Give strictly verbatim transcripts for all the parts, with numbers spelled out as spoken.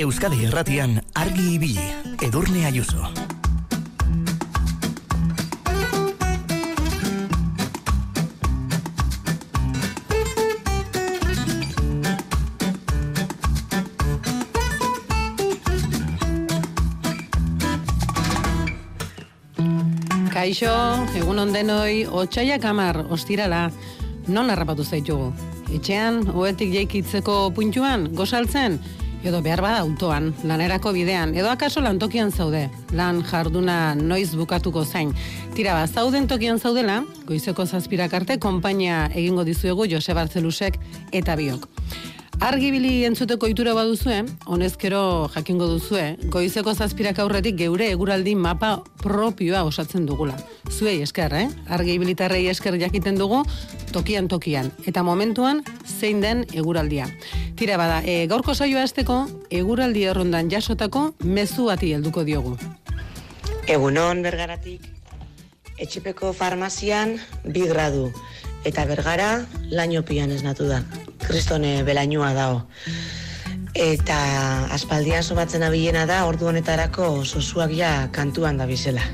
Euskadi Irratian argi ibili, Edurne Ayuso. Kaixo, egun ondenoi, otsaiak hamar, ostirala, non harrapatu zaitugu? Etxean, ohetik jaikitzeko puntuan, gozaltzen, edo behar bada autoan, lanerako bidean, edo akaso lantokian zaude, lan jarduna noiz bukatuko zain. Tira ba, zauden tokian zaudela, goizeko zazpirak arte, konpainia egingo dizuegu Jose Bartzelusek eta biok. Argibili entzuteko itura baduzue, honezkero jakingo duzue, goizeko zazpirak aurretik geure eguraldi mapa propioa osatzen dugula. Zuei esker, eh? Argibilitarrei esker jakiten dugu, tokian tokian, eta momentuan zein den eguraldia. Tira bada, e, gaurko saioa hasteko eguraldi errondan jasotako mezu bati helduko diogu. Egunon Bergaratik, Etxepeko farmazian bi gradu, eta Bergara lainopian esnatu da. Kristone belainua dao. Eta aspaldian somatzen abilena da, ordu honetarako sosuak ja kantuan da bizela.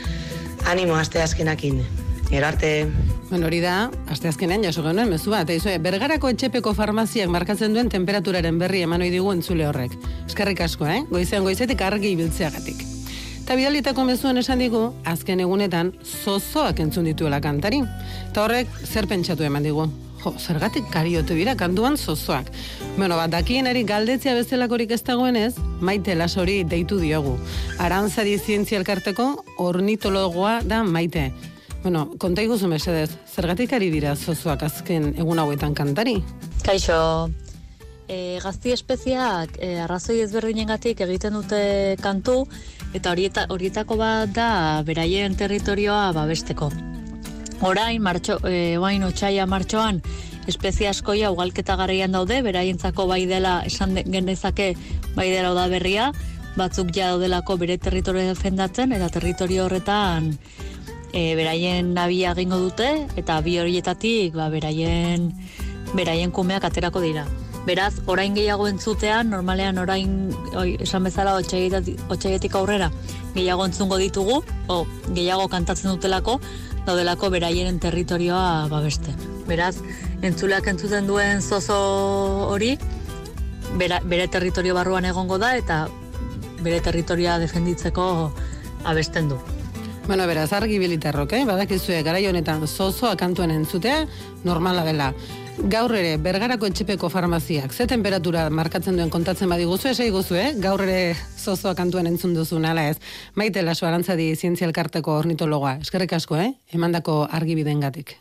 Animo asteazkenakin. Gero arte. Bueno, hori da, asteazkenean jaso genuen mezu bat. Eizue, Bergarako Etxepeko farmaziak markatzen duen temperaturaren berri eman ohi digu entzule horrek. Eskerrik asko, eh? Goizean goizetik argi ibiltzeagatik. Eta bidalitako mezuan esan digu, azken egunetan zozoak entzun dituela kantari. Eta horrek zer pentsatu eman digu. Jo, zergatik kariotu dira kantuan zozoak. Bueno, bat dakienari galdetzea bezalakorik ez dagoenez, Maite Lasori deitu diogu. Arantzadi Zientzia Elkarteko ornitologoa da Maite. Bueno, konta iguzu mesedez, zergatik ari dira zozoak azken egun hauetan kantari? Kaixo, e, gazti espeziak e, arrazoi ezberdinengatik egiten dute kantu, eta horieta, horietako bat da beraien territorioa babesteko. Orain, martxo, e, oain otsaia martxoan, espezie askoia ugalketa garaian daude, beraientzako bai dela, esan genezake bai dela da berria, batzuk ja daudelako bere territorio defendatzen, eta territorio horretan e, beraien nabia egingo dute, eta bi horietatik ba, beraien, beraien kumeak aterako dira. Beraz, orain gehiago entzutean, normalean orain, oi, esan bezala, otsaietik aurrera, gehiago entzungo ditugu, o gehiago kantatzen dutelako, daudelako beraien territorioa babeste. Beraz, entzuleak entzuten duen zozo hori, bera, bere territorio barruan egongo da, eta bere territorioa defenditzeko abesten du. Bueno, beraz, argi bilitarrok, eh? Badakizue, garai honetan zozoa kantuen entzutea, normala dela. Gaur ere, Bergarako Etxepeko farmaziak, ze temperatura markatzen duen kontatzen badiguzu, esai guzu, eh? Gaur ere zozoa kantuen entzun duzu, nala ez. Maite Laso Arantzadi Zientzia Elkarteko ornitologoa. Eskerrik asko, eh? Emandako argibidengatik.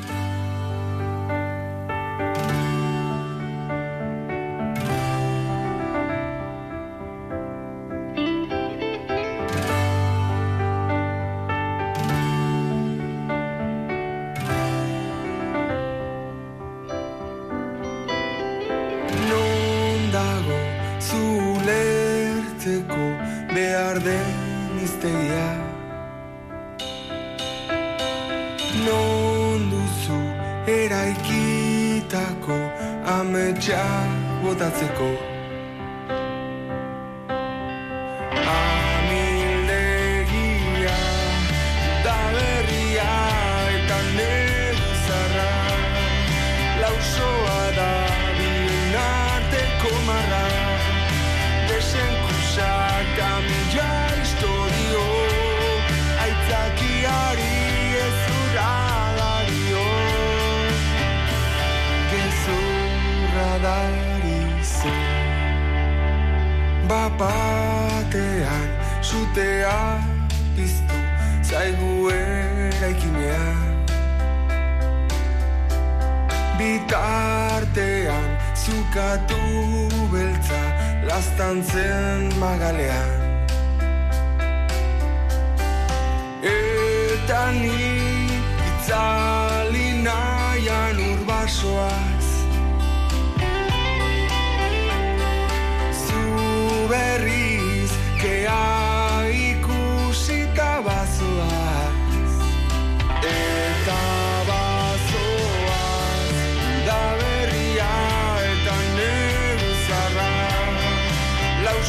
Behar den iztegia non duzu eraikitako ametsa botatzeko amildegia da berria eta negu zarra lausoa da binarteko marra desenkusak kamila historio aitzakiari ezurra dario gezurra darizu bapatean sutea piztu zaigu eraikinean bitartean zukatu beltza laztantzen magalean eta ni itzali nahian urbasoaz zu berriz kea ikusita bazoaz eta bazoaz da berria eta negu zarra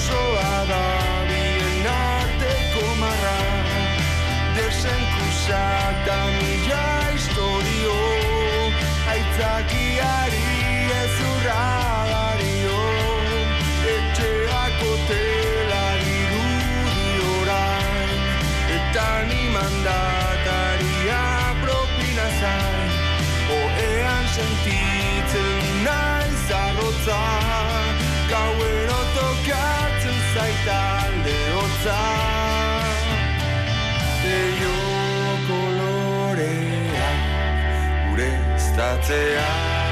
izatea.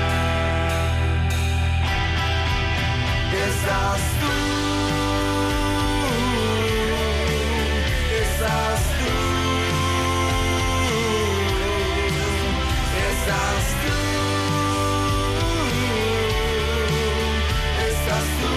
Ezaztu, ezaztu, ezaztu, ezaztu.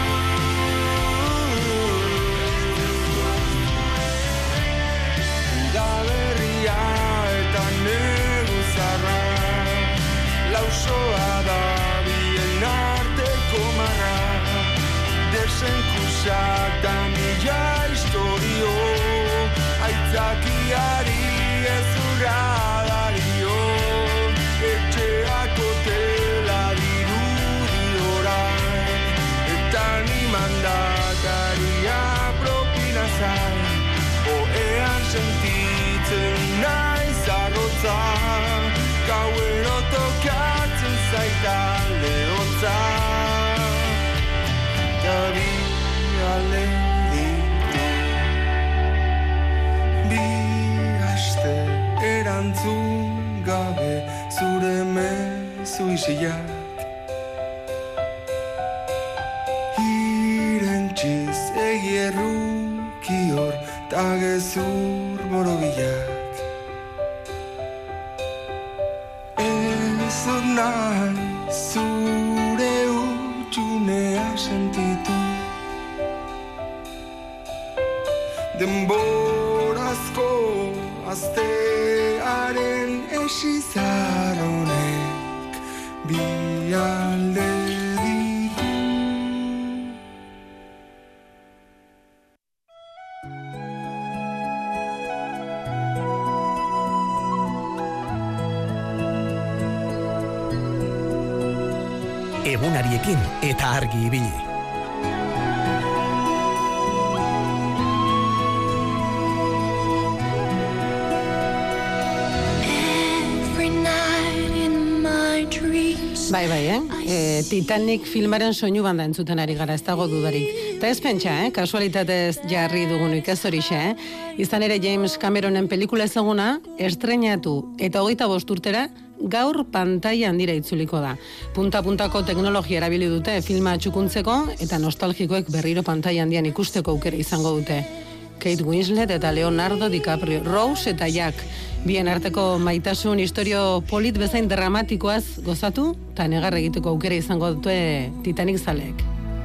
Udaberria eta negu zarra, lausoa da bien arteko marra, desenkusak da mila historio, aitzakiari ezurra dario, etxeako tela dirudi orain, eta nimandakaria propinazan, oean sentitzen naiz arrotza, gauero tokatzen zaita lehotza. Bi ale ditu, bi aste erantzun gabe zure mezu isiak, irentxiz egi erruki hor ta gezur borobilak. Ez dut nahi zure utxunea sentitu, denborazko astearen esizar honek bi alde ditu. Egunariekin eta argi ibili. Bai, bai, eh? E, Titanic filmaren soinu banda entzuten ari gara, ez dago dudarik. Eta ez pentsa, eh? Kasualitatez jarri dugunik ez horixe, eh? Izan ere James Cameronen pelikula ezaguna, estrenatu eta hogeita bost urtera, gaur pantaila handira itzuliko da. Punta-puntako teknologia erabili dute filma txukuntzeko eta nostalgikoek berriro pantaila handian ikusteko aukera izango dute. Kate Winslet eta Leonardo DiCaprio, Rose eta Jack, bien arteko maitasun historio polit bezain dramatikoaz gozatu eta negar egiteko aukera izango dute Titanic zaleek.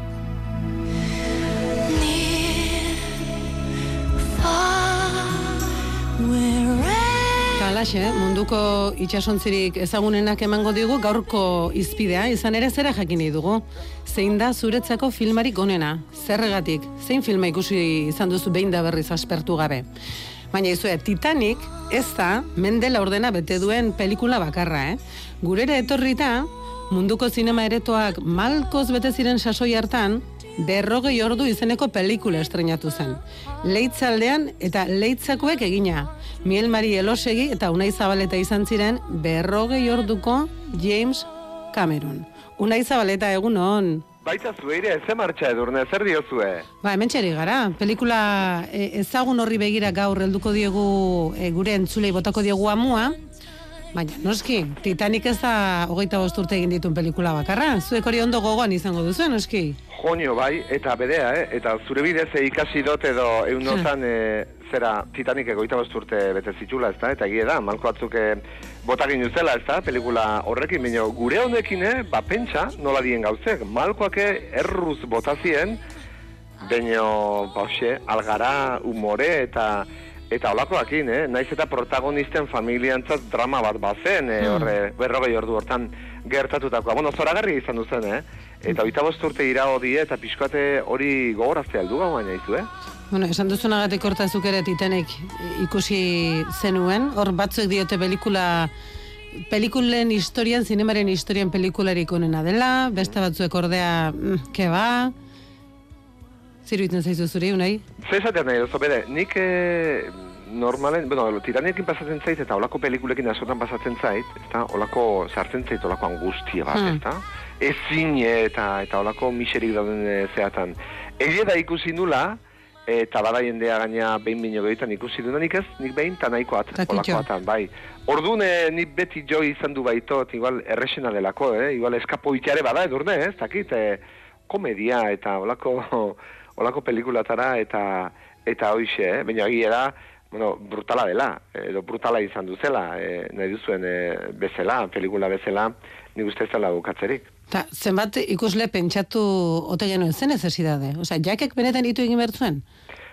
Alaxe, munduko itsasontzirik ezagunenak emango digu gaurko izpidea, izan ere zera jakin nahi dugu. Zein da zuretzako filmarik onena? Zerregatik, zein filma ikusi izan duzu behin da berriz aspertu gabe? Baina izue, Titanic ez da Mendela ordena bete duen pelikula bakarra, eh? Gurera etorrita, munduko zinema eretoak malkoz bete ziren sasoi hartan, berrogei ordu izeneko pelikula estrenatu zen. Leitzaldean eta leitzakoek egina. Miel Mari Elosegi eta Unai Zabaleta izan ziren berrogei orduko James Cameron. Unai Zabaleta, egun hon. Baita zueire, ez martxa edurne, zer diozue? Ba, hemen txeri gara. Pelikula e, ezagun horri begira gaur helduko diegu e, gure entzulei botako diegu amua. Baina, noski, Titanic ez da hogeita bost urte egin dituen pelikula bakarra. Zuek hori ondo gogoan izango duzu, noski? Jonio, bai, eta bedea, eh? Eta zure bidez ikasi dut edo eunotan e, zera Titanic egoita bost urte bete zitula, ez da? Eta egia da, malko batzuk e, botakin duzela, ez da? Pelikula horrekin, baina gure honekin, eh? Ba, pentsa, nola dien gauzek. Malkoak erruz botazien, baina, ba, hoxe, algara, humore eta... Eta olakoakin, eh? Naiz eta protagonisten familiantzat drama bat bazen, eh? Horre, berrogei ordu hortan gertatutakoa. Bueno, zoragarri izan duzen, eh? Eta hogeita bost urte irao die eta pixkate hori gogoraztea heldu gau baina izu, eh? Bueno, esan duzunagatik hortazuk ere Titanic ikusi zenuen, hor batzuk diote pelikula, pelikulen historian, zinemaren historian pelikularik onena dela, beste batzuek ordea, mm, ke ba... Ziruitzen zaizu zuri, unai? Zezatean nahi duzu, bere, nik e, normalen, bueno, Titanicin pasatzen zait eta olako pelikulekin askotan pasatzen zait, ezta, olako sartzen zait olako angustia bat, hmm. ezta? Ezin eta eta olako miserik dauden e, zeatan. Egia da ikusi nula, eta bada jendea gaina behin bino gehiagotan ikusi duna, nik ez, nik behin, eta nahikoat, olakoatan, bai. Orduan, eh, nik beti jo izan du baitot, igual erresena delako, eh? Igual eskapoitxare bada, edurne, ez, dakit, eh, komedia, eta olako, olako pelikulatara, eta, eta hoixe, eh? Baina egia da, bueno, brutala dela, edo brutala izan duzela, eh, nahi duzuen eh, bezala, pelikula bezala, nik uste ez dela bukatzerik. Ta, zenbat ikusle pentsatu ote genuen zen necesidade? Osea, jakek benetan ditu egin bertzuen?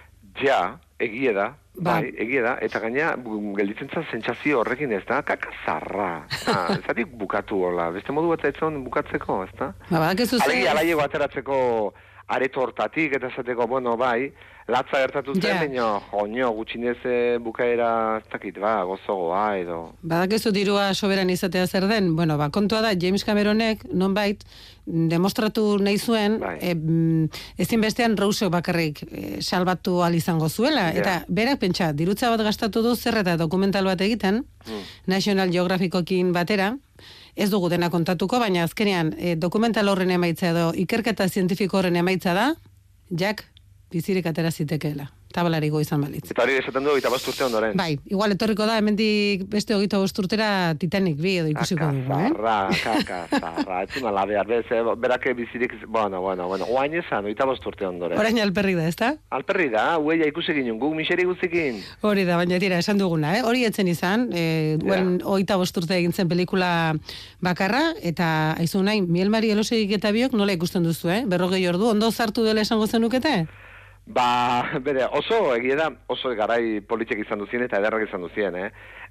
Ja, egie da, ba. bai, egie da, eta gaina gelditzen zen sentsazio horrekin ez da, kakazarra. Ah, ez datik bukatu hola, beste modu bat etzon bukatzeko, ez da? Ba, badakizu zen... Alegi alaiego ateratzeko areto hortatik, eta esateko, bueno, bai, latza gertatu zen, Ja. baina, joño, gutxinez eh, bukaera, ez dakit, ba, gozogoa, edo... Badakizu dirua soberan izatea zer den, bueno, ba, kontua da, James Cameronek, nonbait, demostratu nahi zuen, Bai. e, mm, ezin bestean Rousseau bakarrik e, salbatu al izango zuela, Ja. eta berak pentsa, dirutza bat gastatu du zer eta dokumental bat egiten, Mm. National Geographicokin batera, ez dugu dena kontatuko, baina azkenean e, dokumental horren emaitza edo ikerketa zientifiko horren emaitza da, Jack bizirik atera zitekeela, tabalarigo izan balitz. Eta hori esaten du, eta bost urte ondoren. Bai, igual etorriko da, hemendik beste hogeita bost urtera Titanic bi edo ikusiko dugu, eh? Kakazarra, kakazarra, etzuna labear, bez, eh, berake bizirik, bueno, bueno, bueno, oain esan, oita bost urte ondoren. Orain alperrik da, ezta? Alperri da, huella ikusi ginen, guk miseri guzikin. Hori da, baina tira, esan duguna, eh? Hori etzen izan, e, duen hogeita bost urte egin zen pelikula bakarra, eta aizu nahi, Miel Mari Elosegik eta biok nola ikusten duzu, eh? Berrogei ordu, ondo zartu dela esango zenukete? Ba, bere, oso egia da, oso garai politiek izan duzien eta ederrak izan duzien, eh?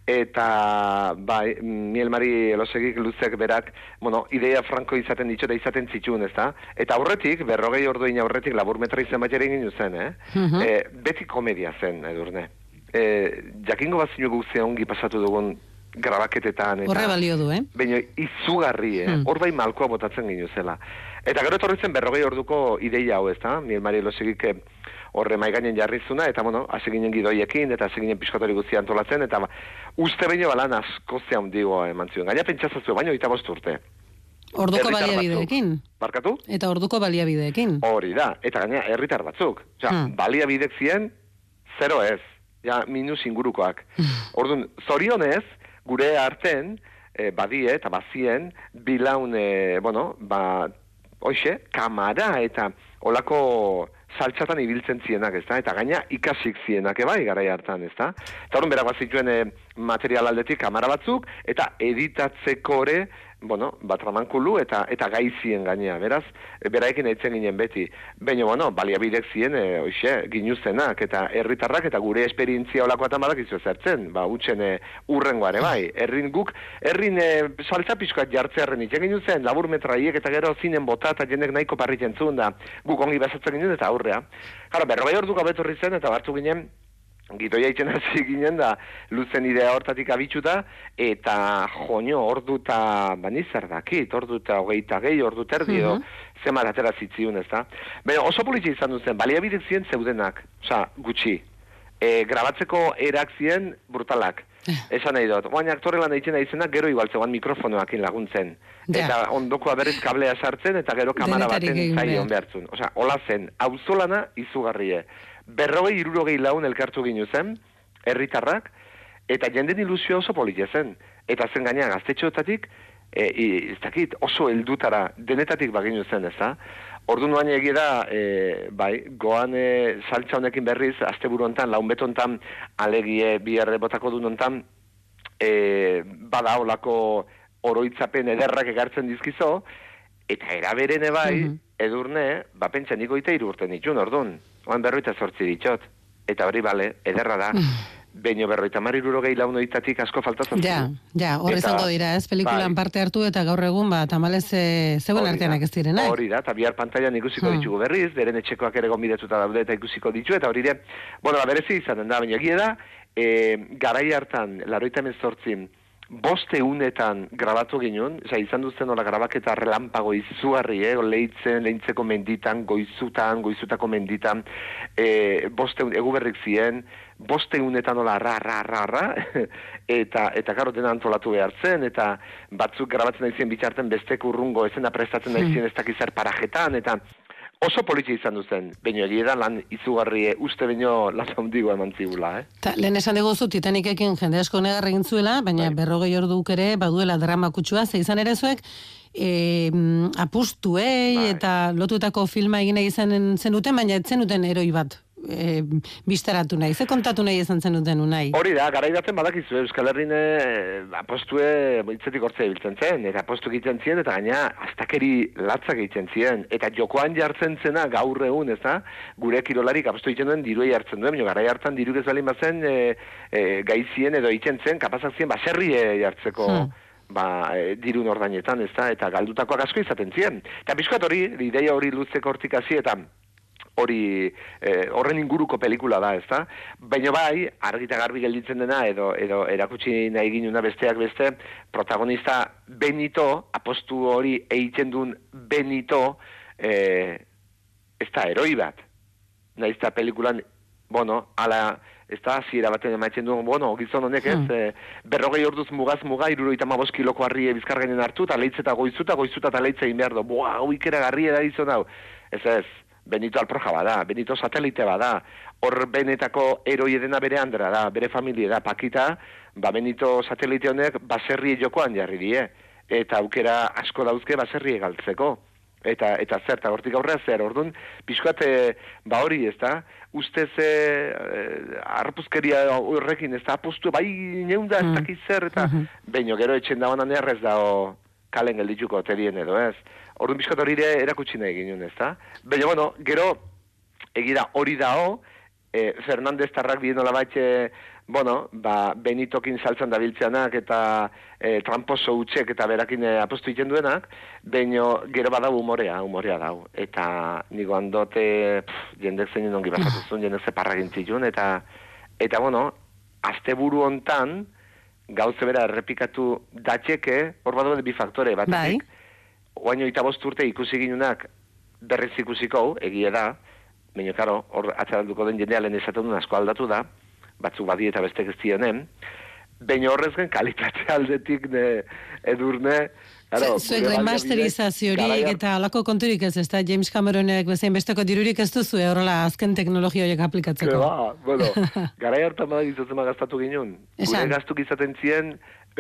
Eta, bai, Miel Mari Elosegik luzek berak, bueno, ideia franko izaten ditxo eta izaten zituen, ez da? Eta aurretik, berrogei orduin aurretik laburmetra izan bat ere egin zen, eh? Mhm. E, beti komedia zen, edurne. E, jakingo bat zinu guztia ongi pasatu dugun grabaketetan. Eta, Horre balio du, eh? baina izugarri, eh? Hmm. Hor bai malkoa botatzen ginuzela. Eta gero etorri zen berrogei orduko ideia hau, ez da? Miel Mari Elosegik horre maigainen jarrizuna, eta bueno, hasi ginen gidoiekin, eta hasi ginen piskotori guztia antolatzen, eta ba, uste baino balan asko ze handigoa eman zion. Gaina pentsazazue, baino eta bost urte. Orduko Herritar baliabideekin. batzuk. Barkatu? Eta orduko baliabideekin. Hori da, eta gaina herritar batzuk. Osea, Hmm. baliabidek zien, zero ez. Ja, minus ingurukoak. Orduan, zorionez, gure arten, eh, badie eta bazien, bilaun, eh, bueno, ba, hoxe, kamara eta olako saltxatan ibiltzen zienak, ez da? Eta gaina ikasik zienak, ebai, garai hartan, ez da? Eta horren berak bazituen eh, material aldetik kamara batzuk, eta editatzeko ere, bueno, bat ramankulu eta eta gaizien gainea, beraz, e, beraekin eitzen ginen beti. Baina, bueno, baliabidek zien, e, oixe, ginuzenak, eta herritarrak eta gure esperientzia olakoatan badakizu zertzen, ba, utxen e, urrengoare, bai, herrin guk, herrin e, saltza pixkoat jartzearen itxen ginuzen, labur metraiek eta gero zinen bota eta jendek nahiko parritzen zuen da, guk ongi bazatzen ginen eta aurrea. Gara, berrogei ordu gabetorri zen eta bartu ginen, gidoia itxen hasi ginen da, luzen idea hortatik abitxuta, eta joño, ordu eta, bani zer dakit, ordu eta hogeita gehi, ordu terdi, edo, zemat atera zitziun, ez da? Baina oso politxe izan duzen, baliabidek ziren zeudenak, oza, gutxi. E, grabatzeko erak ziren brutalak. Esan nahi dut, oain aktore lan egiten aizenak, gero igual zegoan mikrofonoakin laguntzen. Ja. Eta ondokoa berriz kablea sartzen, eta gero kamara Denetarik baten egin zaion behar. behartzun. Osa, hola zen, auzolana izugarrie. Berrogei, irurogei laun elkartu ginu zen, herritarrak, eta jenden ilusioa oso politia zen. Eta zen gaina gaztetxoetatik, e, i- ez dakit, oso heldutara denetatik baginu zen, ez da? Ordu nuan egia da, e, bai, goan e, saltza honekin berriz, asteburu hontan, laun betontan, alegie biharre botako du nontan, e, bada olako oroitzapen ederrak egartzen dizkizo, eta eraberene bai, Mhm. edurne, ba pentsa niko ite hiru urte nitxun, orduan, oan berroita zortzi ditxot, eta hori bale, ederra da, baino berroita mar irurogei launoitatik asko faltatzen. Ja, ja, hor Eta- izango dira, ez, pelikulan bai. parte hartu eta gaur egun, ba, tamalez e, zeuen Hori da, arteanak ez direnak. Hori da, eta bihar pantailan ikusiko Hmm. ditugu berriz, beren etxekoak ere gonbidetuta daude eta ikusiko ditu, eta hori ere, bueno, ba, berezi izaten da, baina egia da, e, garai hartan, laroita hemezortzi, boste unetan grabatu ginen, oza, izan duzen hola grabaketa relampago izugarri, eh, lehitzen, lehintzeko menditan, goizutan, goizutako menditan, e, boste un, egu berrik zien, boste unetan hola ra, ra, ra, ra, eta, eta garo dena antolatu behar zen, eta batzuk grabatzen daizien bitxarten bestek urrungo, ezena prestatzen daizien ez dakizar parajetan, eta oso politxe izan duzen, baina egia da lan izugarri uste baino lan handigo eman zigula, eh? Ta, lehen esan dugu Titanicekin jende asko negar egin zuela, baina bai. berrogei orduk ere baduela drama kutsua, ze izan ere zuek, e, apustuei bai. eta lotutako filma egin nahi izan zenuten, baina ez zenuten eroi bat. E, biztaratu nahi, ze kontatu nahi izan zenuten unai? Hori da, gara idaten badakizu, Euskal Herrin e, apostue hitzetik hortzea biltzen zen, eta apostu egiten ziren, eta gaina astakeri latzak egiten ziren, eta jokoan jartzen zena gaur egun, ez da, gure kirolarik apostu egiten duen diruei hartzen duen, gara hartan diruk ez balin bazen e, e, gaizien edo egiten zen, kapazak ziren baserri jartzeko hmm. ba, e, dirun ordainetan, ez da, eta galdutakoak asko izaten ziren. Eta bizkoat hori, ideia hori luzeko hortik hasi, eta hori eh, horren inguruko pelikula da, ezta? Baina bai, argita garbi gelditzen dena edo edo erakutsi nahi ginuna besteak beste, protagonista Benito, apostu hori egiten duen Benito, eh, ez da heroi bat. Naiz eta pelikulan, bueno, ala, ez da, hasiera baten emaitzen duen, bueno, gizon honek ez, hmm. eh, berrogei orduz mugaz muga, irurogeita hamabost kiloko harri bizkargainen hartu, eta leitz eta goizuta, goizuta eta leitz egin behar du. Boa, hau ikera garri da izan hau. Ez ez, Benito alproja bada, Benito satelite bada, hor benetako eroi edena bere andra da, bere familia da, Pakita, ba Benito satelite honek baserri jokoan jarri die, eta aukera asko dauzke baserri galtzeko. Eta eta zer, eta hortik aurrera zer, orduan, pixkoate, ba hori, ez da, ustez e, arpuzkeria horrekin, ez da, apostu, bai neunda, ez dakiz zer, eta mm-hmm. baino gero etxen dagoenan errez da, kalen geldituko terien edo, ez? Orduan bizkat hori ere erakutsi nahi ginen, ez da? Baina, bueno, gero, egira hori dao, e, Fernandez tarrak bien nola baitxe, bueno, ba, Benitokin saltzan dabiltzeanak eta e, tramposo utxek eta berakin e, apostu iten duenak, baina gero badau umorea, umorea dau. Eta nigo handote, pff, jendek zein ongi basatuzun, jendek zeparra gintzitun, eta, eta, bueno, asteburu hontan, gauze bera errepikatu datxeke, hor badu bi faktore batetik. Bai. Oaino eta bost urte ikusi ginunak berriz ikusiko, egia da, baina, karo, hor atzaralduko den jendea lehen esaten duen asko aldatu da, batzuk badi eta bestek ez zionen, baina horrez gen kalitate aldetik ne, edurne, zuek remasterizaziorik eta alako konturik ez, ez da James Cameronek bezain besteko dirurik ez duzu, horrela azken teknologia horiek aplikatzeko. Ba, bueno, garai hartan badak izatzen gaztatu ginen. Gure gaztuk izaten zien,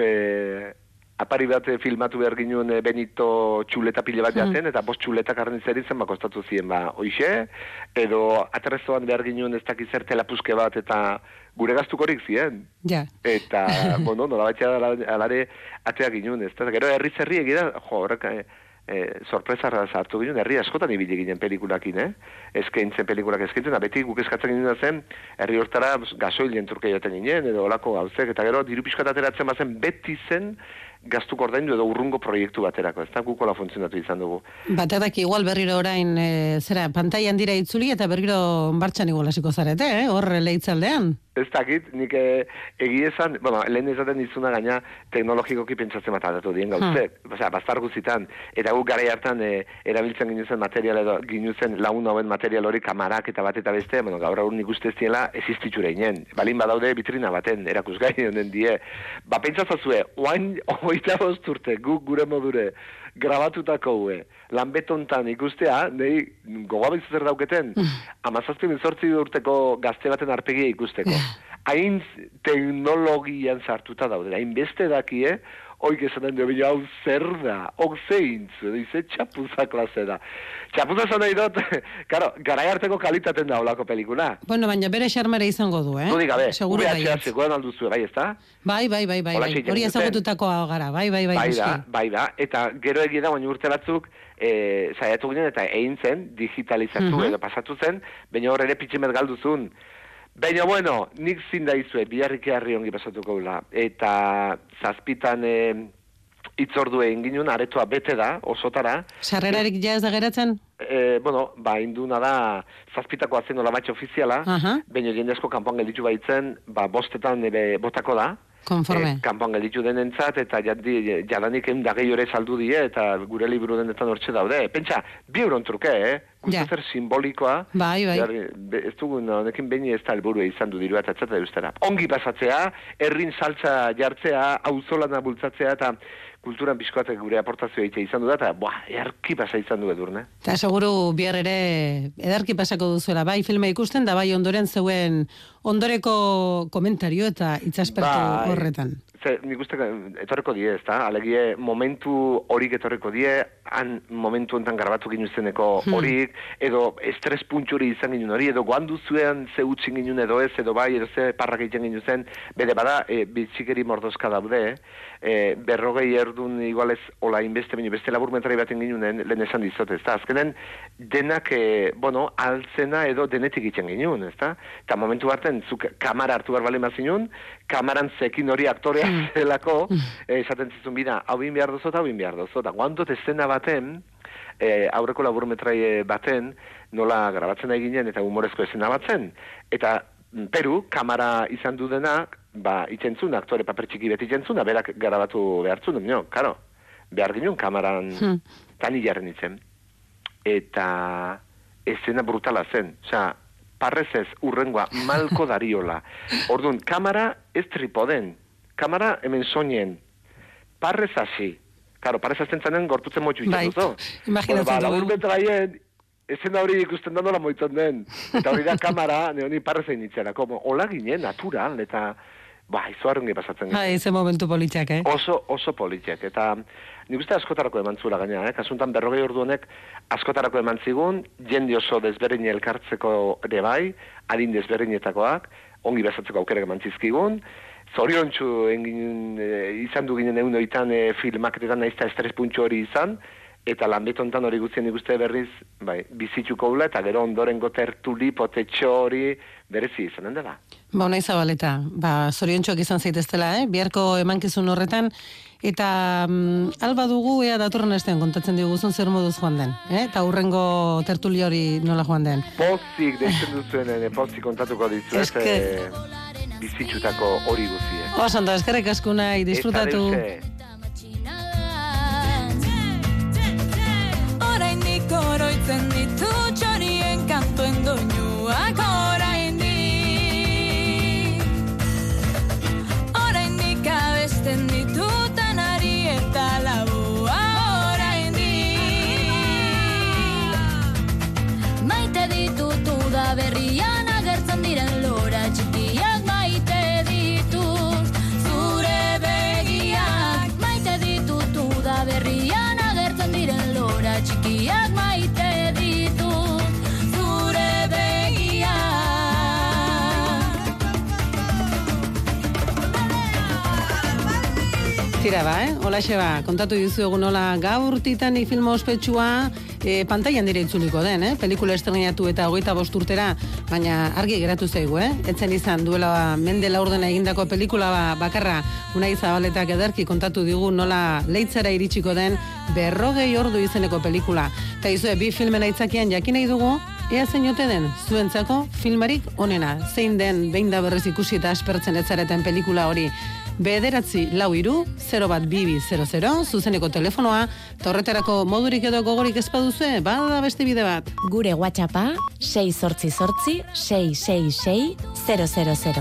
eh, apari bat filmatu behar ginen Benito txuleta pile bat jaten, hmm. eta bost txuletak arren zer izan bakostatu ziren, ba, oixe, edo atrezoan behar ginen ez dakizer telapuzke bat, eta gure gaztukorik ziren. Ja. Eta, bueno, nola batxea alare ateak ginen, ez da, gero herri zerri egira, jo, horrek, e, e, sorpresara zartu ginen, herri askotan ibili ginen pelikulakin, eh? Eskaintzen pelikulak eskaintzen, beti guk eskatzen ginen zen, herri hortara gasoilien turke joten ginen, edo olako gauzek, eta gero diru pixkat ateratzen bazen, beti zen, gaztuk ordaindu edo urrungo proiektu baterako, ez da gukola funtzionatu izan dugu. Baterak igual berriro orain, e, zera, pantailan dira itzuli eta berriro martxan igual hasiko zarete, eh? Hor lehitzaldean. Ez dakit, nik e, egia esan, bueno, lehen ezaten izuna gaina teknologikoki pentsatzen matatu dien gauzek, hmm. osea, bastar guzitan, eta guk gara hartan e, erabiltzen ginuzen material edo ginuzen lagun hauen material hori kamarak eta bat eta beste, bueno, gaur aur nik uste ez diela existitxura inen, balin badaude vitrina baten erakusgai honen die, ba pentsazazue, oain oita bosturte, guk gure modure, grabatutako hue, lanbetontan ikustea, nahi gogoa zer dauketen, amazazpi bizortzi urteko gazte baten arpegia ikusteko. Hain teknologian sartuta daude, hain beste dakie, oik esaten dio, hau zer da, ok zeintzu, dize txapuza klase da. Txapuza zan nahi dut, karo, garai harteko kalitaten da olako pelikula. Bueno, baina bere xarmere izango du, eh? Du digabe, seguro bai. V H S goen alduzu, bai, ez da? Bai, bai, bai, bai, bai. Hori ezagututako gara, bai, bai, bai. Bai da, bai da, eta gero egia da, baina urte batzuk, e, saiatu ginen eta egin zen, digitalizatu uh-huh. edo pasatu zen, baina hor ere pitximet galduzun. Baina, bueno, nik zinda izue, biharrik eharri ongi pasatuko gula. Eta zazpitan e, itzordu egin ginen, aretoa bete da, osotara. Sarrerarik ja ez da geratzen? E, bueno, ba, induna da, zazpitako azen nola batxe ofiziala, uh-huh. baina jendezko kanpoan gelditu baitzen, ba, bostetan ere botako da. Konforme. E, kanpoan gelditu denentzat, eta jandi, jadanik egun da gehi ore saldu die, eta gure liburu denetan hortxe daude. Pentsa, bi euron truke, eh? Ja. zer simbolikoa, Bai, bai. behar- be- ez dugun, honekin behin ez da helburu izan du dirua eta txata eustera. Ongi pasatzea, herrin saltza jartzea, auzolana bultzatzea, eta kulturan bizkoatek gure aportazioa egitea izan du da, eta buah, earki pasa izan du edurne. Eta seguru bihar ere edarki pasako duzuela, bai filma ikusten, da bai ondoren zeuen ondoreko komentario eta itzaspertu Bai. horretan. Ze, nik uste etorreko die, ez da? Alegie momentu horik etorreko die, han momentu enten grabatu ginu zeneko horik, edo estres puntxuri izan ginen hori, edo guandu zuen ze utxin ginen edo ez, edo bai, edo ze parrak egiten ginen zen, bede bada, e, bitxikeri mordozka daude, e, berrogei erdun igualez, ola inbeste, baino beste laburmentari baten ginen, lehen esan dizot, ez da? Azkenen, denak, e, bueno, altzena edo denetik egiten ginen, ez da? Eta momentu baten, zuk kamara hartu behar bale mazinun, kamaran zekin hori aktorea zelako, eh, esaten zizun bida, hau bin behar dozo eta hau bin behar dozo. Da, guandot eszena baten, eh, aurreko laburmetrai baten, nola grabatzen nahi ginen eta humorezko eszena batzen. Eta mm, Peru, kamara izan du denak, ba, itzentzun, aktore paper txiki beti itzentzun, berak grabatu behartzun, no, karo, behar ginen kamaran Hmm. tani jarren itzen. Eta eszena brutala zen, osea, parrez ez, urrengoa, malko dariola. Orduan, kamara ez tripoden, kamara hemen soinen, parrez hasi. Karo, parrez azten zanen gortutzen motxu Bai, itxatuzo. imaginatzen Ba, dugu. labur betraien, ezena hori ikusten da nola moitzen den. Eta hori da kamara, neoni parrezein itzera. Como, hola ginen, natural, eta, ba, izoarren pasatzen. Bai, ze momentu politxak, eh? Oso, oso politiak, eta nik uste askotarako eman zula gaina, eh? Kasuntan berrogei ordu honek askotarako eman zigun, jende oso desberdin elkartzeko ere bai, adin desberdinetakoak, ongi bezatzeko aukerak eman zizkigun, zoriontsu engin, e, izan du ginen egun oitan e, filmaketetan naizta estres puntxo hori izan, eta lanbetontan hori guztien nik uste berriz, bai, bizitzuko ula, eta gero ondorengo tertuli, potetxo hori, berezi izanen dela. Ba, nahi zabaleta, ba, zoriontxoak izan zaiteztela, eh? Biharko emankizun horretan, eta mm, alba dugu, ea datorren astean kontatzen diguzun zer moduz joan den, eh? Eta hurrengo tertuli hori nola joan den. Pozik deitzen duzuen, e, pozik kontatuko dizuet, Eske- e, bizitzutako hori guzie. Oso, ondo, eskerrik asko nahi, disfrutatu. Eta deuse, Oraindik oroitzen ditu txorien kantuen doinuak oraindik. Oraindik abesten ditutan ari eta labua oraindik. Maite ditutu da berrian agertzen diren lora txikiak maite ditut zure begiak. Maite ditutu da berrian agertzen diren lora txikiak maite ditut zure begiak. Tira ba, eh? Holaxe ba, kontatu dizuegu nola gaur Titanic film ospetsua e, pantailan dire itzuliko den, eh? Pelikula estrenatu eta hogeita bost urtera, baina argi geratu zaigu, eh? Etzen izan duela mende laurdena egindako pelikula ba, bakarra Unai Zabaletak ederki kontatu digu nola leitzara iritsiko den berrogei ordu izeneko pelikula. Eta izue, bi filmen aitzakian jakin nahi dugu, ea zein ote den zuentzako filmarik onena, zein den behin da berrez ikusi eta aspertzen etzareten pelikula hori. Bederatzi lau iru, zero bat bibi zero zero, zuzeneko telefonoa, torretarako modurik edo gogorik ez baduzue, bada beste bide bat. Gure WhatsAppa sei zortzi zortzi sei sei sei zero zero zero.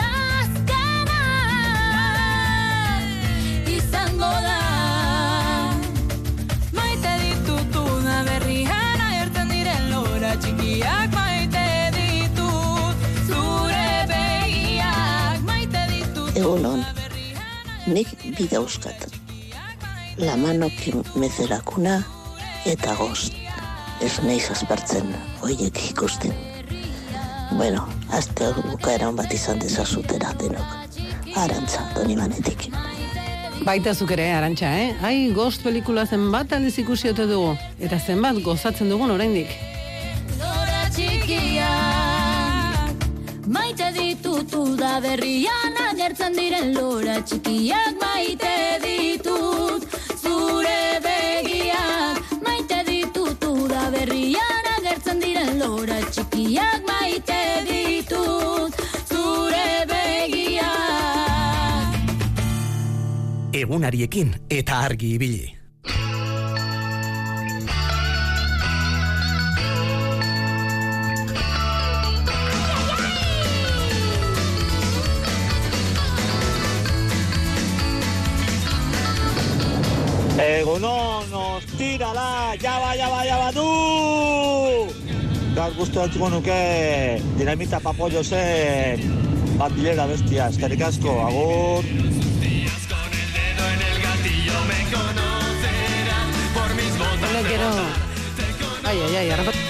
Izango da maite ditutu da berrian agertzen diren lora txikiak maite ditut zure begiak maite ditut. Egunon, nik bi dauzkat. La manokin mezelakuna eta gozt. Ez naiz aspertzen hoiek ikusten. Bueno, azte bukaeran bat izan dezazutera denok. Arantza, Donibanetik. Baita zuk ere, Arantxa, eh? Ai, Ghost pelikula zenbat aldiz ikusi ote dugu, eta zenbat gozatzen dugun oraindik. Lora txikiak maite ditutu da berrian agertzen diren lora txikiak maite ditut zure begiak maite ditutu da berrian agertzen diren lora txikiak maite ditut zure begiak. Egunariekin eta argi ibili. Egunon, ostirala, jaba, jaba, jaba, du! Gaur guztu altzuko nuke dinamita papollo zen bandilera bestia, eskerrik asko, agur! No quiero... Ay, ay, ay, arrapat...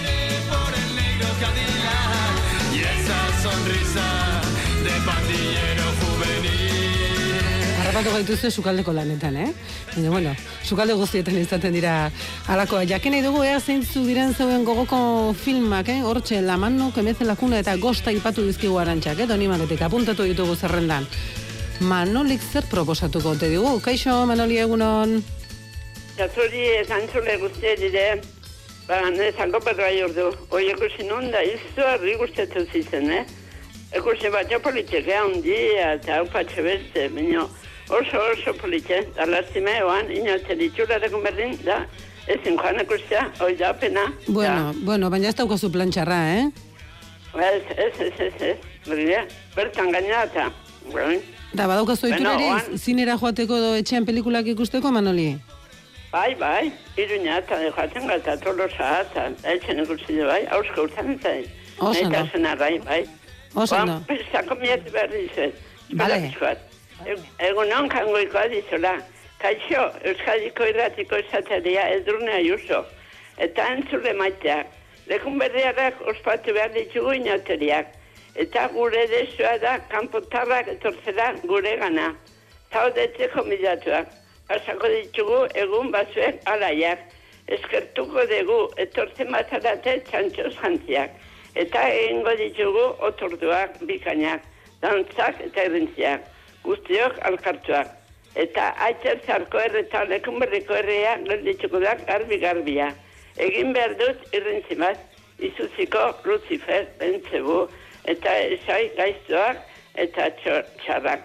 Y esa sonrisa de pandillero juvenil. Arrapatu gaituzte sukaldeko lanetan, eh? Baina, bueno, sukalde guztietan izaten dira alakoa. Jakin nahi dugu, ea zeintzu diren zeuen gogoko filmak, eh? Hortxe, La mano que mece la cuna eta Gosta ipatu dizkigu Arantxak, eh? Doni maletik, apuntatu ditugu zerrendan. Manolik zer proposatuko, te digu? Kaixo, Manoli, egunon? Zatzuri, zantzule guztie dire, ba, nezango perra jordu. Hoi ekusi non da, izu arri guztetu zizen, eh? Ekusi batxo politxe, handia, eta hau patxe beste, baina oso oso politxe, da lastime oan, inatzen itxurateko berdin, da, ezin joan ekustea, hoi da pena. Bueno, da. bueno, baina ez daukazu plantxarra, eh? Ez, ez, ez, ez, ez, berria, bertan gaina eta, bueno. Da, badaukazu bueno, iturari, zinera joateko do etxean pelikulak ikusteko, Manoli? Bai, bai, iruña eta joaten gata, tolosa eta, etxen ikusile bai, hausko urtan eta, Oso no. Eta bai, bai. Oso no. Zako mieti berri izan. Bale. Egun non kangoikoa dizola. Kaixo, Euskadiko irratiko esateria Edurne Ayuso. Eta entzule maiteak. Lekun berriarak ospatu behar ditugu inauteriak. Eta gure desua da, kanpotarrak etortzera gure gana. Zaudetzeko midatuak. Pasako ditugu egun bazuek alaiak. Eskertuko dugu etortzen batzarate txantxoz jantziak. Eta egingo ditugu otorduak bikainak, dantzak eta errintziak, guztiok alkartuak. Eta aitzer zarko erreta lekun berriko errea geldituko da garbi-garbia. Egin behar dut irrintzi bat, izuziko Lucifer, Bentzebu, eta esai gaiztuak eta txarrak.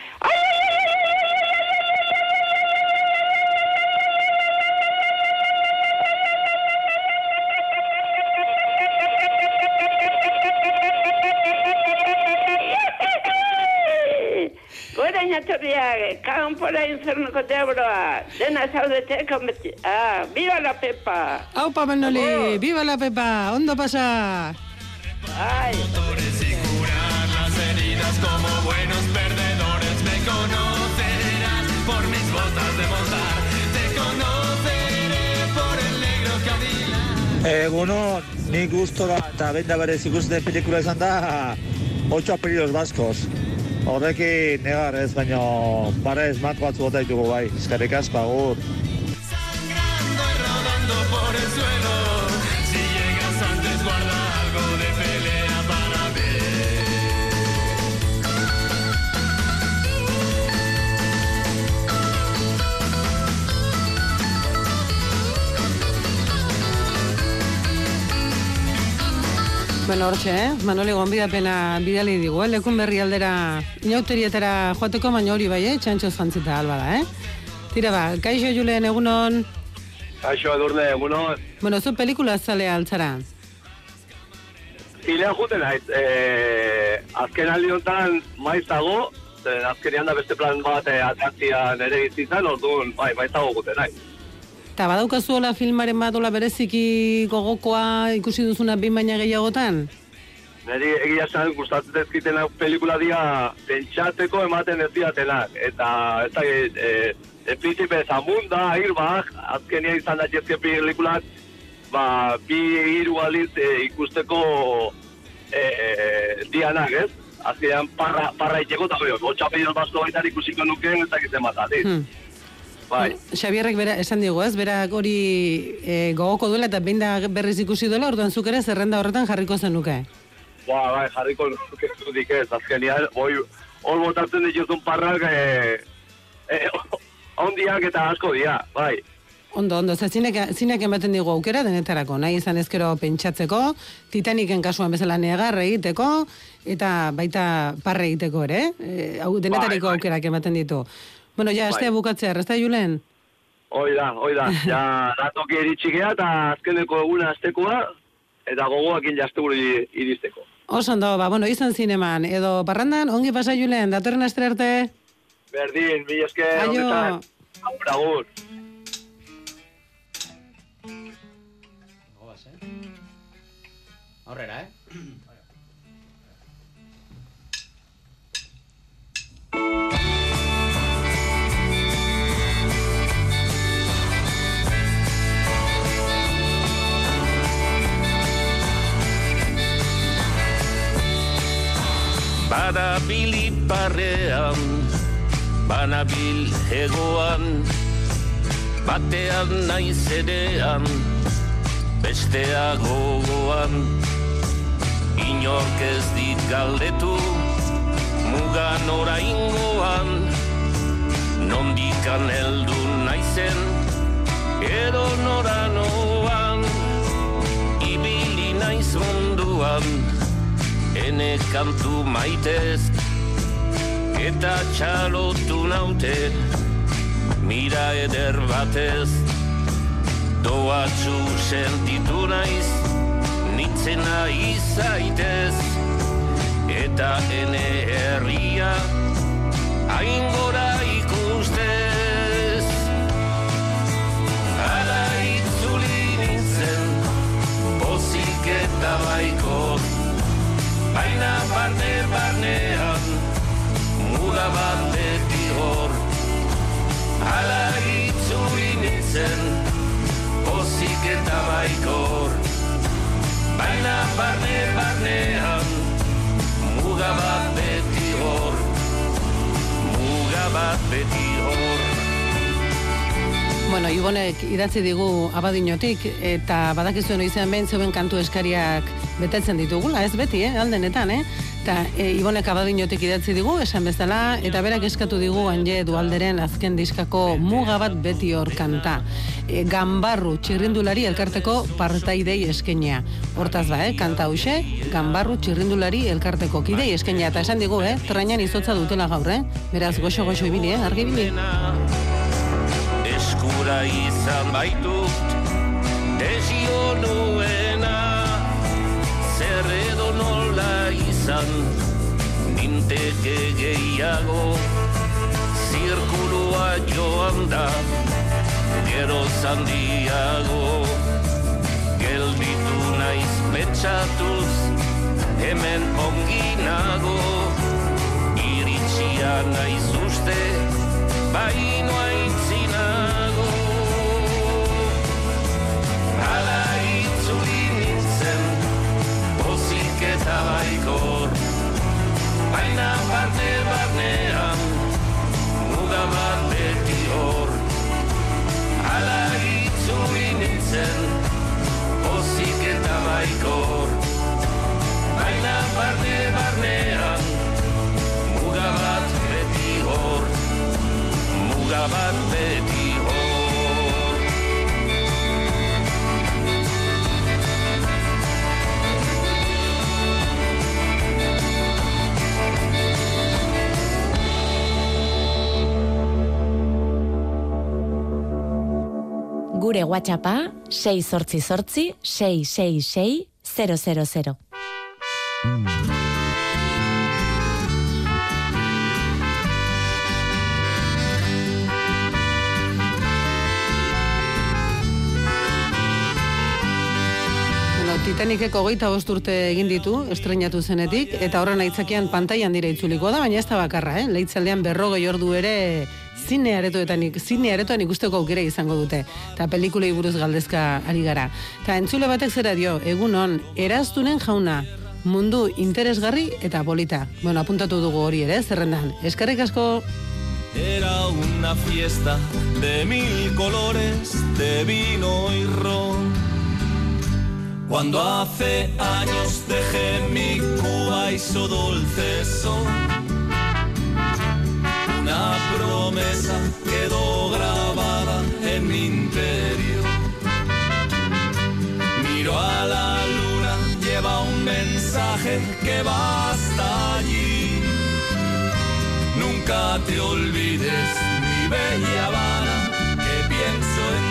Inatorriak, kanpora infernuko teabroa, dena zaudete konbeti... Ah, viva la Pepa! Aupa, Manoli, oh. Viva la Pepa, ondo pasa! Ay. Motores y curar las heridas como buenos perdedores. Me conocerás por mis botas de montar. Te conoceré por el negro Cadillac. Egunon, nik gustora eta benda berez ikusten pelikula izan da Ocho apellidos vascos. Horrekin negar ez, baina barez mako batzu bota ditugu bai, eskerrik asko, agur. Sangrando y rodando por el suelo. Si llegas antes guarda algo de pelea para mí. Bueno, hortxe, eh? Manoli gonbidapena bidali digu, eh? Lekun berri aldera inauterietara joateko, baina hori bai, eh? Txantxoz jantzita alba da, eh? Tira ba, kaixo Julen, egunon? Kaixo Edurne, egunon? Bueno, zu pelikula zalea altzara? Zilean juten naiz, eh, azken aldi honetan maiz dago, azkenean da beste plan bat atratzian ere izitzen, orduan, bai, maiz dago juten naiz. Eta badaukazu hola filmaren bat hola bereziki gogokoa ikusi duzuna bin baina gehiagotan? Neri egia esan gustatzen ezkiten pelikula dia pentsateko ematen ez diatenak. Eta ez da, e, e, Príncipe Zamunda, Airbag, azkenia izan da jezke pelikulak, ba, bi hiru aliz e, ikusteko e, e, dianak, ez? Azkenean parra, parra itxeko eta beho, Ocho apellidos vascos baitan ikusiko nukeen ez dakiten bat, adiz. Hmm. Bai. Xabierrek bera, esan digu, ez? Berak hori e, gogoko duela eta behin da berriz ikusi duela, orduan zuk ere zerrenda horretan jarriko zenuke. Ba, bai, jarriko nuke zudik ez, azkenean, hoi, hor botatzen dituzun parrak, e, e, ondiak eta asko dira, bai. Ondo, ondo, ze zinek, zinek ematen digu aukera denetarako, nahi izan ezkero pentsatzeko, Titaniken kasuan bezala negar egiteko, eta baita parre egiteko ere, e, denetariko bai, bai. Aukerak ematen ditu. Bueno, ja, astea bai. Bukatzea, ez da, Julen? Hoi da, hoi da. Ja, datoki eritxikea eta azkeneko eguna aztekoa, eta gogoakin jazteguru iristeko. Oso ondo, ba, bueno, izan zineman, edo parrandan, ongi pasa, Julen, datorren astre arte? Berdin, mi esker, Aio. honetan, agur, agur. Aurrera, eh? Banabil iparrean, banabil hegoan, batean naiz erean, bestea gogoan. Inork ez dit galdetu, mugan oraingoan, nondikan heldu naizen, edo noranoan, ibili naiz munduan, ene kantu maitez, eta txalotu naute, mira eder batez, doatzu sentitu naiz, nitzena izaitez, eta ene herria, hain gora ikustez. Hala itzuli nintzen, pozik eta baikor, baina barne-barnean, muga bat beti hor. Hala itzuli nintzen, pozik eta baikor, baina barne-barnean, muga bat beti hor. Muga bat beti hor. Bueno, Ibonek idatzi digu Abadinotik, eta badakizuen izan behin zeuen kantu eskariak betetzen ditugula, ez beti, eh, aldenetan, eh? Eta e, Ibonek Abadinotik idatzi digu, esan bezala, eta berak eskatu digu Anje Dualderen azken diskako muga bat beti hor kanta. E, Ganbarru txirrindulari elkarteko partaidei eskenia. Hortaz ba, eh, kanta hause, Ganbarru txirrindulari elkarteko kidei eskenia. Eta esan digu, eh, trainan izotza dutela gaur, eh? Beraz, goxo-goxo ibili, eh, argi ibili. Eskura izan baitut, desio nuena, zer edo nola izan, ninteke gehiago, zirkulua joan da, gero zandiago, gelditu naiz pentsatuz, hemen onginago, iritsia naiz uste, baino aintzinago. Hala itzuli nintzen, pozik eta baikor, baina barne-barnean, muga bat beti hor. Hala itzuli nintzen, pozik eta baikor, baina barne-barnean, muga bat beti hor. Muga bat beti hor. Gure WhatsAppa sei zortzi zortzi sei sei sei zero zero zero. Titaniceko hogeita bost urte egin ditu, estreinatu zenetik, eta horren aitzakian pantailan dira itzuliko da, baina ez da bakarra, eh? Leitzaldean berrogei ordu ere zine aretoetan, zine aretoan ikusteko aukera izango dute, eta pelikulei buruz galdezka ari gara. Eta entzule batek zera dio, egunon, Eraztunen jauna, mundu interesgarri eta polita. Bueno, apuntatu dugu hori ere, zerrendan. Eskerrik asko. Era una fiesta de mil colores, de vino y ron. Cuando hace años dejé mi Cuba y su dulce son, una promesa quedó grabada en mi interior. Miro a la luna, lleva un mensaje que va hasta allí. Nunca te olvides, mi bella Habana, que pienso en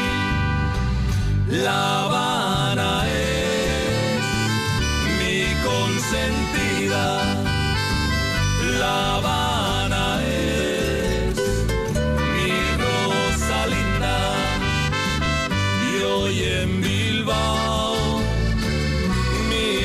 ti. La Habana es mi consentida, La Habana es mi rosa linda, y hoy en Bilbao mi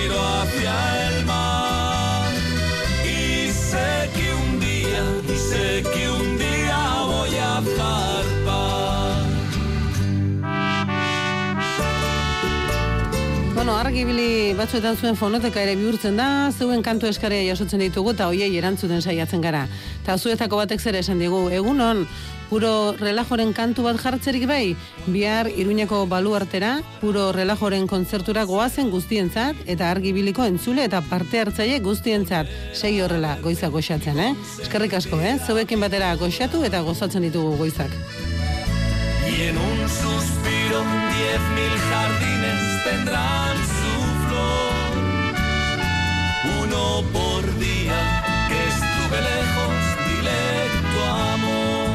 argibili batzuetan zuen fonoteka ere bihurtzen da, zeuen kantu eskarea jasotzen ditugu eta hoiei erantzuten saiatzen gara. Eta zuetako batek zer esan digu, egunon, puro relajoren kantu bat jartzerik bai, bihar Iruñeko baluartera, puro relajoren kontzertura goazen guztientzat, eta argibiliko entzule eta parte hartzaile guztientzat, segi horrela goizak goxatzen, eh? Eskerrik asko, eh? Zeuekin batera goxatu eta gozatzen ditugu goizak. Y en un suspiro diez mil jardines tendrán su flor, uno por día que estuve lejos, directo amor.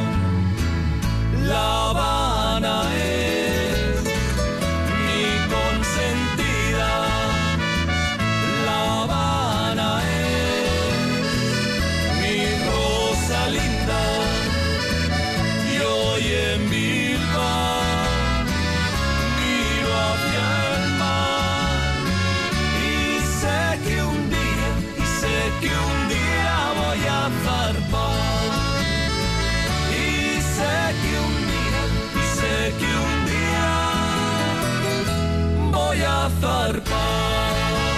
La Habana es mi consentida, La Habana es mi rosa linda, y hoy en Bilbao miro hacia el mar y sé que un día, y sé que un día voy a zarpar, y sé que un día, y sé que un día voy a zarpar.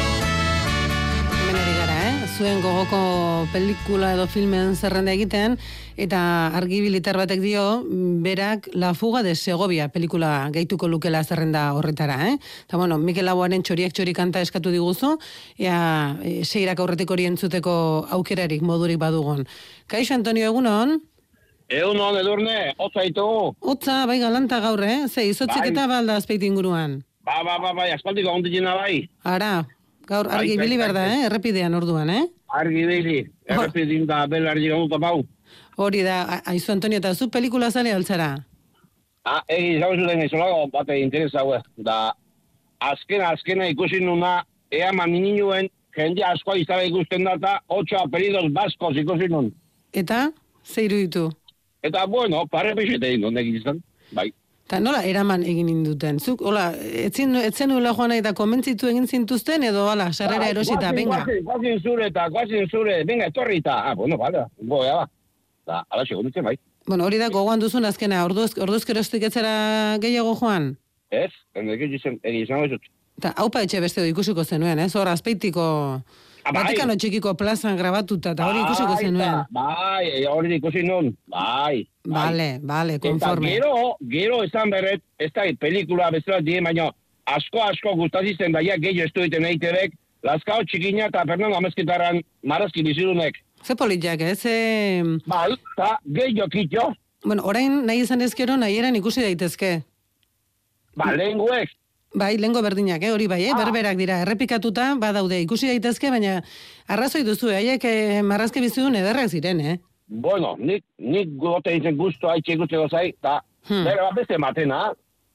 Hemen ari gara, eh? Zuen gogoko pelikula edo filmen zerrenda egiten, eta argibilitar batek dio, berak La fuga de Segovia pelikula gehituko lukela zerrenda horretara, eh? Eta bueno, Mikel Laboaren txoriak txori kanta eskatu diguzu, ea e, seirak aurretik hori entzuteko aukerarik modurik badugun. Kaixo, Antonio, egunon? Egunon, Edurne, hotza ditugu. Hotza, bai galanta gaur, eh? Ze, izotzik eta balda azpeiti inguruan. Ba, ba, ba, bai, aspaldiko ondikina bai. Ara, gaur argibili berda, eh? Errepidean orduan, eh? Argibili, errepidin da belarri gamuta bau. Hori da, aizu Antonio, eta zu pelikula zale altzara? Ah, egi, zau zuten izolago bate interesa hau, da azkena, azkena ikusi nuna, ea maninuen jende askoa izara ikusten data, ocho apelidos baskos ikusi nun. Eta, zeiru ditu? Eta, bueno, pare pixete egin duen egin izan, bai. Eta nola eraman egin induten? Zuk, hola, etzen, etzen nuela joan eta komentzitu egin zintuzten, edo, hala, sarrera erosita, venga. Guazin zure eta, guazin zure, venga, etorri eta, ah, bueno, bale, boa, ba. Da, ala segunditzen, bai. Bueno, hori da, gogoan duzun azkena, orduz, orduz kerostik etzera gehiago joan? Ez, egin izan bezut. Eta, haupa etxe beste ikusiko zenuen, ez? Hor, azpeitiko, Vatikano txikiko plazan grabatuta, eta hori ikusiko zenuen. Bai, hori ikusi nun, bai. Bale, bale, konforme. Eta gero, gero esan berret, ez da, pelikula bezala die, baina asko, asko gustazizten daia gehiago estu egiten eitebek, Lazkao txikina eta Fernando Amezketaran marazki bizidunek. Ze politiak, ez? Eh? Bai, eta gehiago kitio. Bueno, orain nahi izan ezkero, nahi eran ikusi daitezke. Ba, lehenguek. Bai, lehengo berdinak, eh? Hori bai, eh? Berberak dira, errepikatuta, badaude, ikusi daitezke, baina arrazoi duzu, haiek eh, marrazki bizidun ederrak ziren, eh? Bueno, nik, nik gote izan guztu haitxe guzteko zai, eta hmm. bera bat beste matena.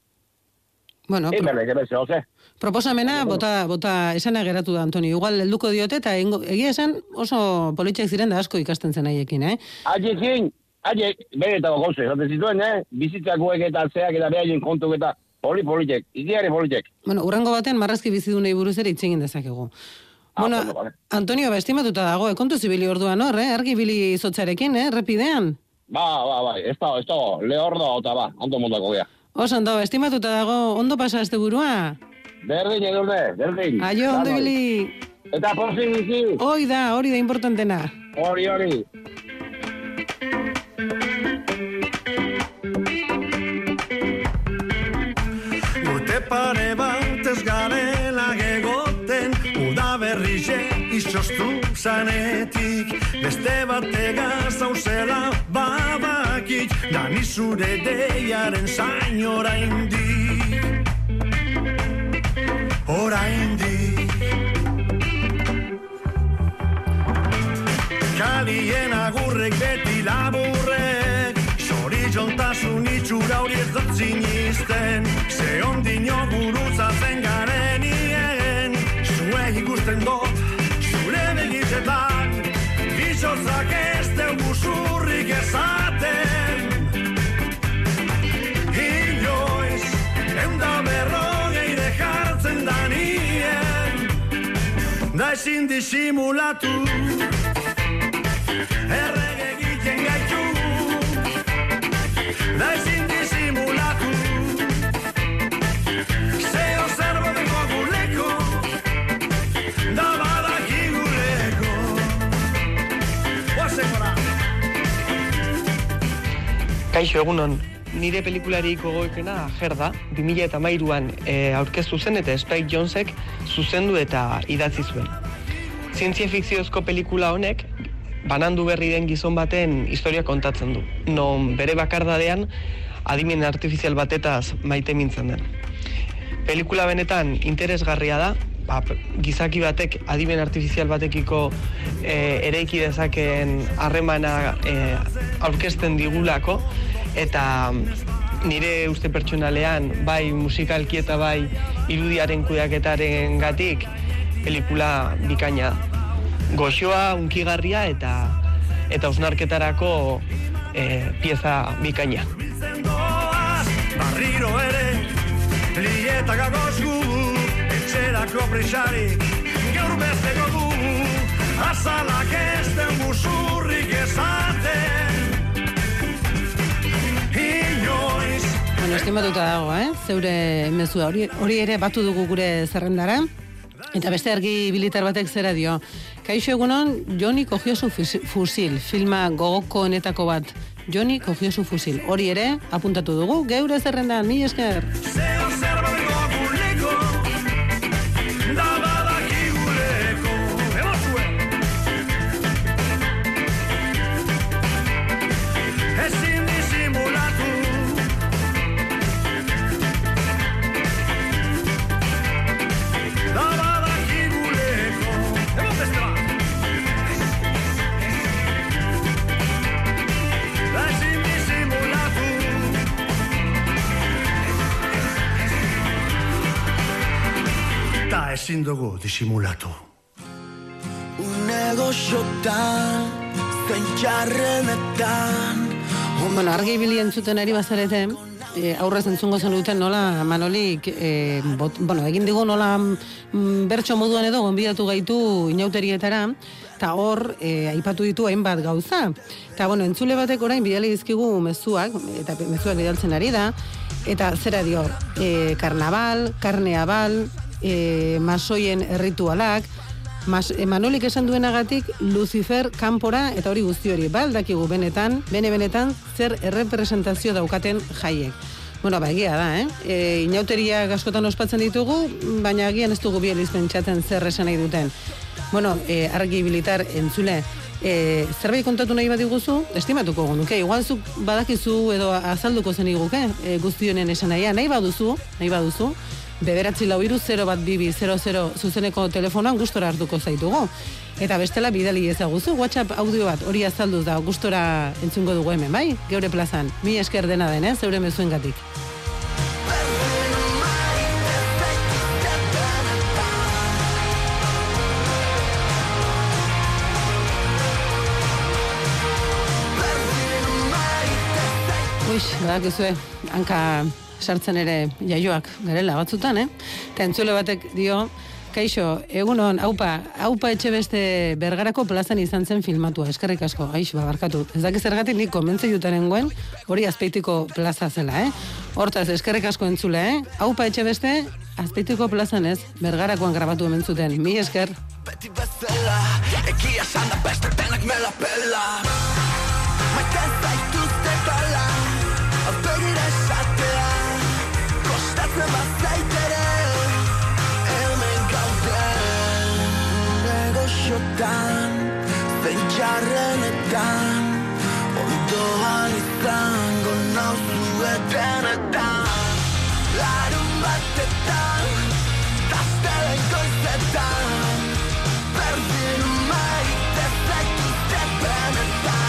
Bueno, Egin berleke beste, oze. Proposamena, bota, bota esana geratu da, Antonio. Igual helduko diote, eta egia esan oso politxek ziren da asko ikasten zen haiekin, eh? Haiekin, haiek, beretako gauze, zaten zituen, eh? Bizitzakoek eta zeak eta behaien kontuk eta poli politek, ikiari politek. Bueno, urrango baten marrazki bizidunei buruz ere itzegin dezakegu. Ah, bueno, bueno, vale. Antonio, ba, estimatuta dago, kontu zibili orduan hor, eh? Argi bili izotzarekin, eh? Repidean. Ba, ba, ba, ez da, ez da, lehordo, eta ba, ondo mundako gea. Oso, ondo, estimatuta dago, ondo pasa este burua? Berdin, edurne, berdin. Aio, ondo bili. Eta porzin bizi. Hoi da, hori da importantena. Hori, hori. Urte pare bat ez garela gegoten, udaberrize izoztu zanetik, beste batega zauzela babakit, dani zure deiaren zain oraindik, oraindik. Kalien agurrek beti laburrek, zorizontasun itxura hori ez dut zinisten, ze ondino guruzatzen garenien, zuek ikusten dut, zure begitzetan, bizotzak ez dugu zurrik ezaten. Inoiz, eunda berrogeire jartzen da nien, da ezin disimulatu, errege egiten gaitu, da ezin disimulatu, zeo zerbo dengo guleko, Kaixo, egunon, nire pelikularik gogoekena Gerda, bi mila hamairuan e, aurkeztu zen eta Spike Jonzek zuzendu eta idatzi zuen. Zientzia fikziozko pelikula honek banandu berri den gizon baten historia kontatzen du, non bere bakardadean adimen artifizial batetaz maite mintzen den. Pelikula benetan interesgarria da, ba, gizaki batek adimen artifizial batekiko e, ereiki dezakeen harremana e, aurkezten digulako, eta nire uste pertsonalean, bai musikalki eta bai irudiaren kudeaketaren gatik, pelikula bikaina da. Goxoa, unkigarria eta eta osnarketarako e, pieza bikaina. Barriro ere, lieta gagozgu, etxerako prisarik, gaur bezeko gu, azalak ez den buzurrik ezaten, inoiz. Bueno, estimatuta dago, eh? Zeure mezua hori, hori ere batu dugu gure zerrendara. Eta beste argi bilitar batek zera dio. Kaixo egunon, Joni cogió su fusil, filma gogoko honetako bat. Joni cogió su fusil. Hori ere, apuntatu dugu, geure zerrendan, mi esker. Ezin dugu disimulatu. Unego xotan, zentxarrenetan. Bueno, argi bili entzuten ari bazarete, e, aurrez entzungo zen duten nola Manolik, e, bot, bueno, egin digu nola mm, bertso moduan edo gonbidatu gaitu inauterietara, eta hor, e, aipatu ditu hainbat gauza. Eta, bueno, entzule batek orain bidali dizkigu mezuak, eta mezuak bidaltzen ari da, eta zera dio, e, karnaval, karneabal, E, masoien erritualak, mas, e, Manolik esan duenagatik Lucifer kanpora eta hori guzti hori, baldakigu benetan, bene-benetan zer errepresentazio daukaten jaiek. Bueno, ba, egia da, eh? E, inauteria askotan ospatzen ditugu, baina agian ez dugu bieliz pentsatzen zer esan nahi duten. Bueno, e, argi bilitar entzule, e, zerbait kontatu nahi bat diguzu, estimatuko nuke, igual zuk badakizu edo azalduko zen iguke, e, guzti honen esan nahia, nahi baduzu, nahi baduzu, bederatzi lau iru zero bat bibi zero zero zuzeneko telefonoan gustora hartuko zaitugu. Eta bestela bidali ezaguzu, WhatsApp audio bat hori azalduz da gustora entzungo dugu hemen, bai? Geure plazan, mi esker dena den, eh? Zeure mezuengatik. Uix, badakizue, hanka sartzen ere jaioak garela batzutan, eh? Eta entzule batek dio, kaixo, egunon, haupa, haupa etxe beste Bergarako plazan izan zen filmatua, eskerrik asko, aixo, babarkatu. Ez dakiz zergatik nik komentze jutaren guen, hori Azpeitiko plaza zela, eh? Hortaz, eskerrik asko entzule, eh? Haupa etxe beste, Azpeitiko plazan ez, Bergarakoan grabatu hemen zuten, mi esker. Beti bezala, egia sanda beste denak mela pela, maiten zaituzte tala, begira esatea, kostatzen bazaitere, hemen gauden, negoziotan, zentxarrenetan, ondoan izango nauzuetenetan, larun batetan, taztelen goizetan, berdin maite zaituzte benetan.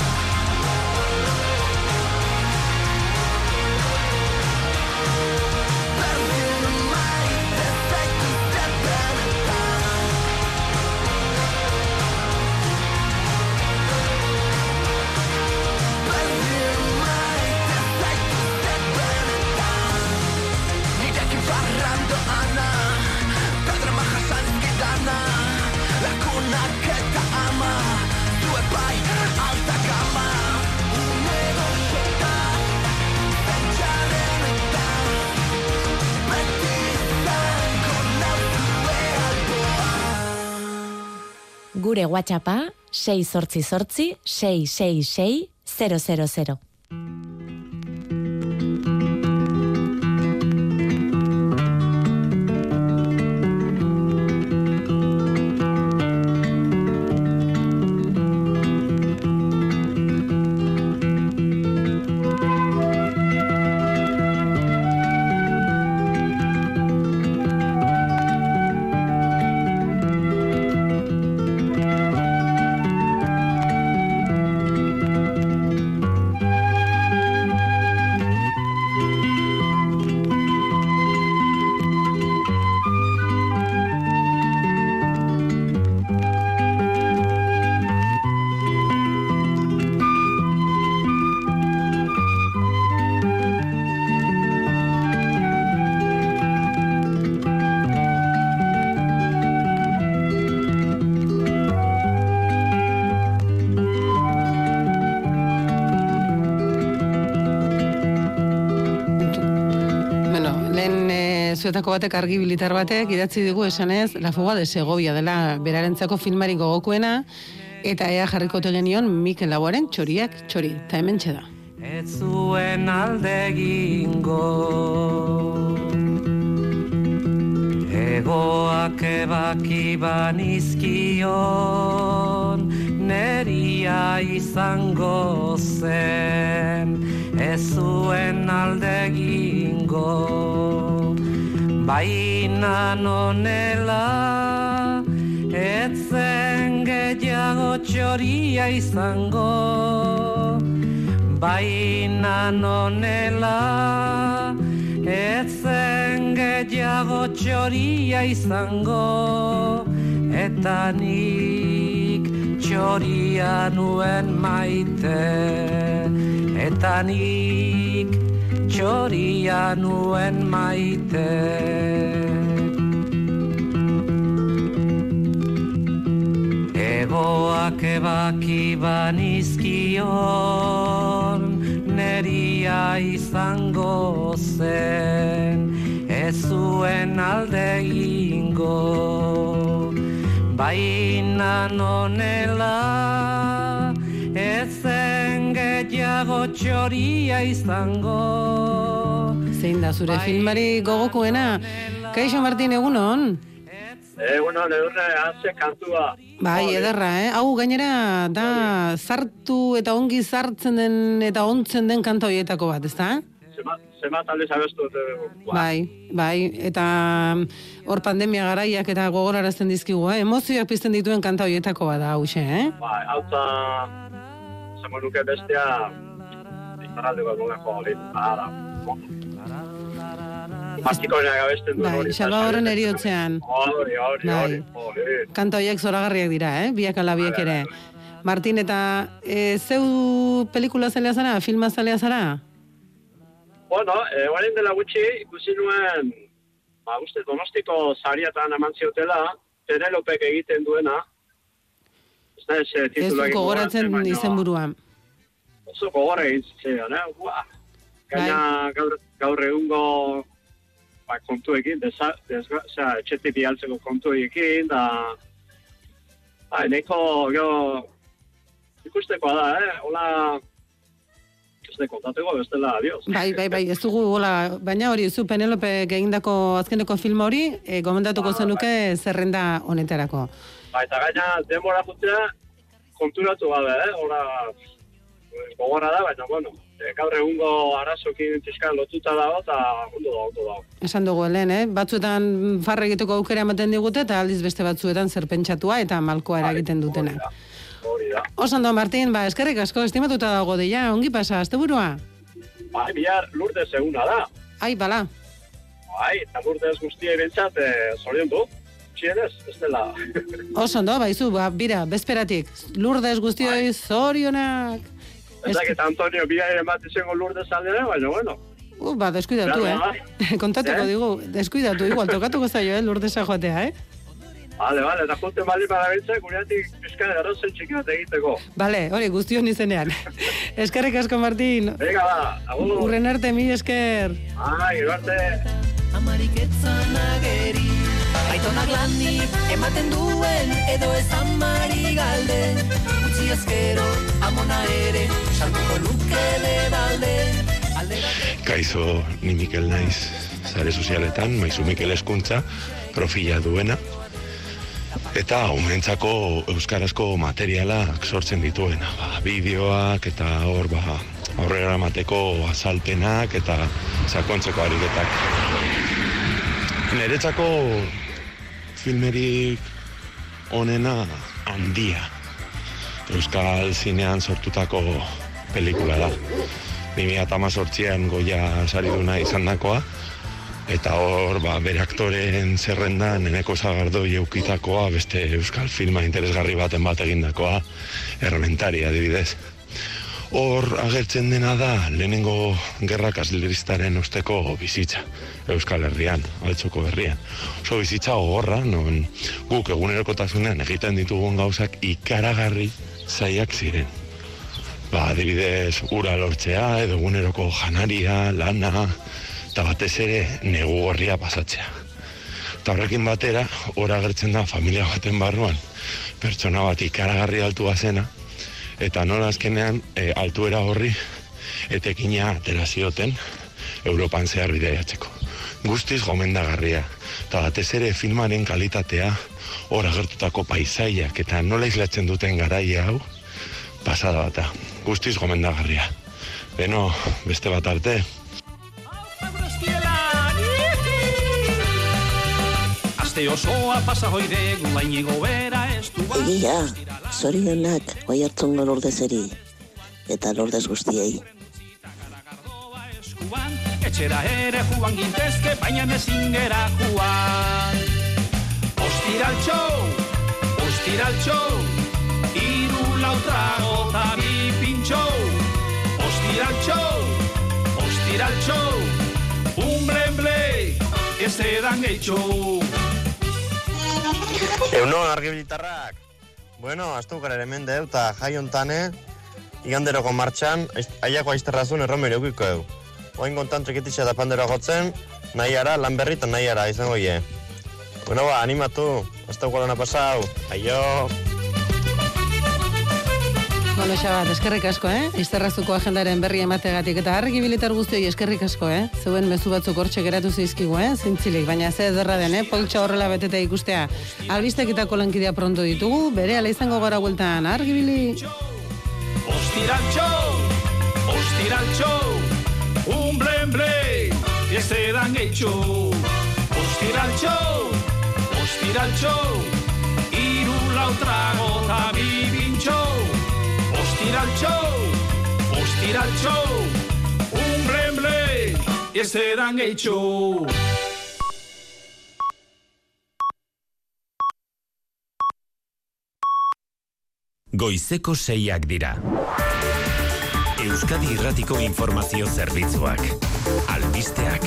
Gure WhatsAppa sei zortzi zortzi sei sei sei zero zero zero. batzuetako batek argi bilitar batek idatzi digu esanez La fuga de Segovia dela berarentzako filmari gogokoena, eta ea jarriko telenion Mikel Laboaren txoriak txori, eta hemen txeda. Ez zuen aldegingo Egoak ebaki banizkion Neria izango zen Ez zuen aldegingo Baina nonela Etzen gehiago txoria izango Baina nonela Etzen gehiago txoria izango Eta nik txoria nuen maite Eta nik txoria nuen maite Egoak ebaki banizkion Neria izango zen Ez zuen alde ingo Baina nonela Ezen gehiago txoria izango Zein da zure filmari gogokoena? Kaixo Martin, egunon? Egunon, edurne, haze kantua. Bai, ederra, eh? Hau gainera da zartu eta ongi zartzen den eta ontzen den kanta horietako bat, ezta? Zema talde zabestu. Bai, bai, eta hor pandemia garaiak eta gogorarazten dizkigu, eh? Emozioak pizten dituen kanta horietako bat da, hause, eh? Bai, hau eta zango nuke bestea iparaldeko nolako hori, ara, Martikoena gabesten duen hori. Bai, Salvadorren eriotzean. Hori, hori, hori. Kanta horiek zoragarriak dira, eh? Biak ala biak ere. Martin, eta e, zeu pelikula zalea zara? Filma zalea zara? Bueno, e, guarin dela gutxi, ikusi nuen, ba, uste, Donostiko sariatan eman ziotela, Penelopek egiten duena. Ez da, ez titula egin gogoratzen izen buruan. Oso gogorra egin zitzen, eh? Ua! Gaina gaur, gaur egungo ba, kontuekin, desa, desga, osea, etxetik bialtzeko kontuekin, da, ba, eneko, gero, ikustekoa da, eh? Hola, ez de kontateko bestela, adios. Bai, bai, bai, ez dugu, hola, baina hori, zu Penelope egindako azkeneko film hori, e, gomendatuko ba, zenuke bai. Zerrenda honetarako. Ba, eta gaina, denbora jutea, konturatu gabe, eh? Hola, gogorra da, baina, bueno, gaur egungo arazokin fiskan lotuta dago, eta ondo da, ondo dago. Esan dugu, helen, eh? Batzuetan farra egiteko aukera ematen digute, eta aldiz beste batzuetan zer pentsatua eta malkoa eragiten dutenak. Hori da. Osando, Martin, ba, eskerrik asko, estimatuta dago deia, ongi pasa, asteburua? Bai, bihar Lourdes eguna da. Ai, bala. Bai, eta Lourdes guztiei bentsat, eh, zorion du. Txienez, ez dela. Osando, baizu, ba, bira, bezperatik. Lourdes guztioi zorionak. Ez dakit Antonio biaren bat izango Lourdes aldera, baina bueno. Uh, ba, deskuidatu, eh? Kontatuko digu, deskuidatu, igual, tokatuko zaio, eh, Lourdesa joatea, eh? Vale, vale, eta junten bali parabiltza, gureatik bizkan erozen txiki bat egiteko. Vale, hori, guztion izenean. Eskerrik asko, Martin. Venga, ba, agur. Urren arte, mi esker. Ah, gero arte. Amariketzan ageri, aitonak lanik ematen duen, edo ez amari galde. Utsi ezkero, amona ere, saltuko luke de balde. Kaixo, ni Mikel naiz, zare sozialetan, maizu Mikel Hezkuntza, profila duena. Eta umentzako euskarazko materialak sortzen dituena, ba, bideoak eta hor ba, aurrera emateko azalpenak eta sakontzeko ariketak. Niretzako filmerik onena Handia. Euskal zinean sortutako pelikula da. bi mila hemezortzian Goya sariduna izandakoa. Eta hor, ba, bere aktoren zerrendan Eneko Sagardoi eukitakoa, beste euskal filma interesgarri baten bat egindakoa, Errementari adibidez. Hor agertzen dena da lehenengo gerra kasleristaren osteko bizitza, Euskal Herrian, Altxoko Herrian. Oso bizitza gogorra, non guk egunerokotasunean egiten ditugun gauzak ikaragarri zaiak ziren. Ba, adibidez, ura lortzea, edo eguneroko janaria, lana, eta batez ere negu gorria pasatzea. Eta horrekin batera, hor agertzen da familia baten barruan, pertsona bat ikaragarri altua zena, eta nola azkenean e, altuera horri etekina atera zioten Europan zehar bidaiatzeko. Guztiz gomendagarria, eta batez ere filmaren kalitatea, hor agertutako paisaiak eta nola islatzen duten garaia hau, pasada bata. Guztiz gomendagarria. Beno, beste bat arte. Aste osoa pasa hoide gulainigo bera estu. Egia, zorionak Oiartzungo Lordezeri eta Lordez guztiei. Etxera ere juan gintezke, baina ezin gera juan. Ostiraltxo, ostiraltxo, iru lau trago ta bi pintxo. Ostiraltxo, ostiraltxo, un blemble, ez edan gehitxo. Euno, argibilitarrak. Bueno, aztukar ere mende eta jai ontane, iganderoko martxan, aiako aizterrazun erromero eukiko eu. Oain kontan trekititxa da pandero agotzen, nahi ara, lan berri eta nahi ara, izango ie. Bueno ba, animatu, hasta gualana pasau, aio! Bueno, Xabat, eskerrik asko, eh? Izterrazuko agendaren berri emategatik eta argibilitar guztioi eskerrik asko, eh? Zeuen mezu batzuk hortxe geratu zeizkigu, eh? Zintzilik, baina ze ederra den, eh? Poltsa horrela beteta ikustea. Albistekitako lankidea pronto ditugu, bere ala izango gara bueltan, argibili! Ostiraltxo, ostiraltxo, un blemble, ez edan gehitxo. Ostiraltxo, ostiraltxo, iru lau trago ta bi bintxo. Ostiraltxo, ostiraltxo, un blemble, ez edan gehitxo. Goizeko seiak dira. Euskadi Irratiko Informazio Zerbitzuak. Albisteak.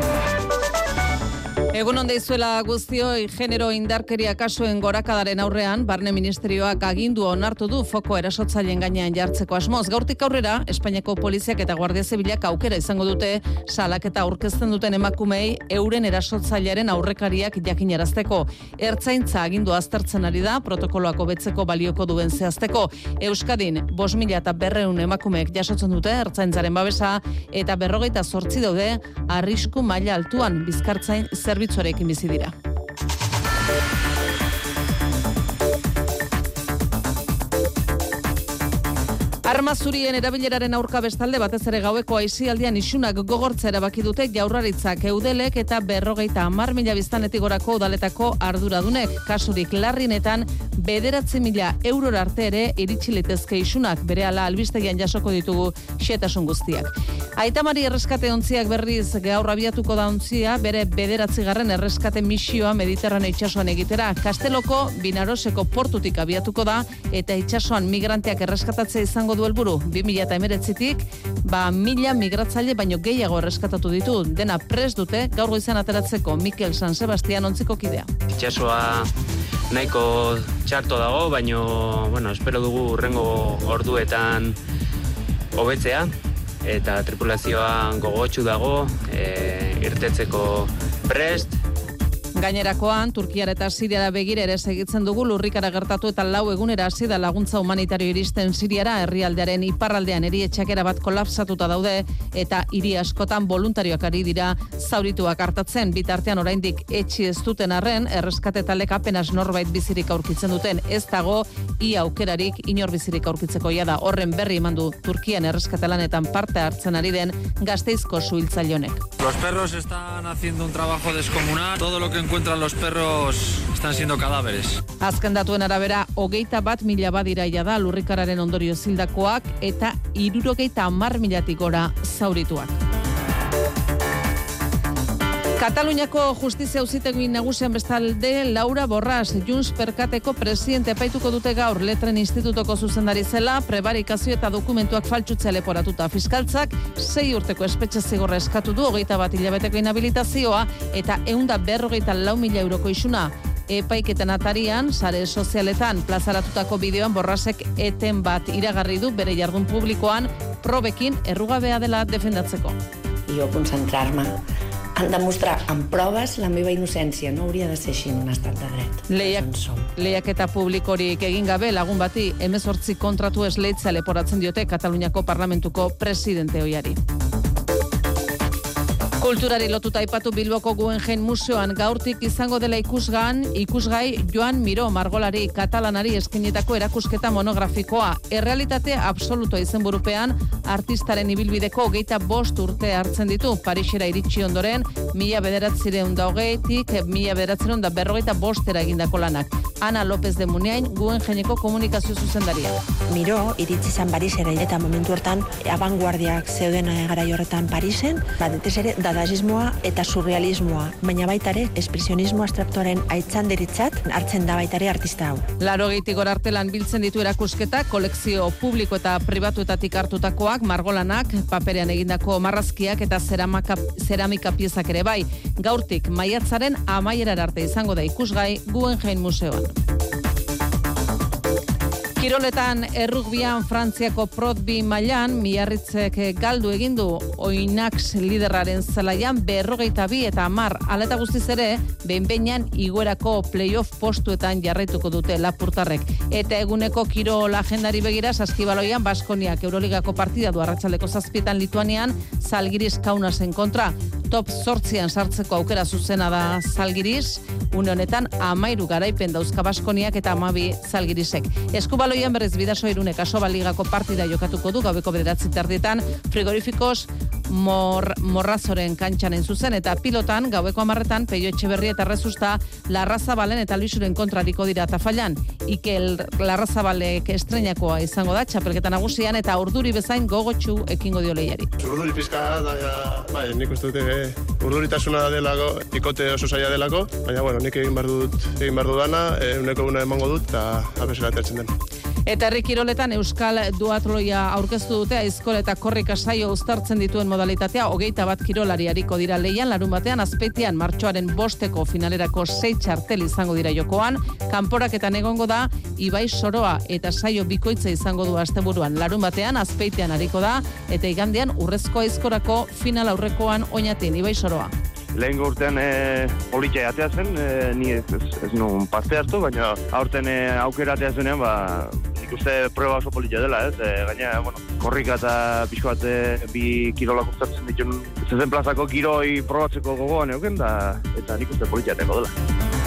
Egun onde izuela guztioi, genero indarkeria kasuen gorakadaren aurrean, Barne Ministerioak agindu onartu du foko erasotzaileen gainean jartzeko asmoz. Gaurtik aurrera, Espainiako poliziak eta Guardia Zibilak aukera izango dute salaketa aurkezten duten emakumei euren erasotzailearen aurrekariak jakinarazteko. Ertzaintza agindu aztertzen ari da, protokoloak hobetzeko balioko duen zehazteko. Euskadin, bost mila eta berreun emakumeek jasotzen dute ertzaintzaren babesa, eta berrogeita zortzi daude arrisku maila altuan bizkartzain zerbitzuarekin bizi dira. Arma zurien erabileraren aurka bestalde batez ere gaueko aisialdian isunak gogortza erabaki dute Jaurlaritzak, Eudelek eta berrogeita hamar mila biztanletik gorako udaletako arduradunek. Kasurik larrienetan bederatzi mila eurora arte ere iritsi litezke isunak, berehala albistegian jasoko ditugu xehetasun guztiak. Aitamari erreskate ontziak berriz gaur abiatuko da ontzia, bere bederatzigarren erreskate misioa Mediterraneo itsasoan egitera. Kasteloko Binaroseko portutik abiatuko da eta itsasoan migranteak erreskatatzea izango du helburu. bi mila hemeretzitik ba mila migratzaile baino gehiago erreskatatu ditu. Dena prest dute gaur goizan ateratzeko Mikel San Sebastian ontziko kidea. Itsasoa nahiko txarto dago, baino bueno, espero dugu hurrengo orduetan hobetzea eta tripulazioa gogotsu dago, e, irtetzeko prest. Gainerakoan, Turkiara eta Siriara begira ere segitzen dugu lurrikara gertatu eta lau egunera hasi da laguntza humanitario iristen Siriara, herrialdearen iparraldean erietxakera bat kolapsatuta daude eta hiri askotan voluntarioak ari dira zaurituak hartatzen. Bitartean oraindik etxi ez duten arren, erreskate taldek apenas norbait bizirik aurkitzen duten, ez dago ia aukerarik inor bizirik aurkitzeko da. Horren berri eman du Turkian erreskate lanetan parte hartzen ari den Gasteizko suhiltzaile honek. Los perros están haciendo un trabajo descomunal. Todo lo que encuentran los perros están siendo cadáveres. Azken datuen arabera, hogeita bat mila badira ia da lurrikararen ondorio zildakoak eta hirurogeita hamar milatik gora zaurituak. Kataluniako justizia auzitegi nagusian bestalde Laura Borras, Junts Perkateko presidente epaituko dute gaur Letren Institutoko zuzendari zela, prebarikazio eta dokumentuak faltsutzea leporatuta. Fiskaltzak sei urteko espetxe zigorra eskatu du, hogeita bat hilabeteko inhabilitazioa eta ehunda berrogeita lau mila euroko isuna. Epaiketen atarian, sare sozialetan plazaratutako bideoan Borrasek eten bat iragarri du bere jardun publikoan probekin errugabea dela defendatzeko. i jo concentrar-me en demostrar amb proves la meva innocència. No hauria de ser així en un estat de dret. Lehiak, lehiaketa publikorik egin gabe lagun bati hemezortzi kontratu esleitza leporatzen diote Kataluniako Parlamentuko presidente ohiari. Kulturari lotuta aipatu Bilboko Guggenheim Museoan gaurtik izango dela ikusgan, ikusgai Joan Miró margolari katalanari eskainitako erakusketa monografikoa. Errealitate absoluto izenburupean artistaren ibilbideko hogeita bost urte hartzen ditu. Parisera iritsi ondoren, mila bederatzireun da hogeitik, mila bederatzireun da berrogeita bostera egindako lanak. Ana López de Muniain, Guggenheimeko komunikazio zuzendaria. Miró iritsi zen Parisera eta momentu hortan abanguardiak zeuden garai horretan Parisen, batez ere dadaismoa eta surrealismoa, baina baita ere espresionismo abstraktuaren aitzanderitzat hartzen da baita ere artista hau. Laurogeitik gora arte lan biltzen ditu erakusketa, kolekzio publiko eta pribatuetatik hartutakoak, margolanak, paperean egindako marrazkiak eta zeramika, zeramika piezak ere bai. Gaurtik maiatzaren amaierar arte izango da ikusgai Guggenheim Museoan. Kiroletan errugbian Frantziako Protbi mailan Miarritzek galdu egin du Oinax liderraren zelaian berrogeita bi eta hamar. Hala eta guztiz ere, behin-behinean igoerako playoff postuetan jarraituko dute lapurtarrek. Eta eguneko kirol agendari begira Saskibaloian Baskoniak Euroligako partida du arratsaldeko zazpietan Lituanian Zalgiris Kaunasen kontra. Top zortzian sartzeko aukera zuzena da Zalgiris, une honetan amairu garaipen dauzka Baskoniak eta amabi Zalgirisek. Eskubaloian berriz Bidaso Irunek Asoba Ligako partida jokatuko du gaueko bederatzi tardietan Frigorifikos Mor, Morrazoren kantxanen zuzen eta pilotan gaueko hamarretan Peio Etxeberri eta Rezusta Larrazabalen eta Luisuren kontrariko dira tafailan. Ikel Larrazabalek estreinakoa izango da txapelketa nagusian eta urduri bezain gogotsu ekingo dio lehiari. Urduri pizka da, bai, nik uste dute eh, urduritasuna delako, ikote oso zaila delako, baina bueno, nik egin behar dut, egin behar dudana, eh, uneko una emango dut eta abesera atertzen den. Eta herri kiroletan Euskal Duatloia aurkeztu dute Aizkor eta Korrika saio uztartzen dituen modalitatea hogeita bat kirolari hariko dira leian, larun batean azpeitian martxoaren bosteko finalerako sei txartel izango dira jokoan, kanporaketan egongo da Ibai Soroa eta saio bikoitza izango du asteburuan, larun batean azpeitian hariko da eta igandean urrezko Aizkorako final aurrekoan oinatin Ibai Soroa. Lehen urtean e, politxea atea zen, e, ni ez, ez, ez nuen parte hartu, baina aurten e, aukera atea zenean, ba, ikuste prueba oso politxea dela, ez? E, gaina, bueno, korrika eta pixko bat e, bi kirolak uztartzen dituen zezen plazako kiroi probatzeko gogoan euken, da, eta nik uste politxea teko dela.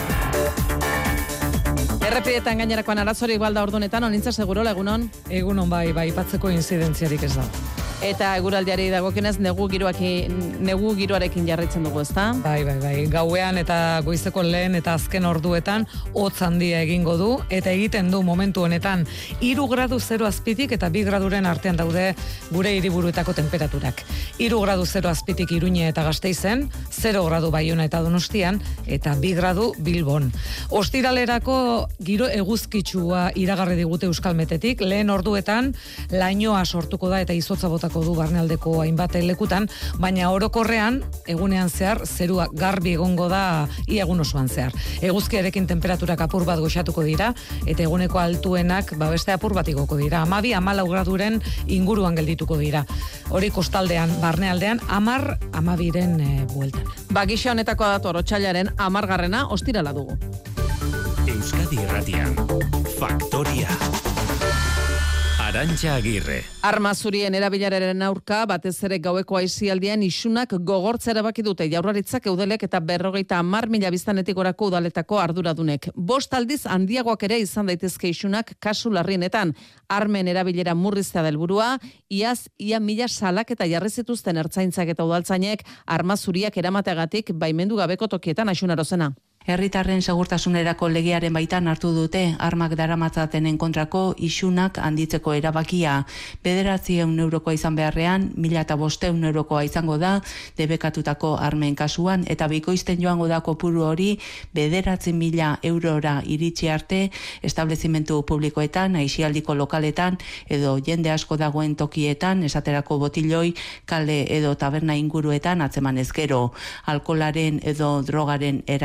Errepietan gainerakoan arazorik balda ordunetan, onintza segurola, egunon? Egunon bai, bai, ipatzeko inzidentziarik ez da. Eta eguraldiari dagokionez negu giroaki negu giroarekin jarraitzen dugu, ezta? Bai, bai, bai. Gauean eta goizeko lehen eta azken orduetan hotz handia egingo du eta egiten du momentu honetan hiru gradu zero azpitik eta bi graduren artean daude gure hiriburuetako temperaturak. hiru gradu zero azpitik Iruña eta Gasteizen, zero gradu Baiona eta Donostian eta bi gradu Bilbon. Ostiralerako giro eguzkitsua iragarri digute Euskalmetetik, lehen orduetan lainoa sortuko da eta izotza botako du barnealdeko hainbat lekutan, baina orokorrean egunean zehar zerua garbi egongo da ia egun osoan zehar. Eguzkiarekin temperaturak apur bat goxatuko dira eta eguneko altuenak ba beste apur bat igoko dira. hamabi hamalau graduren inguruan geldituko dira. Hori kostaldean, barnealdean hamar hamabiren e, bueltan. Ba gisa honetako dator otsailaren hamargarrena ostirala dugu. Euskadi Irratian, Faktoria. Arantxa Agirre. Arma zurien erabileraren aurka, batez ere gaueko aisialdian isunak gogortzea erabaki dute Jaurlaritzak, Eudelek eta berrogeita hamar mila biztanletik gorako udaletako arduradunek. Bost aldiz handiagoak ere izan daitezke isunak kasu larrienetan. Armen erabilera murriztea da helburua, iaz ia mila salaketa jarri zituzten ertzaintzak eta udaltzainek arma zuriak eramateagatik baimendu gabeko tokietan Asunarozena. Herritarren segurtasunerako legearen baitan hartu dute armak daramatzatenen kontrako isunak handitzeko erabakia. Bederatziehun eurokoa izan beharrean, mila eta bosteun eurokoa izango da debekatutako armen kasuan, eta bikoizten joango da kopuru hori bederatzi mila eurora iritsi arte establezimentu publikoetan, aisialdiko lokaletan edo jende asko dagoen tokietan, esaterako botiloi, kale edo taberna inguruetan atzeman ezkero, alkolaren edo drogaren eraginpean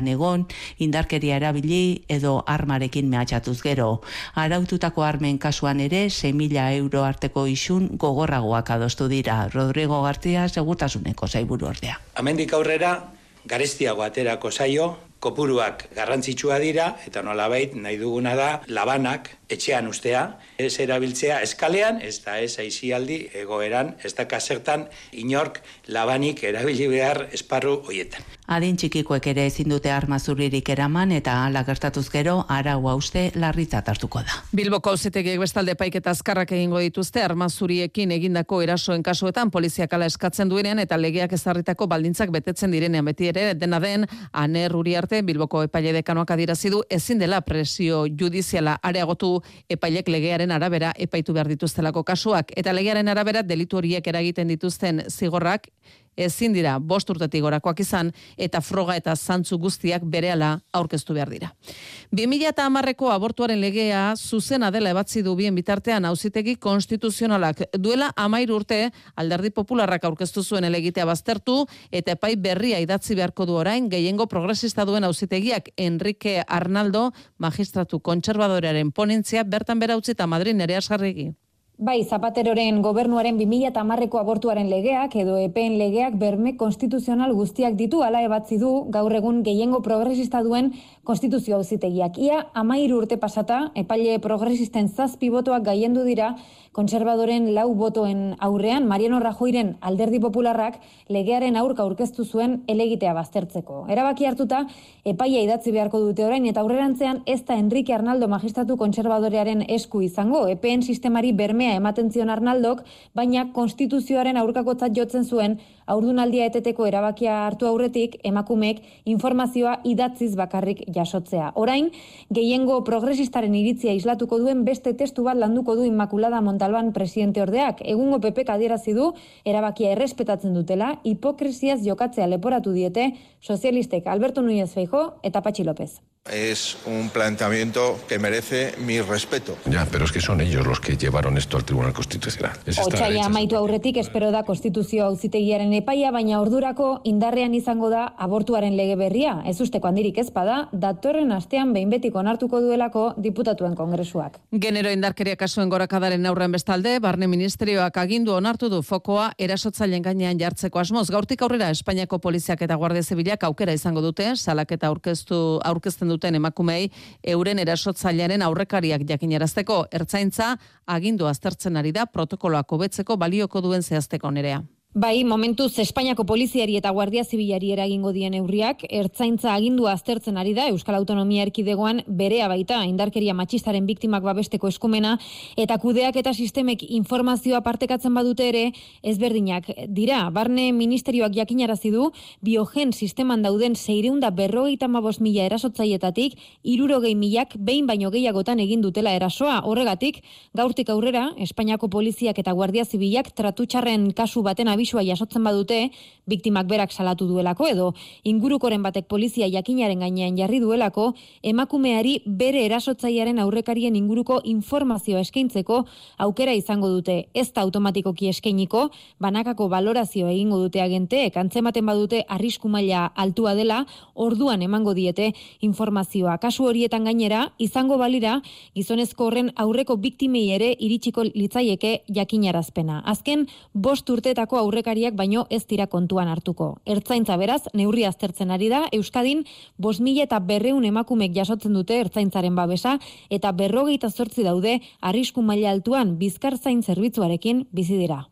kalean egon, indarkeria erabili edo armarekin mehatxatuz gero. Araututako armen kasuan ere sei mila euro arteko isun gogorragoak adostu dira. Rodrigo García, Segurtasuneko sailburu ordea. Hemendik aurrera garestiago aterako zaio, kopuruak garrantzitsua dira, eta nolabait nahi duguna da labanak etxean ustea, ez erabiltzea eskalean, ez da ez aisialdi egoeran, ez da kasertan inork labanik erabili behar esparru hoietan. Adin txikikoek ere ezin dute arma zuririk eraman eta hala gertatuz gero arau hauste larritzat hartuko da. Bilboko auzitegiek bestalde epaiketa azkarrak egingo dituzte arma zuriekin egindako erasoen kasuetan poliziak hala eskatzen duenean eta legeak ezarritako baldintzak betetzen direnean beti ere dena den Aner Uriarte Bilboko epaile dekanoak adierazi du ezin dela presio judiziala areagotu epailek legearen arabera epaitu behar dituztelako kasuak eta legearen arabera delitu horiek eragiten dituzten zigorrak ezin dira bost urtetik gorakoak izan eta froga eta zantzu guztiak berehala aurkeztu behar dira. bi mila hamareko abortuaren legea zuzena dela ebatzi du bien bitartean auzitegi konstituzionalak duela hamairu urte Alderdi Popularrak aurkeztu zuen helegitea baztertu eta epai berria idatzi beharko du orain gehiengo progresista duen auzitegiak Enrique Arnaldo magistratu kontserbadorearen ponentzia bertan bera utzi eta Madrid Nerea Sarregi. Bai, Zapateroren gobernuaren bi mila hamareko abortuaren legeak edo epeen legeak berme konstituzional guztiak ditu hala ebatzi du gaur egun gehiengo progresista duen konstituzio auzitegiak. Ia hamairu urte pasata, epaile progresisten zazpi botoak gaiendu dira kontserbadoren lau botoen aurrean Mariano Rajoyren Alderdi Popularrak legearen aurka aurkeztu zuen helegitea baztertzeko. Erabaki hartuta, epaia idatzi beharko dute orain eta aurrerantzean ez da Enrique Arnaldo magistratu kontserbadorearen esku izango. Epeen sistemari bermea ematen zion Arnaldok, baina konstituzioaren aurkakotzat jotzen zuen haurdunaldia eteteko erabakia hartu aurretik emakumeek informazioa idatziz bakarrik jasotzea. Orain, gehiengo progresistaren iritzia islatuko duen beste testu bat landuko du Inmaculada Montalban presidente ordeak. Egungo P Pk adierazi du erabakia errespetatzen dutela, hipokresiaz jokatzea leporatu diete sozialistek Alberto Núñez Feijóo eta Patxi López. Es un planteamiento que merece mi respeto. Ya, pero es que son ellos los que llevaron esto al Tribunal Constitucional. Otsaila amaitu aurretik espero da konstituzio auzitegiaren epaia, baina ordurako indarrean izango da abortuaren lege berria. Ez usteko handirik ez bada, datorren astean behin betiko onartuko duelako diputatuen kongresuak. Genero indarkeria kasuen gorakadaren aurren bestalde, Barne Ministerioak agindu onartu du fokoa erasotzaileen gainean jartzeko asmoz. Gaurtik aurrera Espainiako poliziak eta Guardia Zibilak aukera izango dute, salaketa aurkeztu aurkezten duten emakumei euren erasotzailearen aurrekariak jakinarazteko. Ertzaintza agindu aztertzen ari da protokoloak hobetzeko balioko duen zehazteko Nerea. Bai, momentuz Espainiako poliziari eta Guardia Zibilari eragingo dien neurriak, Ertzaintza agindua aztertzen ari da Euskal Autonomia Erkidegoan berea baita indarkeria matxistaren biktimak babesteko eskumena eta kudeak eta sistemek informazioa partekatzen badute ere ezberdinak dira. Barne Ministerioak jakinarazi du biogen sisteman dauden seiehun eta berrogeita hamabost mila erasotzaileetatik hirurogei milak behin baino gehiagotan egin dutela erasoa. Horregatik, gaurtik aurrera Espainiako poliziak eta Guardia Zibilak tratutxarren kasu baten abisua jasotzen badute, biktimak berak salatu duelako edo ingurukoren batek polizia jakinaren gainean jarri duelako, emakumeari bere erasotzailearen aurrekarien inguruko informazioa eskaintzeko aukera izango dute. Ez da automatikoki eskainiko, banakako valorazio egingo dute agenteek, antzematen badute arrisku maila altua dela, orduan emango diete informazioa. Kasu horietan gainera, izango balira, gizonezko horren aurreko biktimei ere iritsiko litzaieke jakinarazpena. Azken, bost urteetako aurrekariak baino ez dira kontuan hartuko. Ertzaintza beraz, neurri aztertzen ari da, Euskadin bost mila eta berreun emakumek jasotzen dute ertzaintzaren babesa eta berrogeita zortzi daude arrisku maila altuan bizkartzain zerbitzuarekin bizi dira.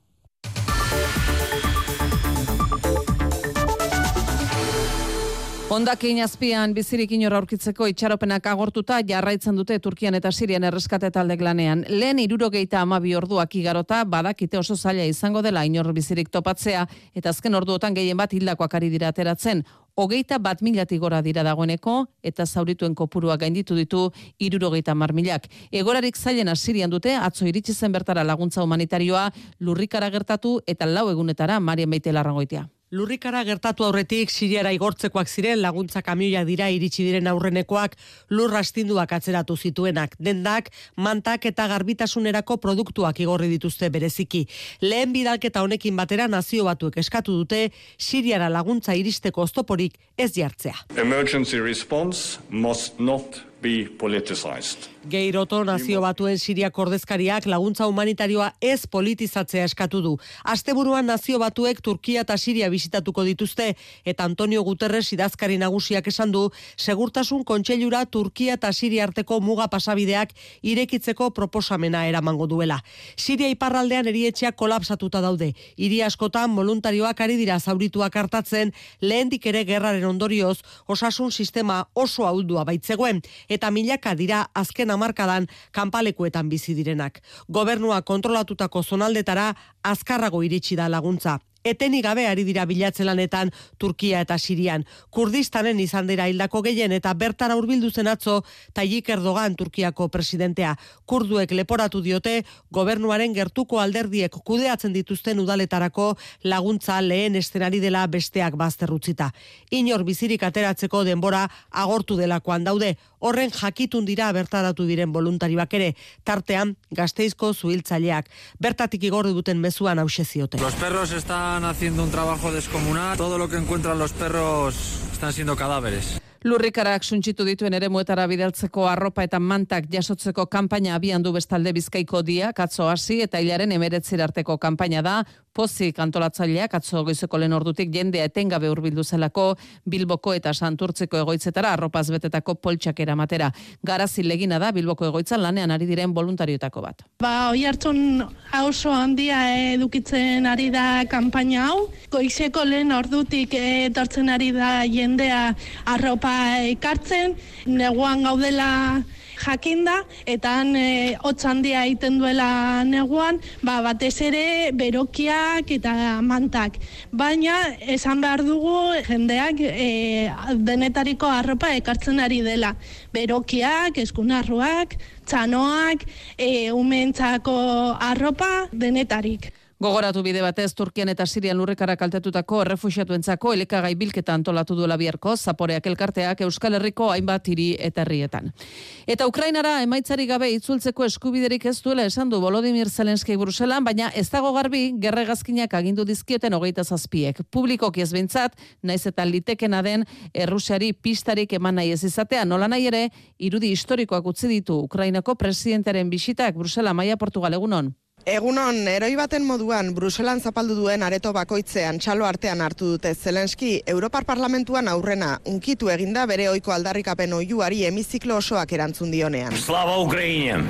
Hondakin azpian bizirik inor aurkitzeko itxaropenak agortuta jarraitzen dute Turkian eta Sirian erreskate taldek lanean. Lehen hirurogeita hamabi orduak igarota badakite oso zaila izango dela inor bizirik topatzea eta azken orduotan gehien bat hildakoak ari dira ateratzen. Hogeita bat milatik gora dira dagoeneko eta zaurituen kopurua gainditu ditu hirurogeita hamar milak. Egorarik zailena Sirian dute atzo iritsi zen bertara laguntza humanitarioa lurrikara gertatu eta lau egunetara Marian Beite Larrangoitia. Lurrikara gertatu aurretik Siriara igortzekoak ziren laguntza kamioia dira iritsi diren aurrenekoak lur astinduak atzeratu zituenak. Dendak, mantak eta garbitasunerako produktuak igorri dituzte bereziki. Lehen bidalketa honekin batera Nazio Batuek eskatu dute Siriara laguntza iristeko oztoporik ez jartzea. Emergency response must not be politicized. Geiroto Nazio Batuen Siriako ordezkariak laguntza humanitarioa ez politizatzea eskatu du. Asteburuan Nazio Batuek Turkia eta Siria bisitatuko dituzte eta Antonio Guterres idazkari nagusiak esan du segurtasun kontseilura Turkia eta Siria arteko muga pasabideak irekitzeko proposamena eramango duela. Siria iparraldean erietxeak kolapsatuta daude. Hiri askotan voluntarioak ari dira zaurituak hartatzen, lehendik ere gerraren ondorioz osasun sistema oso ahuldua baitzegoen eta milaka dira azken hamarkadan kanpalekuetan bizi direnak. Gobernua kontrolatutako zonaldetara azkarrago iritsi da laguntza. Etenik gabe ari dira bilatzen lanetan Turkia eta Sirian. Kurdistanen izan dira hildako gehien eta bertara hurbildu zen atzo Tayyip Erdogan Turkiako presidentea. Kurduek leporatu diote gobernuaren gertuko alderdiek kudeatzen dituzten udaletarako laguntza lehen estenari dela besteak bazter utzita. Inor bizirik ateratzeko denbora agortu delakoan daude. Horren jakitun dira bertaratu diren voluntarioak ere, tartean Gasteizko zuhiltzaileak. Bertatik igorri duten mezuan hauxe ziote. Los perros están haciendo un trabajo descomunal. Todo lo que encuentran los perros están siendo cadáveres. Lurrikarak suntsitu dituen eremuetara bidaltzeko arropa eta mantak jasotzeko kanpaina abian du bestalde Bizkaiko Diak atzo hasi eta hilaren hemeretzira arteko kanpaina da. Pozik antolatzaileak atzo goizeko lehen ordutik jendea etengabe hurbildu zelako Bilboko eta Santurtziko egoitzetara arropaz betetako poltsak eramatera. Garazi legina da Bilboko egoitzan lanean ari diren voluntarioetako bat. Ba, Oiartzun oso handia edukitzen ari da kanpaina hau. Goizeko lehen ordutik etortzen ari da jendea arropa ekartzen, neguan gaudela jakinda, eta han e, hotz handia egiten duela neguan, ba, batez ere berokiak eta mantak. Baina esan behar dugu jendeak e, denetariko arropa ekartzen ari dela. Berokiak, eskunarruak, txanoak, e, umentzako arropa, denetarik. Gogoratu bide batez Turkian eta Sirian lurrikara kaltetutako errefuxiatuentzako elikagai bilketa antolatu duela biharko Zaporeak elkarteak Euskal Herriko hainbat hiri eta herrietan. Eta Ukrainara emaitzari gabe itzultzeko eskubiderik ez duela esan du Volodymyr Zelenski Bruselan, baina ez dago garbi gerregazkinak agindu dizkioten hogeita zazpiek. Publikoki ez behintzat, naiz eta litekena den Errusiari pistarik eman nahi ez izatea, nola nahi ere, irudi historikoak utzi ditu Ukrainako presidentearen bisitak Brusela Maia Portugal egunon. Egunon, eroi baten moduan Bruselan zapaldu duen areto bakoitzean txalo artean hartu dute Zelenski Europar Parlamentuan aurrena unkitu eginda bere ohiko aldarrikapen oihuari hemiziklo osoak erantzun dionean. Slava Ukraina!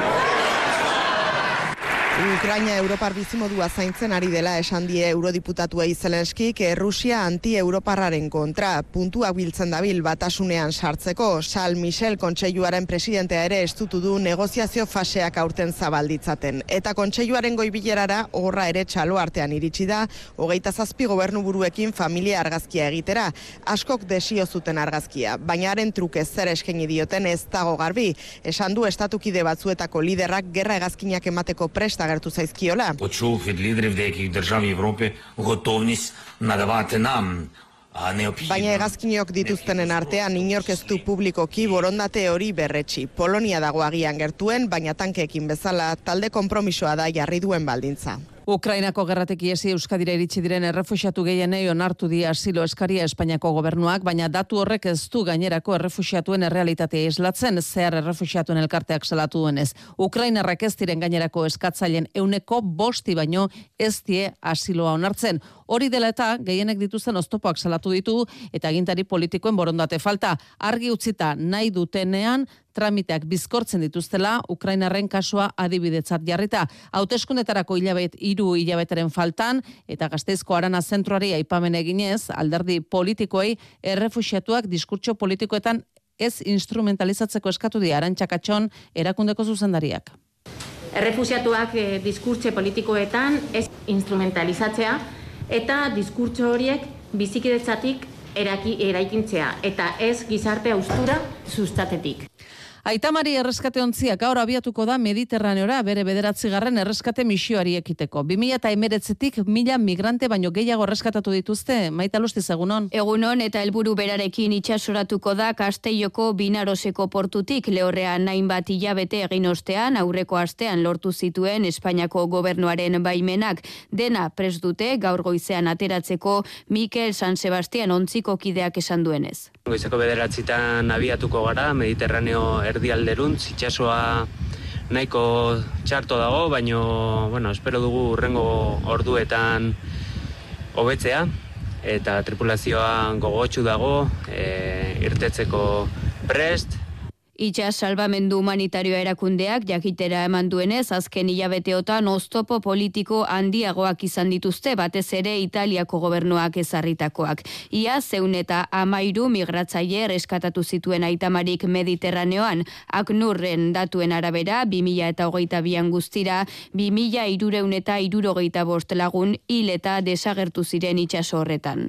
Ukraina Europar bizimodua zaintzen ari dela esan die eurodiputatuei Zelenskik Errusia anti-europarraren kontra puntuak biltzen dabil batasunean sartzeko. Charles Michel kontseiluaren presidentea ere estutu du negoziazio faseak aurten zabalditzaten. Eta kontseiluaren goibilerara horra ere txalo artean iritsi da, hogeita zazpi gobernuburuekin familia argazkia egitera. Askok desio zuten argazkia, baina haren truke zer eskaini dioten ez dago garbi. Esan du estatukide batzuetako liderrak gerra hegazkinak emateko presta agertu zaizkiola. Почув від лідерів деяких держав Європи готовність надавати нам Baina hegazkinok dituztenen artean inork ez du publikoki borondate hori berretsi. Polonia dago agian gertuen, baina tankeekin bezala talde konpromisoa da jarri duen baldintza. Ukrainako gerratik iesi Euskadira iritsi diren errefuxiatu gehienei onartu die asilo eskaria Espainiako gobernuak, baina datu horrek ez du gainerako errefuxiatuen errealitatea islatzen, zehar errefuxiatuen elkarteak salatu duenez. Ukrainarrak ez diren gainerako eskatzaileen euneko bosti baino ez die asiloa onartzen. Hori dela eta gehienek dituzten oztopoak salatu ditu eta agintari politikoen borondate falta. Argi utzita nahi dutenean tramiteak bizkortzen dituztela Ukrainarren kasua adibidetzat jarrita. Hauteskundetarako hilabet hiru hilabeteren faltan eta Gasteizko Arana zentroari aipamen eginez alderdi politikoei errefuxiatuak diskurtso politikoetan ez instrumentalizatzeko eskatu die Arantxa Katxon erakundeko zuzendariak. Errefuxiatuak eh, diskurtso politikoetan ez instrumentalizatzea eta diskurtso horiek bizikidetzatik eraki, eraikintzea eta ez gizarte haustura sustatetik. Aitamari erreskate ontziak gaur abiatuko da Mediterraneora bere bederatzigarren erreskate misioari ekiteko. bi mila hemeretzitik mila migrante baino gehiago erreskatatu dituzte. Maita Lustiz, egunon. Egunon eta helburu berarekin itsasoratuko da Castelloko Binaroseko portutik lehorrean hainbat hilabete egin ostean aurreko astean lortu zituen Espainiako gobernuaren baimenak. Dena prest dute gaur goizean ateratzeko Mikel San Sebastian ontziko kideak esan duenez. Goizeko bederatzitan abiatuko gara Mediterraneo erdialderuntz, itsasoa nahiko txarto dago, baino, bueno, espero dugu urrengo orduetan hobetzea eta tripulazioa gogotsu dago, e, irtetzeko prest. Itxas salbamendu humanitarioa erakundeak jakitera eman duenez, azken hilabeteotan oztopo politiko handiagoak izan dituzte, batez ere Italiako gobernuak ezarritakoak. Ia zeun eta amairu migratzaile erreskatatu zituen Aitamarik Mediterraneoan, Aknurren datuen arabera, bi mila eta hogeita bian guztira, bi mila hirureun eta hirurogeita bost lagun hil eta desagertu ziren itsaso horretan.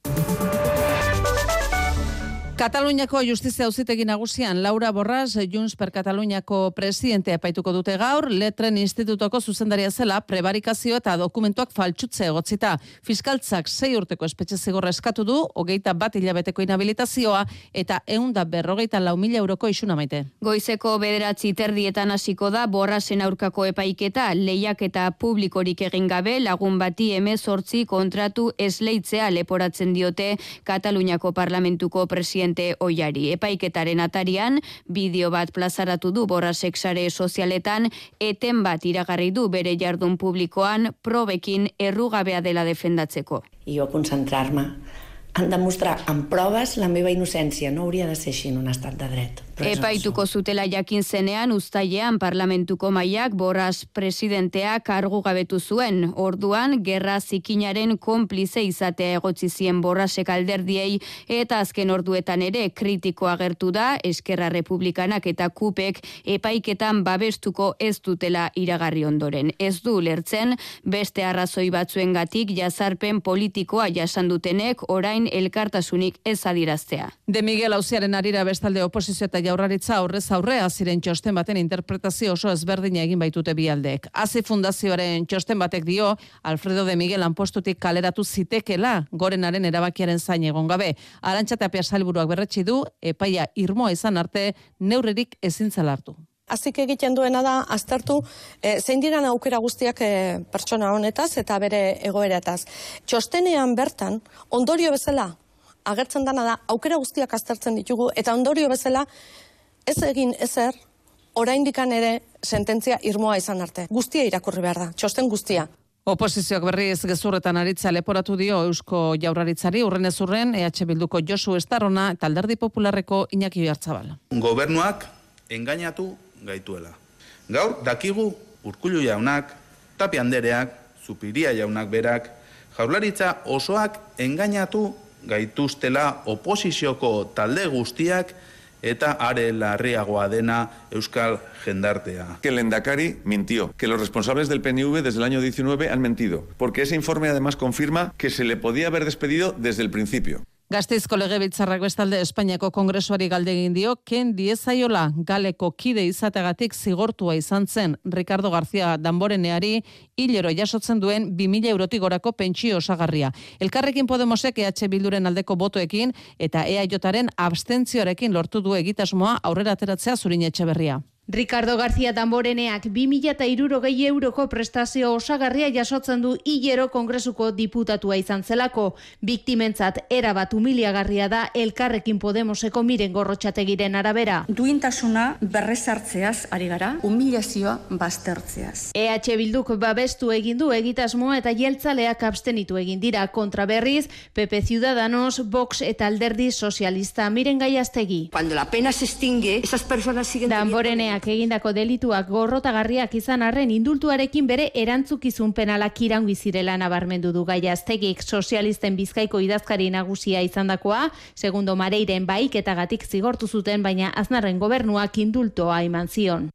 Kataluniako Justizia Auzitegi Nagusian Laura Borras, Junts per Kataluniako presidentea epaituko dute gaur, Letren Institutoko zuzendaria zela prebarikazio eta dokumentuak faltsutze egotzita. Fiskaltzak sei urteko espetxe zigorra eskatu du, hogeita bat hilabeteko inhabilitazioa eta ehun eta berrogeita lau mila euroko isuna Maite. Goizeko bederatzi terdietan hasiko da Borrasen aurkako epaiketa, lehiaketa publikorik egin gabe lagun bati hemezortzi kontratu esleitzea leporatzen diote Kataluniako Parlamentuko presidentea oiari. Epaiketaren atarian, bideo bat plazaratu du Borrasek sare sozialetan, eten bat iragarri du bere jardun publikoan probekin errugabea dela defendatzeko. I jo concentrar-me en demostrar amb proves la meva innocència. No hauria de ser així en un estat de dret. Epaituko zutela jakin zenean, uztailean Parlamentuko mahaiak Borras presidentea kargu gabetu zuen. Orduan, gerra zikinaren konplize izatea egotzi zien Borrasek alderdiei eta azken orduetan ere kritiko agertu da, Eskerra Republikanak eta Kupek epaiketan babestuko ez dutela iragarri ondoren. Ez du lertzen, beste arrazoi batzuengatik jazarpen politikoa jasan dutenek orain elkartasunik ez adiraztea. De Miguel auziaren arira bestalde oposizio eta Jaurlaritza aurrez aurrea ziren txosten baten interpretazio oso ezberdina egin baitute bi aldeek. Hazi fundazioaren txosten batek dio Alfredo de Miguel lanpostutik kaleratu zitekela gorenaren erabakiaren zain egon gabe. Arantxa Tapia sailburuak berretsi du epaia irmoa izan arte neurririk ezin zela hartu. Azik egiten duena da aztertu e, zein diran aukera guztiak e, pertsona honetaz eta bere egoerataz. Txostenean bertan ondorio bezala agertzen dana da aukera guztiak aztertzen ditugu eta ondorio bezala ez egin ezer oraindikan ere sententzia irmoa izan arte. Guztia irakurri behar da, txosten guztia. Oposizioak berriz gezurretan aritza leporatu dio Eusko Jaurlaritzari urrenez urren E H Bilduko Josu Estarrona eta Alderdi Popularreko Iñaki Oyarzabal. Gobernuak engainatu gaituela. Gaur dakigu Urkullu jaunak, Tapia andereak, Zupiria jaunak berak, Jaurlaritza osoak engainatu gaituztela oposizioko talde guztiak eta are larriagoa dena euskal jendartea. Que el Lehendakari mintió, que los responsables del P N V desde el año diecinueve han mentido, porque ese informe además confirma que se le podía haber despedido desde el principio. Gasteizko Legebiltzarrak bestalde Espainiako Kongresuari galde egin dio, ken diezaiola galeko kide izateagatik zigortua izan zen Ricardo García Damboreneari hilero jasotzen duen bi mila eurotik gorako pentsio osagarria. Elkarrekin Podemosek E H Bilduren aldeko botoekin eta E A Jaren abstentzioarekin lortu du egitasmoa aurrera ateratzea Zurin Etxeberria. Ricardo García Damboreneak bi mila hirurogei euroko prestazio osagarria jasotzen du hilero Kongresuko diputatua izan zelako. Biktimentzat erabat humiliagarria da Elkarrekin Podemoseko Miren Gorrotxategiren arabera. Duintasuna berrezartzeaz ari gara, humilazioa baztertzeaz. E H Bilduk babestu egin du egitasmoa eta jeltzaleak abstenitu egin dira kontra berriz, P P Ciudadanos, Vox eta Alderdi Sozialista. Miren Gaiaztegi. Cuando la pena se extingue, esas personas siguen Damboreneak egindako delituak gorrotagarriak izan arren indultuarekin bere erantzukizun penalak iraungi zirela nabarmendu du Gaiaztegik. Sozialisten Bizkaiko idazkari nagusia izandakoa, segundo Mareiren bahiketagatik zigortu zuten, baina Aznarren gobernuak indultoa eman zion.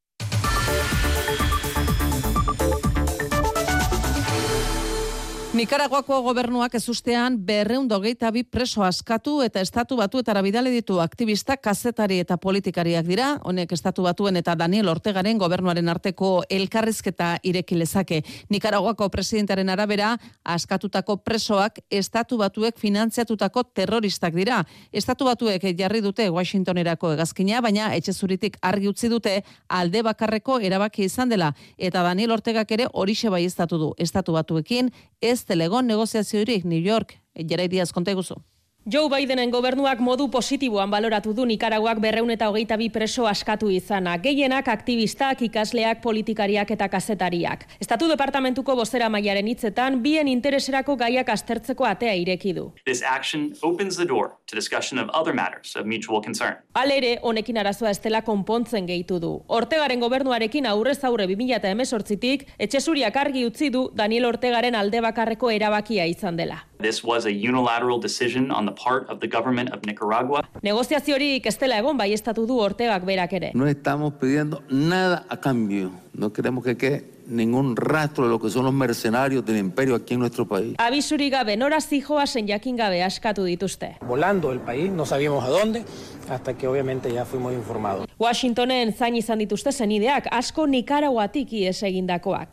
Nikaraguako gobernuak ezustean berrehun eta hogeita bi preso askatu eta estatu batuetara bidali ditu aktivistak, kazetari eta politikariak dira. Honek estatu batuen eta Daniel Ortegaren gobernuaren arteko elkarrizketa ireki lezake. Nikaraguako presidentearen arabera, askatutako presoak estatu batuek finantziatutako terroristak dira. Estatu batuek jarri dute Washingtonerako hegazkina, baina etxe zuritik argi utzi dute alde bakarreko erabaki izan dela. Eta Daniel Ortegak ere horixe baieztatu du. Estatu batuekin ez telegon negoziaziorik. New York, Jerai Diaz, konta eguzu. Joe Bidenen gobernuak modu positiboan baloratu du Nikaraguak berrehun eta hogeita bi preso askatu izana. Gehienak aktivistak, ikasleak, politikariak eta kazetariak. Estatu departamentuko bozera mailaren hitzetan, bien intereserako gaiak aztertzeko atea ireki du. This action opens the door to discussion of other matters of mutual concern. Halere, honekin arazoa ez dela konpontzen gehitu du. Ortegaren gobernuarekin aurrez aurre bi mila hemezortzitik, etxezuriak argi utzi du Daniel Ortegaren alde bakarreko erabakia izan dela. This was a unilateral decision on the part of the government of Nicaragua. Negoziaziorik ez dela egon baieztatu du Ortegak berak ere. No estamos pidiendo nada a cambio. No queremos que quede ningún rastro de lo que son los mercenarios del imperio aquí en nuestro país. Abisurik gabe nora zijoazen jakin gabe askatu dituzte. Volando el país, no sabíamos a dónde, hasta que obviamente ya fuimos informados. Washingtonen zain izan dituzte zenideak, asko Nikaraguatik ihes egindakoak.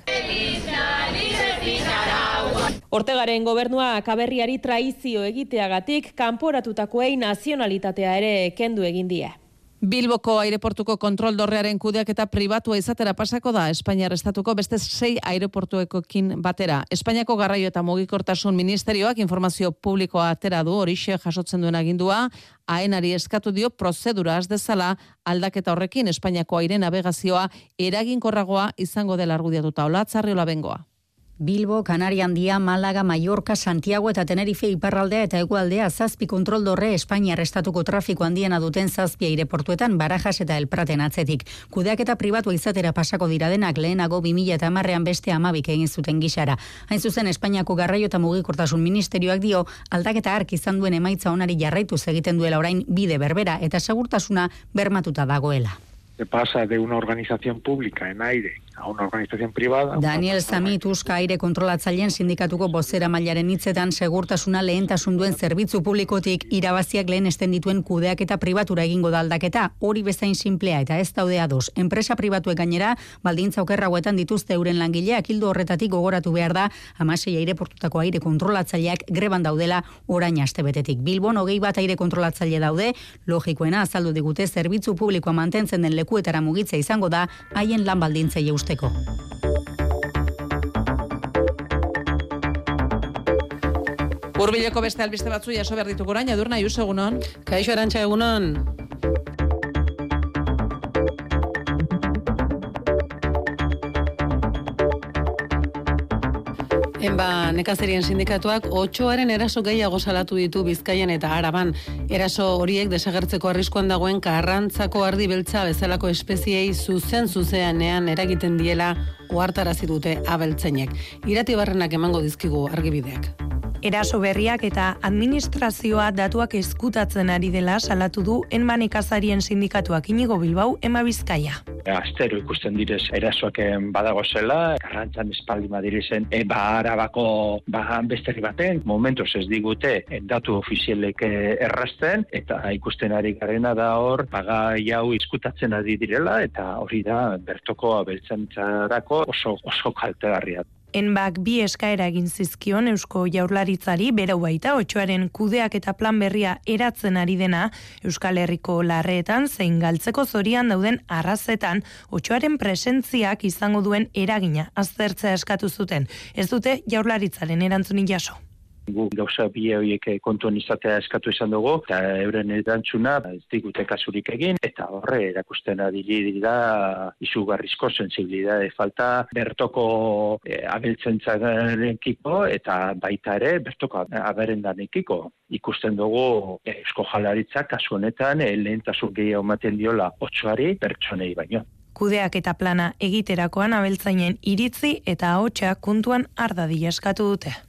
Ortegaren gobernuak aberriari traizio egiteagatik kanporatutakoei nazionalitatea ere kendu egin die. Bilboko aireportuko kontrol dorrearen kudeak eta pribatua izatera pasako da Espainiar estatuko beste sei aireportuekokin batera. Espainiako garraio eta mugikortasun ministerioak informazio publikoa atera du, horixe jasotzen duen agindua, aenari eskatu dio prozedura az dezala aldaketa horrekin Espainiako aire navegazioa eraginkorragoa izango dela argudiatuta. Olatzarriola bengoa. Bilbo, Kanaria Handia, Malaga, Mallorca, Santiago eta Tenerife iparraldea eta hegoaldea zazpi kontrol dorre Espainiar estatuko trafiko handiena duten zazpi aireportuetan Barajas eta El Praten atzetik. Kudeak eta pribatua izatera pasako dira denak lehenago bi mila hamarrean beste hamabik egin zuten gixara. Hain zuzen Espainiako garraio eta mugikortasun ministerioak dio aldaketa hark izan duen emaitza onari jarraituz egiten duela orain bide berbera eta segurtasuna bermatuta dagoela. Se pasa de una organización pública en aire a una organización privada. Daniel Samit Uska aire kontrolatzaileen sindikatuko bozera mailaren hitzetan segurtasuna lehentasun duen zerbitzu publikotik irabaziak lehenesten dituen kudeak eta pribatura egingo da aldaketa, hori bezain simplea eta ez daude ados. Enpresa pribatuek gainera baldintza okerragoetan dituzte euren langileak, ildo horretatik gogoratu behar da hamasei aireportutako aire kontrolatzaileak greban daudela orain astebetetik. Bilbon hogei bat aire kontrolatzaile daude, logikoena azaldu digute zerbitzu publikoa mantentzen den lekuetara mugitza izango da haien lan baldintzei eusteko. Hurbileko beste albiste batzu jaso behar ditugu orain, Edurne Ayuso, egunon. Kaixo Arantxa, egunon. Enba, nekazerien sindikatuak otsoaren eraso gehiago salatu ditu Bizkaian eta Araban. Eraso horiek desagertzeko arriskuan dagoen karrantzako ardi beltza bezalako espeziei zuzen zuzeanean eragiten diela ohartarazi dute abeltzainek. Irati Barrenak emango dizkigu argibideak. Eraso berriak eta administrazioa datuak eskutatzen ari dela salatu du Enba nekazarien sindikatuak. Inigo Bilbao, Enba Bizkaia. Astero ikusten direz erasoak badago zela, karrantzan espaldi madirizen, e, ba Arabako ba, besteri baten, momentuz ez digute e, datu ofizialek errazten, eta ikusten ari garena da hor, pagai hau izkutatzen ari direla, eta hori da bertoko abeltzaintzarako oso, oso kaltegarria. Enbak bi eskaera egin zizkion Eusko Jaurlaritzari berau baita otsoaren kudeak eta plan berria eratzen ari dena Euskal Herriko larreetan zein galtzeko zorian dauden arrazetan otsoaren presentziak izango duen eragina aztertzea eskatu zuten. Ez dute Jaurlaritzaren erantzunik jaso. Guk gauza bi horiek kontuan izatea eskatu izan dugu, eta euren erantzuna ez digute kasurik egin, eta horre erakusten adili da izugarrizko sensibilidade falta bertoko e, abeltzaintzakiko eta baita ere bertoko aberendanekiko. Ikusten dugu Eusko Jaurlaritzak kasu honetan e, lehentasun gehiago ematen diola otsoari pertsonei baino. Kudeak eta plana egiterakoan abeltzainen iritzi eta ahotsa kontuan har dadila eskatu dute.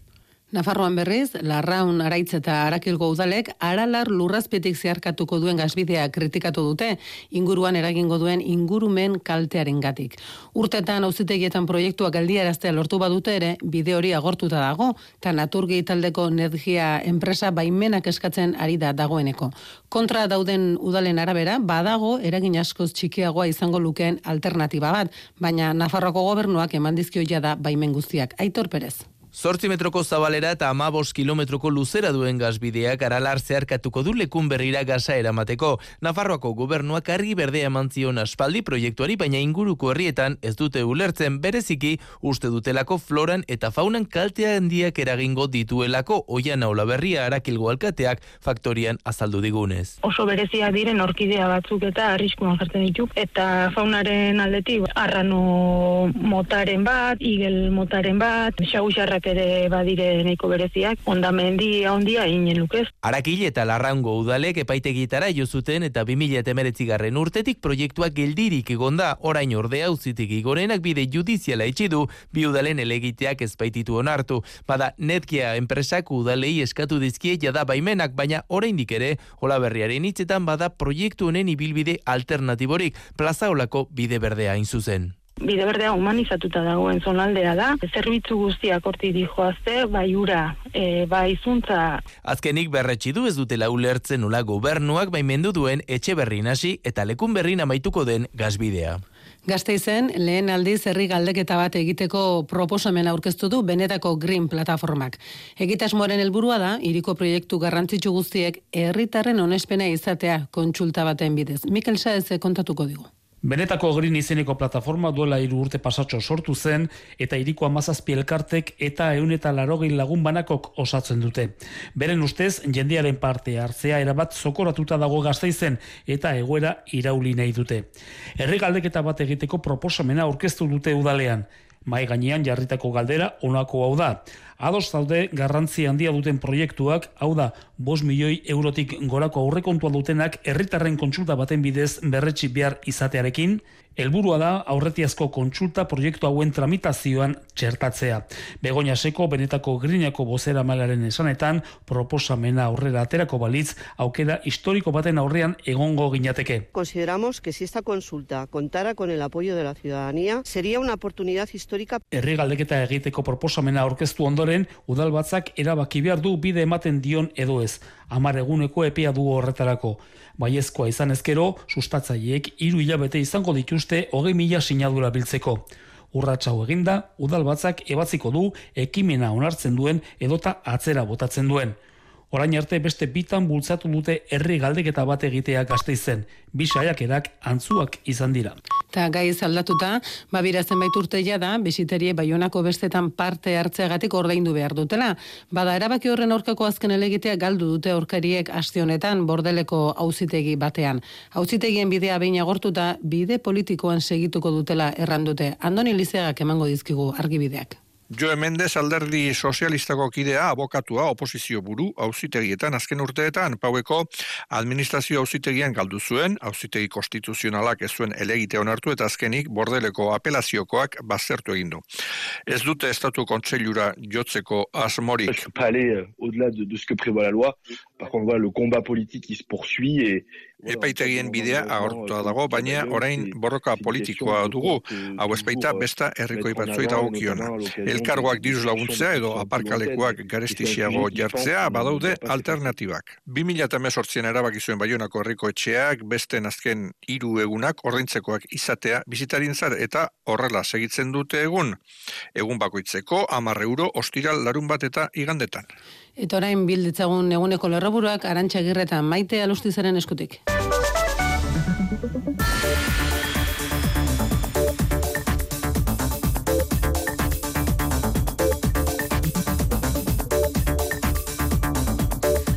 Nafarroan berriz, Larraun, Araitz eta Arakilgo udalek Aralar lurrazpetik zeharkatuko duen gasbidea kritikatu dute, inguruan eragingo duen ingurumen kaltearengatik. Urtetan auzitegietan proiektuak geldiaraztea lortu badute ere, bide hori agortuta dago, eta Naturgi taldeko energia enpresa baimenak eskatzen ari da dagoeneko. Kontra dauden udalen arabera, badago eragin askoz txikiagoa izango lukeen alternatiba bat, baina Nafarroako gobernuak eman dizkio jada baimen guztiak. Aitor Perez. Zortzi metroko zabalera eta amabos kilometroko luzera duen gazbideak Aralar zeharkatuko du lekun berrira gaza eramateko. Nafarroako gobernuak argi berdea eman zion aspaldi proiektuari, baina inguruko herrietan ez dute ulertzen, bereziki uste dutelako floran eta faunan kaltea handiak eragingo dituelako. Oiana Olaberria Arakilgo alkateak faktorian azaldu digunez. Oso bereziak diren orkidea batzuk eta arriskuan jartzen ditu, eta faunaren aldetik arrano motaren bat, igel motaren bat, xagusarrak ere badire nahiko bereziak, ondamendi handia inen lukez. Arakil eta Larraungo udalek epaitegitara jo zuten eta bi mila hemeretzigarren urtetik proiektuak geldirik egonda, orain ordea auzitik igorenak bide judiziala itxi du, bi udalen elegiteak ezpaititu onartu. Bada Netkia enpresak udalei eskatu dizkie jada baimenak, baina oraindik ere Olaberriaren hitzetan bada proiektu honen ibilbide alternatiborik, Plazaolako bide berdea hain zuzen. Bide berdea humanizatuta dagoen zonaldea da, zerbitzu guztiak hortik dijoazte, bai ura, e, bai zuntza. Azkenik berretsi du ez dutela ulertzen nola gobernuak baimendu duen etxe berrin hasi eta lekun berrin amaituko den gasbidea. Gasteizen, lehen aldiz herri galdeketa bat egiteko proposamena aurkeztu du Benetako Green plataformak. Egitasmoaren helburua da, hiriko proiektu garrantzitsu guztiek herritarren onespena izatea kontsulta baten bidez. Mikel Saez kontatuko digu. Benetako Green izeneko plataforma duela hiru urte pasatxo sortu zen eta hiriko hamazazpi elkartek eta ehun eta laurogei lagun banakok osatzen dute. Beren ustez, jendearen parte hartzea erabat zokoratuta dago Gasteizen eta egoera irauli nahi dute. Herri galdeketa bat egiteko proposamena aurkeztu dute udalean. Mai gainean jarritako galdera honako hau da. Ados zaude garrantzi handia duten proiektuak, hau da, bost milioi eurotik gorako aurrekontua dutenak herritarren kontsulta baten bidez berretsi behar izatearekin, helburua da aurretiazko kontsulta proiektu hauen tramitazioan txertatzea. Begoña Seko, Benetako Greeneko bozeramalaren esanetan, proposamena aurrera aterako balitz, aukera historiko baten aurrean egongo ginateke. Consideramos que si esta consulta contara con el apoyo de la ciudadanía, sería una oportunidad histórica. Herri galdeketa egiteko proposamena aurkeztu ondoren, udalbatzak erabaki behar du bide ematen dion edo ez. Hamar eguneko epea du horretarako. Baiezkoa izan ezkero, sustatzaileek hiru hilabete izango dituzte hogei mila sinadura biltzeko. Urratxau eginda, udalbatzak ebatziko du ekimena onartzen duen edota atzera botatzen duen. Orain arte beste bitan bultzatu dute herri galdeketa bat egitea Gasteizen. Bi saiakerak antzuak izan dira. Ta gaiz aldatuta, babira zenbait urte da, bisiterie Baionako bestetan parte hartzeagatik ordaindu behar dutela. Bada erabaki horren aurkako azken helegitea galdu dute aurkariek aste honetan Bordeleko auzitegi batean. Auzitegien bidea behin agortuta, bide politikoan segituko dutela errandute. Andoni Lizeagak emango dizkigu argibideak. Joe Mendes alderdi sozialistako kidea, abokatua, oposizio buru, auzitegietan azken urteetan, Paueko administrazio auzitegian galdu zuen, auzitegi konstituzionalak ez zuen elegite onartu eta azkenik Bordeleko apelaziokoak baztertu egin du. Ez dute estatu kontseilura jotzeko asmorik. Je peux pas aller au-delà de, de ce que prévoit la loi. Par contre, voilà, le combat politique qui se poursuit et Epaitegien bidea agortua dago, baina orain borroka politikoa dugu, hau ez baita besta herrikoi batzoi dagokiona. Elkargoak diruz laguntzea edo aparkalekuak garestixiago jartzea badaude alternatibak. bi mila hemezortzian erabaki zuen Baionako herriko etxeak beste azken hiru egunak ordaintzekoak izatea bisitarintzat eta horrela segitzen dute egun. Egun bakoitzeko hamar euro ostiral larun bat eta igandetan. Eta orain bilditzagun eguneko lerroburuak Arantxa Agirre eta Maite Alustizaren eskutik. Arma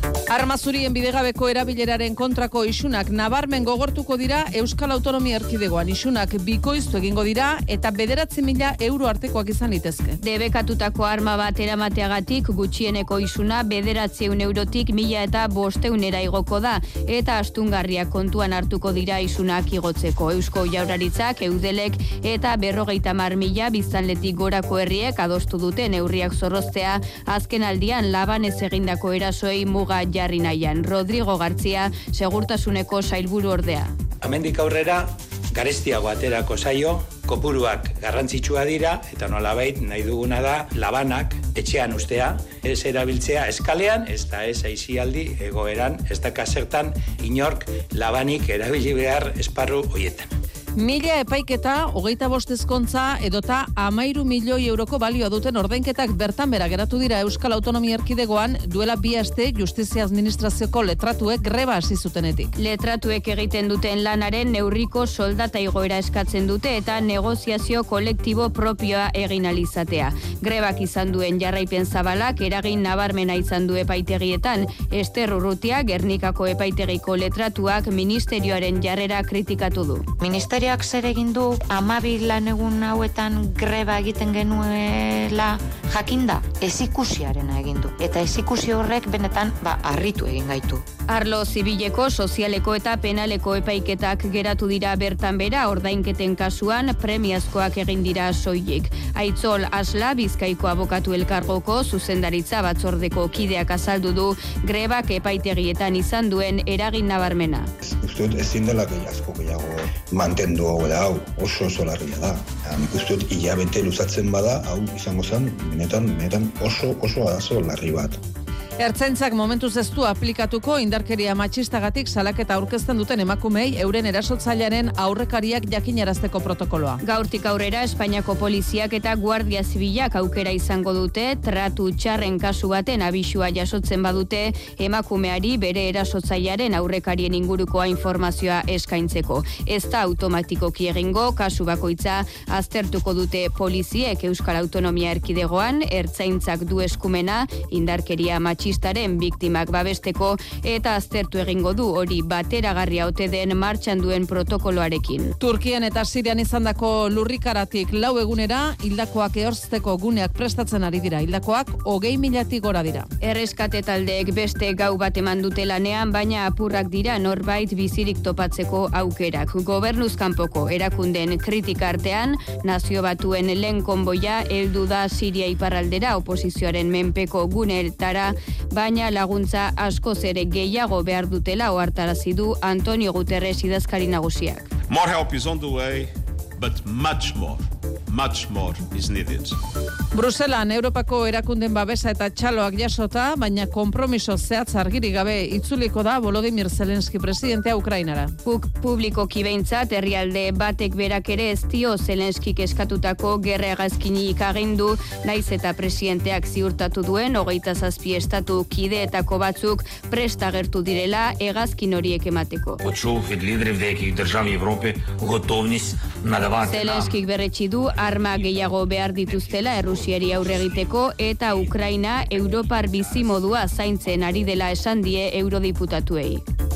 Armazurien bidegabeko erabileraren kontrako isunak nabarmen gogortuko dira Euskal Autonomia Erkidegoan. Isunak bikoiztu egingo dira eta bederatzi mila euro artekoak izan litezke. Debekatutako arma bat eramateagatik gutxieneko isuna bederatziehun eurotik mila eta bosteunera igoko da eta astungarriak kontuan hartuko dira isunak igotzeko. Eusko Jaurlaritzak, Eudelek eta berrogeita hamar mila biztanletik gorako herriek adostu dute neurriak zorroztea azken aldian Labanez egindako erasoei muga jarri nahian. Rodrigo Gartzia, segurtasuneko sailburu ordea. Hemendik aurrera, garestiago aterako zaio, kopuruak garrantzitsua dira, eta nolabait nahi duguna da labanak etxean ustea, ez erabiltzea eskalean, ez da ez aizialdi egoeran, ez da kasertan inork labanik erabili behar esparru hoietan. Mila epaiketa, hogeita bost ezkontza edota amairu milioi euroko balioa duten ordainketak bertan bera geratu dira Euskal Autonomia Erkidegoan duela bi aste Justizia Administrazioko letratuek greba hasi zutenetik. Letratuek egiten duten lanaren neurriko soldata igoera eskatzen dute eta negoziazio kolektibo propioa egin alizatea. Grebak izan duen jarraipen zabalak eragin nabarmena izan du epaitegietan. Ester Urrutia, Gernikako epaitegiko letratuak ministerioaren jarrera kritikatu du. Ministerioak zer egin du hamabi lan egun hauetan greba egiten genuela jakinda, ezikusiarena egin du. Eta ezikusi horrek benetan ba harritu egin gaitu. Arlo zibileko, sozialeko eta penaleko epaiketak geratu dira bertan bera, ordainketen kasuan premiazkoak egin dira soilik. Aitzol Asla, Bizkaiko abokatu elkargoko zuzendaritza batzordeko kideak azaldu du grebak epaitegietan izan duen eragin nabarmena. Uste dut ezin dela gehiago gehiago mantendu hau da, hau oso oso larria da. Nik uste dut hilabete luzatzen bada, hau izango zen, benetan, benetan oso oso arazo larri bat. Ertzaintzak momentuz ez du aplikatuko indarkeria matxistagatik salaketa aurkezten duten emakumei euren erasotzailearen aurrekariak jakinarazteko protokoloa. Gaurtik aurrera Espainiako poliziak eta Guardia Zibilak aukera izango dute tratu txarren kasu baten abisua jasotzen badute emakumeari bere erasotzailearen aurrekarien ingurukoa informazioa eskaintzeko. Ez da automatikoki egingo, kasu bakoitza aztertuko dute poliziek Euskal Autonomia Erkidegoan, ertzaintzak du eskumena indarkeria matxistagatik matxistaren biktimak babesteko eta aztertu egingo du hori bateragarria ote den martxan duen protokoloarekin. Turkian eta Sirian izandako lurrikaratik lau egunera hildakoak ehorzteko guneak prestatzen ari dira. Hildakoak hogei milatik gora dira. Erreskate taldeek beste gau bat eman dute lanean, baina apurrak dira norbait bizirik topatzeko aukerak. Gobernuz kanpoko erakunden kritika artean, Nazio Batuen lehen konboia heldu da Siria iparraldera oposizioaren menpeko guneetara, baina laguntza askoz ere gehiago behar dutela ohartarazi du Antonio Guterres idazkari nagusiak. More help is on the way, but much more. Much more is needed. Bruselan Europako erakunden babesa eta txaloak jasota, baina konpromiso zehatz argirik gabe itzuliko da Volodymyr Zelensky presidentea Ukrainara. Puk publikoki behintzat herrialde batek berak ere ez dio Zelenskik eskatutako gerra hegazkinik agindu, naiz eta presidenteak ziurtatu duen hogeita zazpi estatu kideetako batzuk prest agertu direla hegazkin horiek emateko. Почув від лідерів деяких держав Європи готовність надавати нам. Zelenskik berretsi du arma gehiago behar dituztela Errusiari aurre egiteko eta Ukraina Europar bizimodua zaintzen ari dela esan die eurodiputatuei.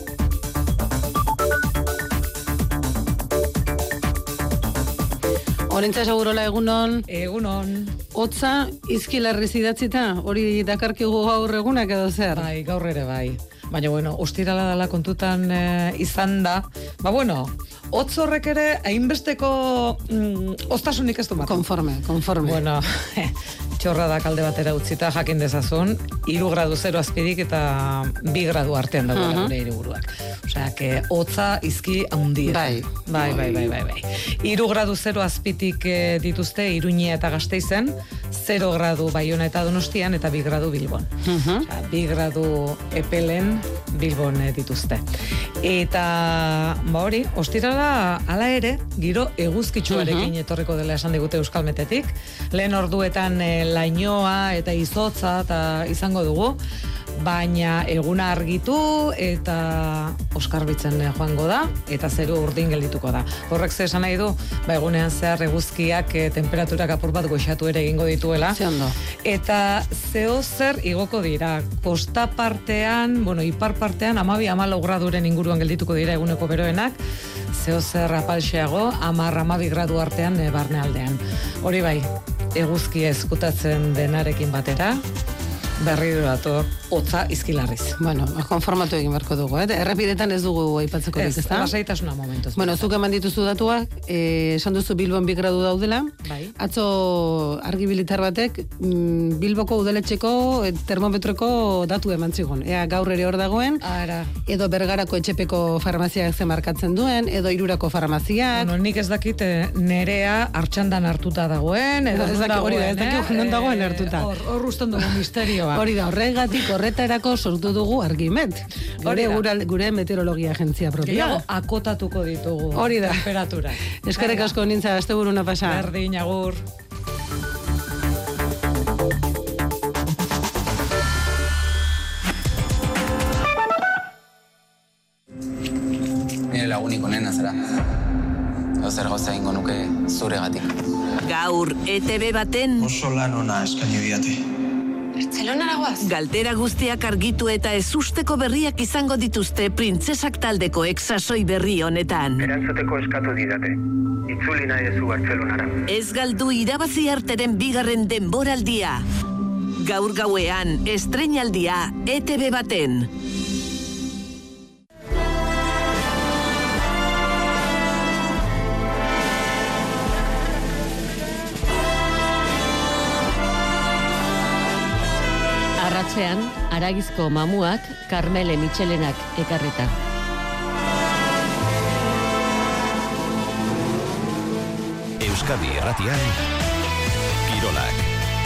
Orentza segurola egunon. Egunon. Hotza izkilarri zidatzita, hori dakarkigu gaur egunak edo zer? Bai, gaur ere bai. Baina bueno, ostirala dela kontutan e, izan da. Ba bueno, hotz horrek ere hainbesteko mm, oztasunik ez du bat. Konforme, konforme. Bueno, txorra da kalde batera utzita jakin dezazun, hiru gradu zero azpirik eta bi gradu artean dago uh-huh. gure hiriburuak. Osea, que hotza izki handia. Bai. Bai, bai, bai, bai, bai. hiru gradu zero azpitik e, dituzte Iruña eta Gasteizen, zero gradu Baiona eta Donostian eta bi gradu Bilbon. Uh-huh. Osea, bi gradu epelen Bilbon e, dituzte. Eta ba hori, ostirala hala ere, giro eguzkitsuarekin uh-huh. etorriko dela esan digute Euskalmetetik. Lehen orduetan e, lainoa eta izotza eta izango dugu. baina eguna argitu eta oskarbitzen joango da, eta zeru urdin geldituko da. Horrek ze esan nahi du, ba, egunean zehar eguzkiak e, temperaturak apur bat goxatu ere egingo dituela. Zeondo. Eta zeo zer igoko dira, kosta partean, bueno, ipar partean, amabi amalau graduren inguruan geldituko dira eguneko beroenak, zeo zer apalxeago, amar amabi gradu artean e, barnealdean. Hori bai, eguzkia ezkutatzen denarekin batera, berri dator, hotza izkilarriz. Bueno, konformatu egin beharko dugu, eh? Errepidetan ez dugu aipatzeko ez, ezta? Lasaitasuna momentuz. Bueno, zuk eman dituzu datuak, eh, esan duzu Bilbon bi gradu daudela. Bai. Atzo argibilitar batek mm, Bilboko udaletxeko eh, termometroko datu eman zigun. Ea gaur ere hor dagoen, Ara. edo Bergarako etxepeko farmaziak ze markatzen duen, edo Hirurako farmaziak. Bueno, nik ez dakit eh, nerea hartxandan hartuta dagoen, edo ez dakit hori da, ez dakit non dagoen hartuta. Hor, hor usten dugu misterioa. Hori da, horregatik horretarako sortu dugu Argimet. Gure, gure, gure meteorologia agentzia propia. Gehiago akotatuko ditugu. Hori da. Temperatura. Eskerrik asko nintza, asteburuna pasa. Berdin, agur. Nire lagunik onena zara. Zer gauza ingo nuke zuregatik. Gaur E T B baten oso lan ona eskaini diate. Bartzelonara guaz. Galtera guztiak argitu eta ezusteko berriak izango dituzte printzesak taldeko exasoi berri honetan. Erantzuteko eskatu didate. Itzuli nahi ezu Bartzelonara. Ez galdu irabazi arteren bigarren denboraldia. Gaur gauean, estreinaldia E T B baten. Arratxean, Aragizko mamuak, Karmele Mitxelenak ekarreta. Euskadi Erratian, Kirolak.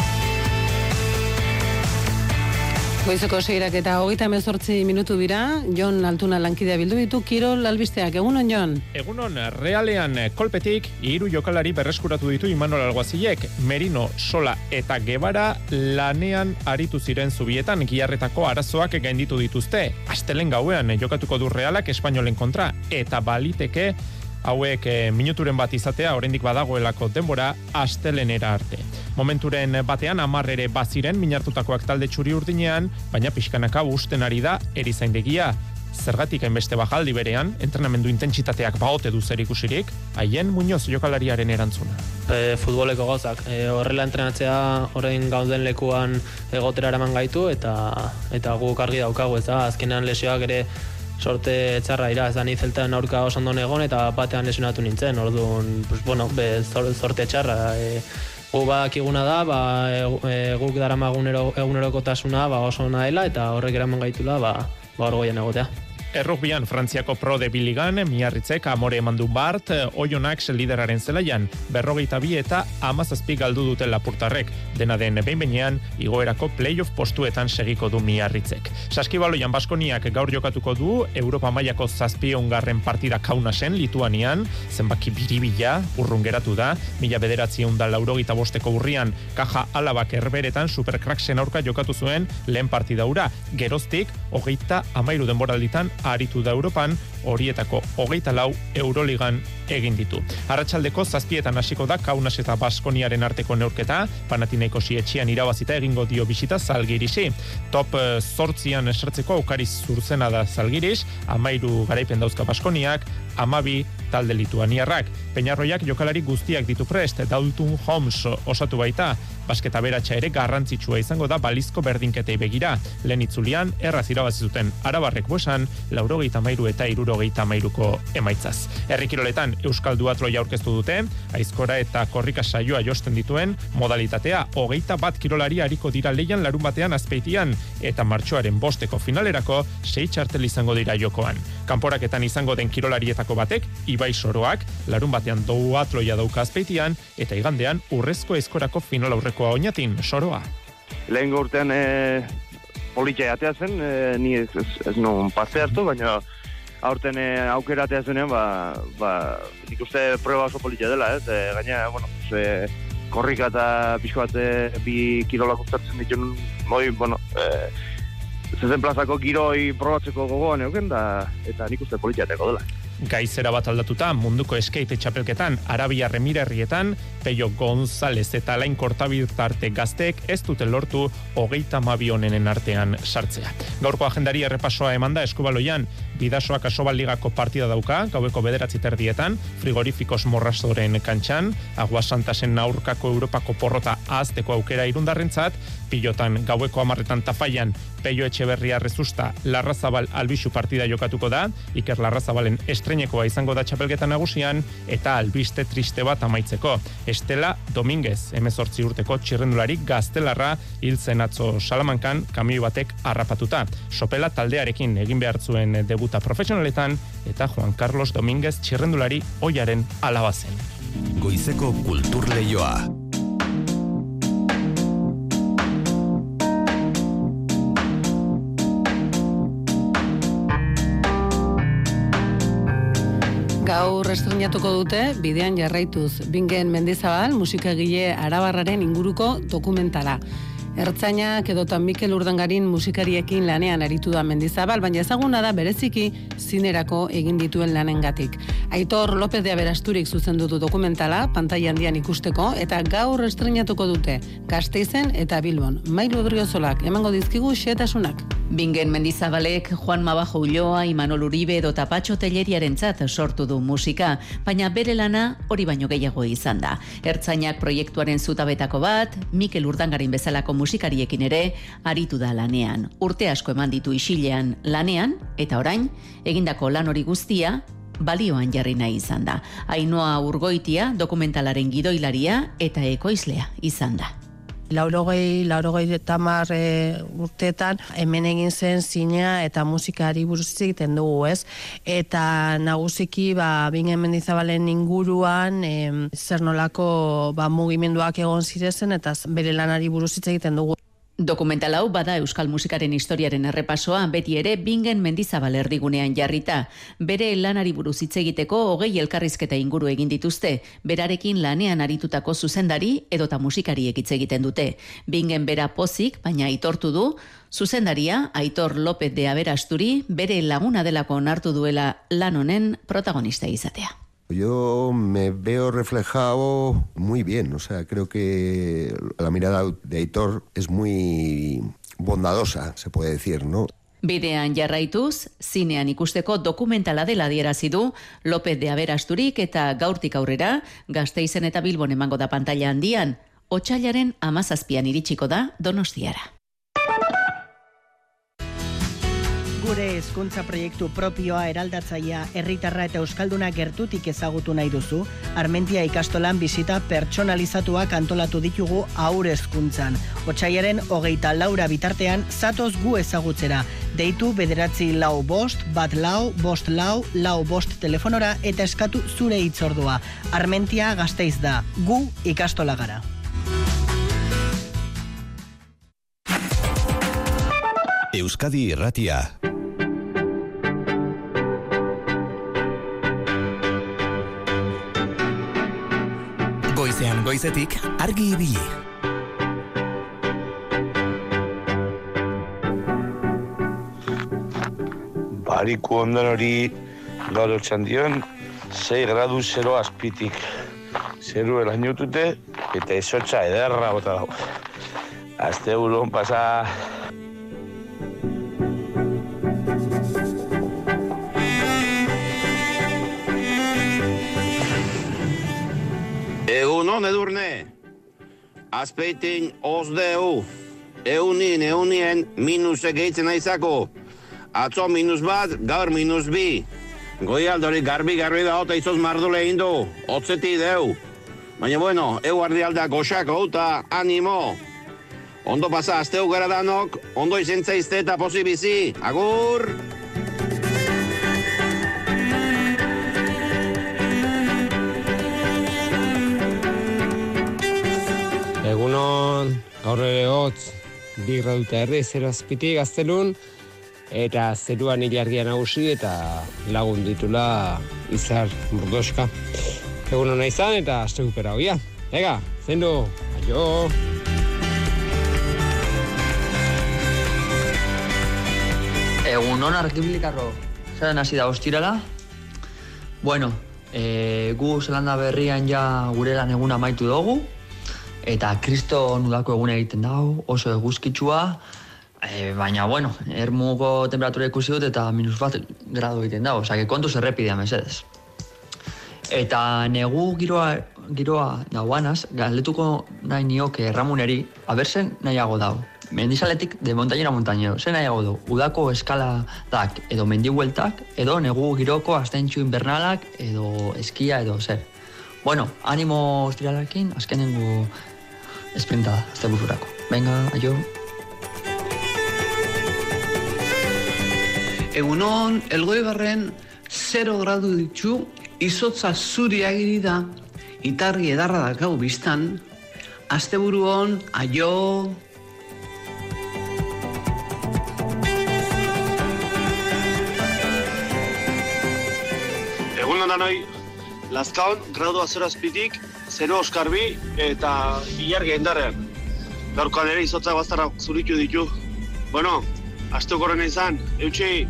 Goizeko seirak eta hogeita hemezortzi minutu dira, Jon Altuna lankidea bildu ditu, Kirol albisteak, egunon Jon? Egunon, Realean kolpetik, hiru jokalari berreskuratu ditu Imanol Alguazilek, Merino, Sola eta Guevara lanean aritu ziren zubietan, giarretako arazoak gainditu dituzte. Astelen gauean jokatuko du Realak Espainolen kontra, eta baliteke hauek e, minuturen bat izatea, oraindik badagoelako denbora astelenera arte. Momenturen batean amarrere baziren minartutakoak talde txuri urdinean, baina pixkanaka usten ari da erizaindegia. Zergatik hainbeste bajaldi berean, entrenamendu intentsitateak baote du zer ikusirik, haien Muñoz jokalariaren erantzuna. E, futboleko gauzak, e, horrela entrenatzea orain gauden lekuan egotera eraman gaitu, eta eta guk argi daukagu, ez da, azkenean lesioak ere sorte txarra ira, ez da ni zeltan aurka oso ondo egon eta batean lesionatu nintzen, orduan, pues, bueno, be, sorte txarra. E, gu bakiguna da, ba, e, guk daramagun egunerokotasuna ba, oso ona dela eta horrek eraman gaitula ba, ba orgoian egotea. Errugbian, Frantziako Pro de Biligan, Miarritzek amore eman du bart, Oionak lideraren zelaian, berrogeita bi eta amazazpi galdu duten lapurtarrek. Dena den behin-behinean, igoerako playoff postuetan segiko du Miarritzek. Saskibaloian Baskoniak gaur jokatuko du, Europa mailako zazpiongarren partida Kaunasen, Lituanian, zenbaki biribila, urrun geratu da, mila bederatziehun da laurogeita bosteko urrian, Kaja Alabak Herberetan Supercracksen aurka jokatu zuen lehen partida hura. Geroztik, hogeita amairu denboralditan aritu da Europan, horietako hogeita lau Euroligan egin ditu. Arratsaldeko zazpietan hasiko da Kaunas eta Baskoniaren arteko neurketa, Panathinaikosi etxean irabazita egingo dio bisita Zalgirisi. Top zortzian esartzeko aukariz zurzena da Zalgiris, amairu garaipen dauzka Baskoniak, amabi talde lituaniarrak. Peñarroiak jokalari guztiak ditu prest, Dalton Holmes osatu baita, basketa beratxa ere garrantzitsua izango da balizko berdinketei begira. Lehen itzulian, erraz irabazi zuten Arabarrek buesan, laurogeita amairu eta irurogeita amairuko emaitzaz. Herrikiroletan Euskal Duatroia aurkeztu dute, aizkora eta korrika saioa josten dituen modalitatea, hogeita bat kirolari hariko dira leian larun batean azpeitian, eta martxoaren bosteko finalerako sei txartel izango dira jokoan. Kanporaketan izango den kirolarietako batek, Ibai Soroak, larun batean Duatroia dauka azpeitian, eta igandean urrezko aizkorako final aurrekoa oinatin, Soroa. Lehen urtean e, politia jatea zen, e, ni ez, ez, ez non parte hartu, baina aurten e, aukera atea zenean, ba, ba, nik uste prueba oso politia dela, ez? E, gaina, bueno, e, korrika eta pixko bat e, bi kirolak uztartzen dituen, moi, bueno, e, zezen plazako giroi probatzeko gogoan euken, da, eta nik uste politiateko dela. Gaizera bat aldatuta, munduko skate txapelketan, Arabia Remirerrietan, Peio González eta Alain Kortabirtarte gazteek ez dute lortu hogeita mabionenen artean sartzea. Gaurko agendari errepasoa emanda Eskubaloian, Bidasoak Asobal Ligako partida dauka, gaueko bederatzi terdietan, Frigorifikos Morrazoren kantxan, Aguasantasen aurkako Europako porrota ahazteko aukera irundarrentzat, Pilotan gaueko amarretan Tafaian, Peio Etxeberria Rezusta, Larrazabal Albixu partida jokatuko da, Iker Larrazabalen estrenekoa izango da txapelketa nagusian, eta albiste triste bat amaitzeko. Estela Dominguez, hemezortzi urteko txirrendulari gaztelarra hil zen atzo Salamankan kamioi batek harrapatuta. Sopela taldearekin egin behar zuen debuta profesionaletan, eta Juan Carlos Dominguez txirrendulari oiaren alaba zen. Goizeko kultur leioa. Gaur estrenatuko dute, bidean jarraituz, Bingen Mendizabal, musikagile arabarraren inguruko dokumentala. Ertzainak edotan Mikel Urdangarin musikariekin lanean aritu da Mendizabal, baina ezaguna da bereziki zinerako egin dituen lanengatik. Aitor López de Aberasturik zuzendu du dokumentala, pantaila handian ikusteko, eta gaur estrenatuko dute, Gasteizen eta Bilbon. Mailu Odriozolak emango dizkigu xehetasunak. Bingen Mendizabalek Juan Mabajo Ulloa, Imanol Uribe edo Tapatxo Telleriarentzat sortu du musika, baina bere lana hori baino gehiago izan da. Ertzainak proiektuaren zutabetako bat, Mikel Urdangarin bezalako musikariekin ere aritu da lanean. Urte asko eman ditu isilean lanean, eta orain, egindako lan hori guztia, balioan jarri nahi izan da. Ainhoa Urgoitia dokumentalaren gidoilaria eta ekoizlea izan da. Laurogei, laurogei tamar e, urteetan hemen egin zen zinea eta musikari buruz egiten dugu, ez? Eta nagusiki ba, Bingen Mendizabalen inguruan e, zer nolako ba, mugimenduak egon zirezen eta bere lanari buruz egiten dugu. Dokumental hau bada euskal musikaren historiaren errepasoa, beti ere Bingen Mendizabal erdigunean jarrita. Bere lanari buruz hitz egiteko hogei elkarrizketa inguru egin dituzte, berarekin lanean aritutako zuzendari edota musikariek hitz egiten dute. Bingen bera pozik, baina aitortu du, zuzendaria Aitor López de Aberasturi bere laguna delako onartu duela lan honen protagonista izatea. Yo me veo reflejado muy bien, o sea, creo que la mirada de Aitor es muy bondadosa, se puede decir, ¿no? Bidean jarraituz, zinean ikusteko dokumentala dela adierazi du López de Aberasturik eta gaurtik aurrera Gasteizen eta Bilbon emango da pantaila handian, otsailaren hamazazpian iritsiko da Donostiara. Gure hezkuntza proiektu propioa eraldatzailea herritarra eta euskalduna gertutik ezagutu nahi duzu, Armentia ikastolan bisita pertsonalizatuak antolatu ditugu haur hezkuntzan. Otsailaren hogeita laura bitartean zatoz gu ezagutzera. Deitu bederatzi lau bost, bat lau, bost lau, lau bost telefonora eta eskatu zure hitzordua. Armentia Gasteiz da, gu ikastola gara. Euskadi Irratia. Goizean goizetik argi ibili. Bariku ondan hori gaur otxandion, sei gradu zero azpitik. Zeru elainutute eta izotxa ederra bota dago. Azte buruan pasa... Egunon edurne, azpeitin ozdeu, eunin eunien minusek eitzen aizako, atzo minus bat, gaur minus bi. Goialdori garbi-garbi da ota izoz mardule indu, otzeti deu. Baina bueno, eu ardialda goxako eta animo. Ondo pasa azteu gara danok, ondo izentzaizte eta posibizi, agur! Egunon, gaur ere hotz, bi graduta erdi, zero azpitik gaztelun, eta zeruan ilargia nagusi eta lagun ditula izar burdoska. Egunon nahi zan eta rekupera hoia. Ega, zendu, aio! Egun hon arkibilikarro, zaren hasi da ostirala. Bueno, e, gu Zelanda berrian ja gure lan eguna amaitu dugu, eta kristo nudako eguna egiten dago, oso eguzkitsua, e, baina, bueno, ermuko temperatura ikusi dut eta minus bat grado egiten dago, osea, kontuz errepidea mesedez. Eta negu giroa, giroa dauanaz, galdetuko nahi nioke Ramuneri, abertzen nahiago dago. Mendizaletik de montañera montañero, zen nahiago du, udako eskaladak edo mendibueltak, edo negu giroko astentxu invernalak, edo eskia, edo zer. Bueno, animo ostiralakin, azkenengo esprintada, azte bururako. Venga, aio. Egunon, Elgoibarren zero gradu ditu, izotza zuri agiri da, itarri edarra dakau biztan, asteburuon, aio! Egun danoi, Lazkaon, gradu zero azpitik, zero oskarbi eta ilargi indarrean. Gaurkoan ere izotzak bazterrak zuritu ditu. Bueno, asteko horren izan, eutxi!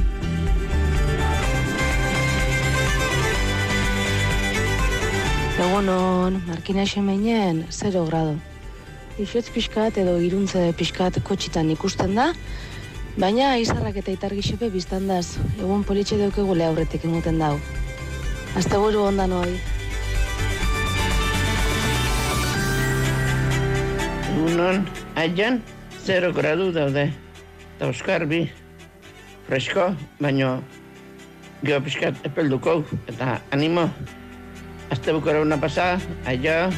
Egunon, Markina Xemeinen, zero grado. Ixotz pixkat edo iruntze pixkat kotxitan ikusten da, baina izarrak eta itargi xepe biztandaz, egun politxe daukegule aurretik emuten dau. Asteburu ondan hoi. Egunon, aian, zero gradu daude. Eta oskarbi, fresko, baino geho pixkat epelduko, eta animo. Azte bukara una pasada, aio.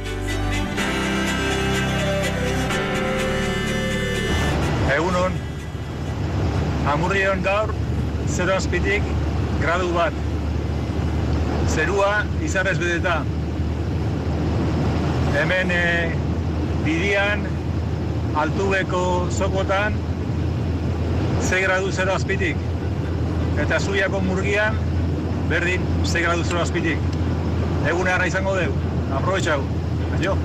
Egunon, Amurrion gaur, zero azpitik, gradu bat. Zerua izarrez bedeta. Hemen e, bidian, altubeko zokotan, ze gradu zero azpitik. Eta Zuiako murgian, berdin, ze gradu zero azpitik. Egun egarra izango dugu. Aprobetxau. Aio.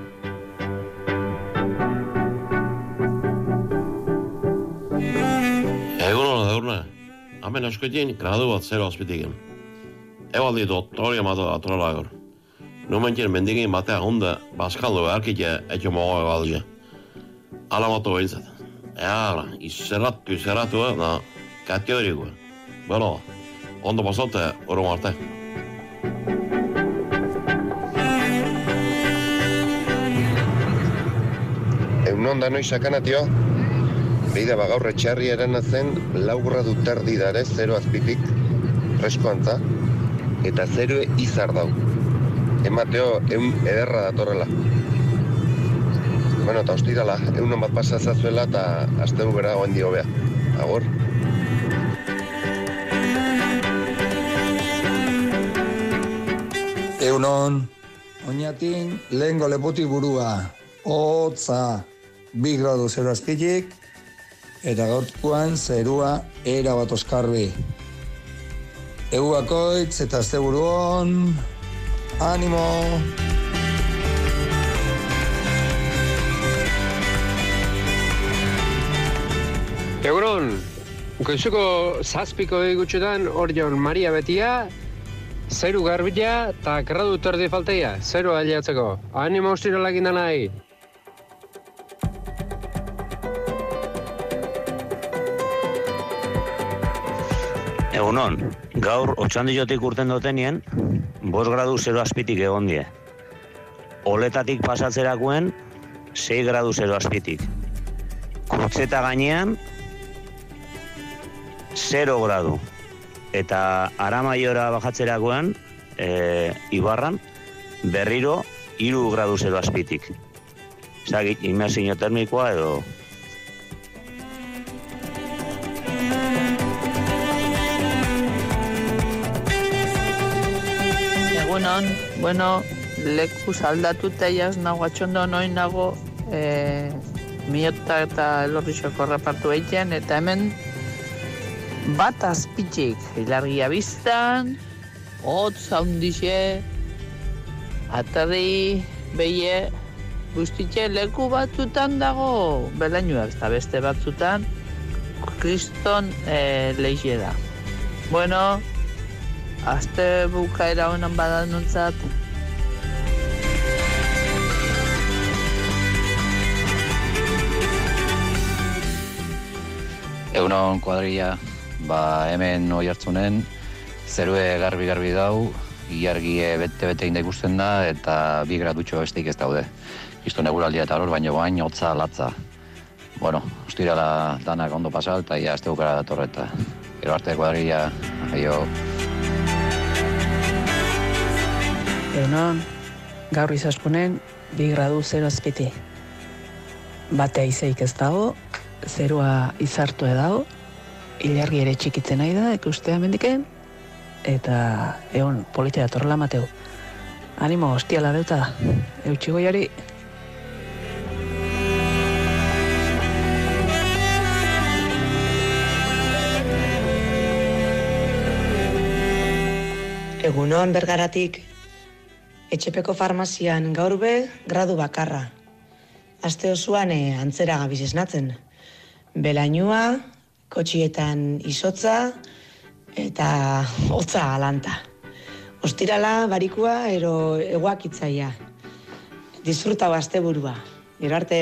Egun hona daurna. Hemen askoetin gradu bat zero azpitiken. Ebaldi doktoria mata atrola gaur. Numentien mendigin batea honda baskaldo beharkite etxo mogo ebaldia. Ala matu behintzat. Eara, izerratu, izerratu, na, kateorikoa. Bueno, ondo pasote, oro marte. Egunon da noi sakanatio, beida bagaurre txarri eranatzen lau gradu terdi dare, zero azpitik, freskoantza, eta zero izar dau. Emateo, egun ederra datorrela. Bueno, eta ostirala, egunon bat pasazazuela eta astegu bera goen dio bea. Agur. Egunon, oinatin lehengo lepotik burua, hotza, bi gradu zero azpitik, eta gaurkoan zerua era bat oskarbi. Egu bakoitz eta asteburu on, animo! Egunon, goizuko zazpiko egutxetan hor jaun Maria Betia, zeru garbila eta gradu terdi falteia, zeru aliatzeko. Animo ostiralak indan nahi! Egunon, gaur otxandiotik urten dutenien, bost gradu zero azpitik egon die. Oletatik pasatzerakoen, sei gradu zero azpitik. Kurtzeta gainean, zero gradu. Eta Aramaiora bajatzerakoan, e, Ibarran, berriro, hiru gradu zero azpitik. Zagit, inmersio termikoa edo... Egunon, bueno, leku aldatuta jaz nago atxondo noin nago e, miota eta elorrizoko repartu egiten, eta hemen bat azpitxik, ilargia biztan, hotz haundixe, atarri, beie, guztitxe leku batzutan dago belainoak, eta beste batzutan kriston e, leixe da. Bueno, aste bukaera honan badan nontzat. Egunon kuadrilla, ba hemen oi hartzunen, zerue garbi-garbi dau, ilargie bete-bete inda ikusten da, eta bi gradutxo besteik ez daude. Kristo neguraldia eta hor, baino bain, hotza, latza. Bueno, ustirala danak ondo pasal, eta ia azte bukara datorreta. Gero arte kuadrilla, aio. Egunon, gaur izaskunen, bi gradu zero azpiti. Batea izeik ez dago, zerua izartu edago, ilargi ere txikitzen nahi da, ikustea mendiken, eta egon politia datorrela mateu. Animo, hostiala deuta, eutxigoiari. Egunon Bergaratik, etxepeko farmazian gaur be gradu bakarra. Aste osoan e, antzera gabiz esnatzen. Belainua, kotxietan izotza eta hotza alanta. Ostirala, barikua, ero eguakitzaia. Disfrutau asteburua. Gero arte.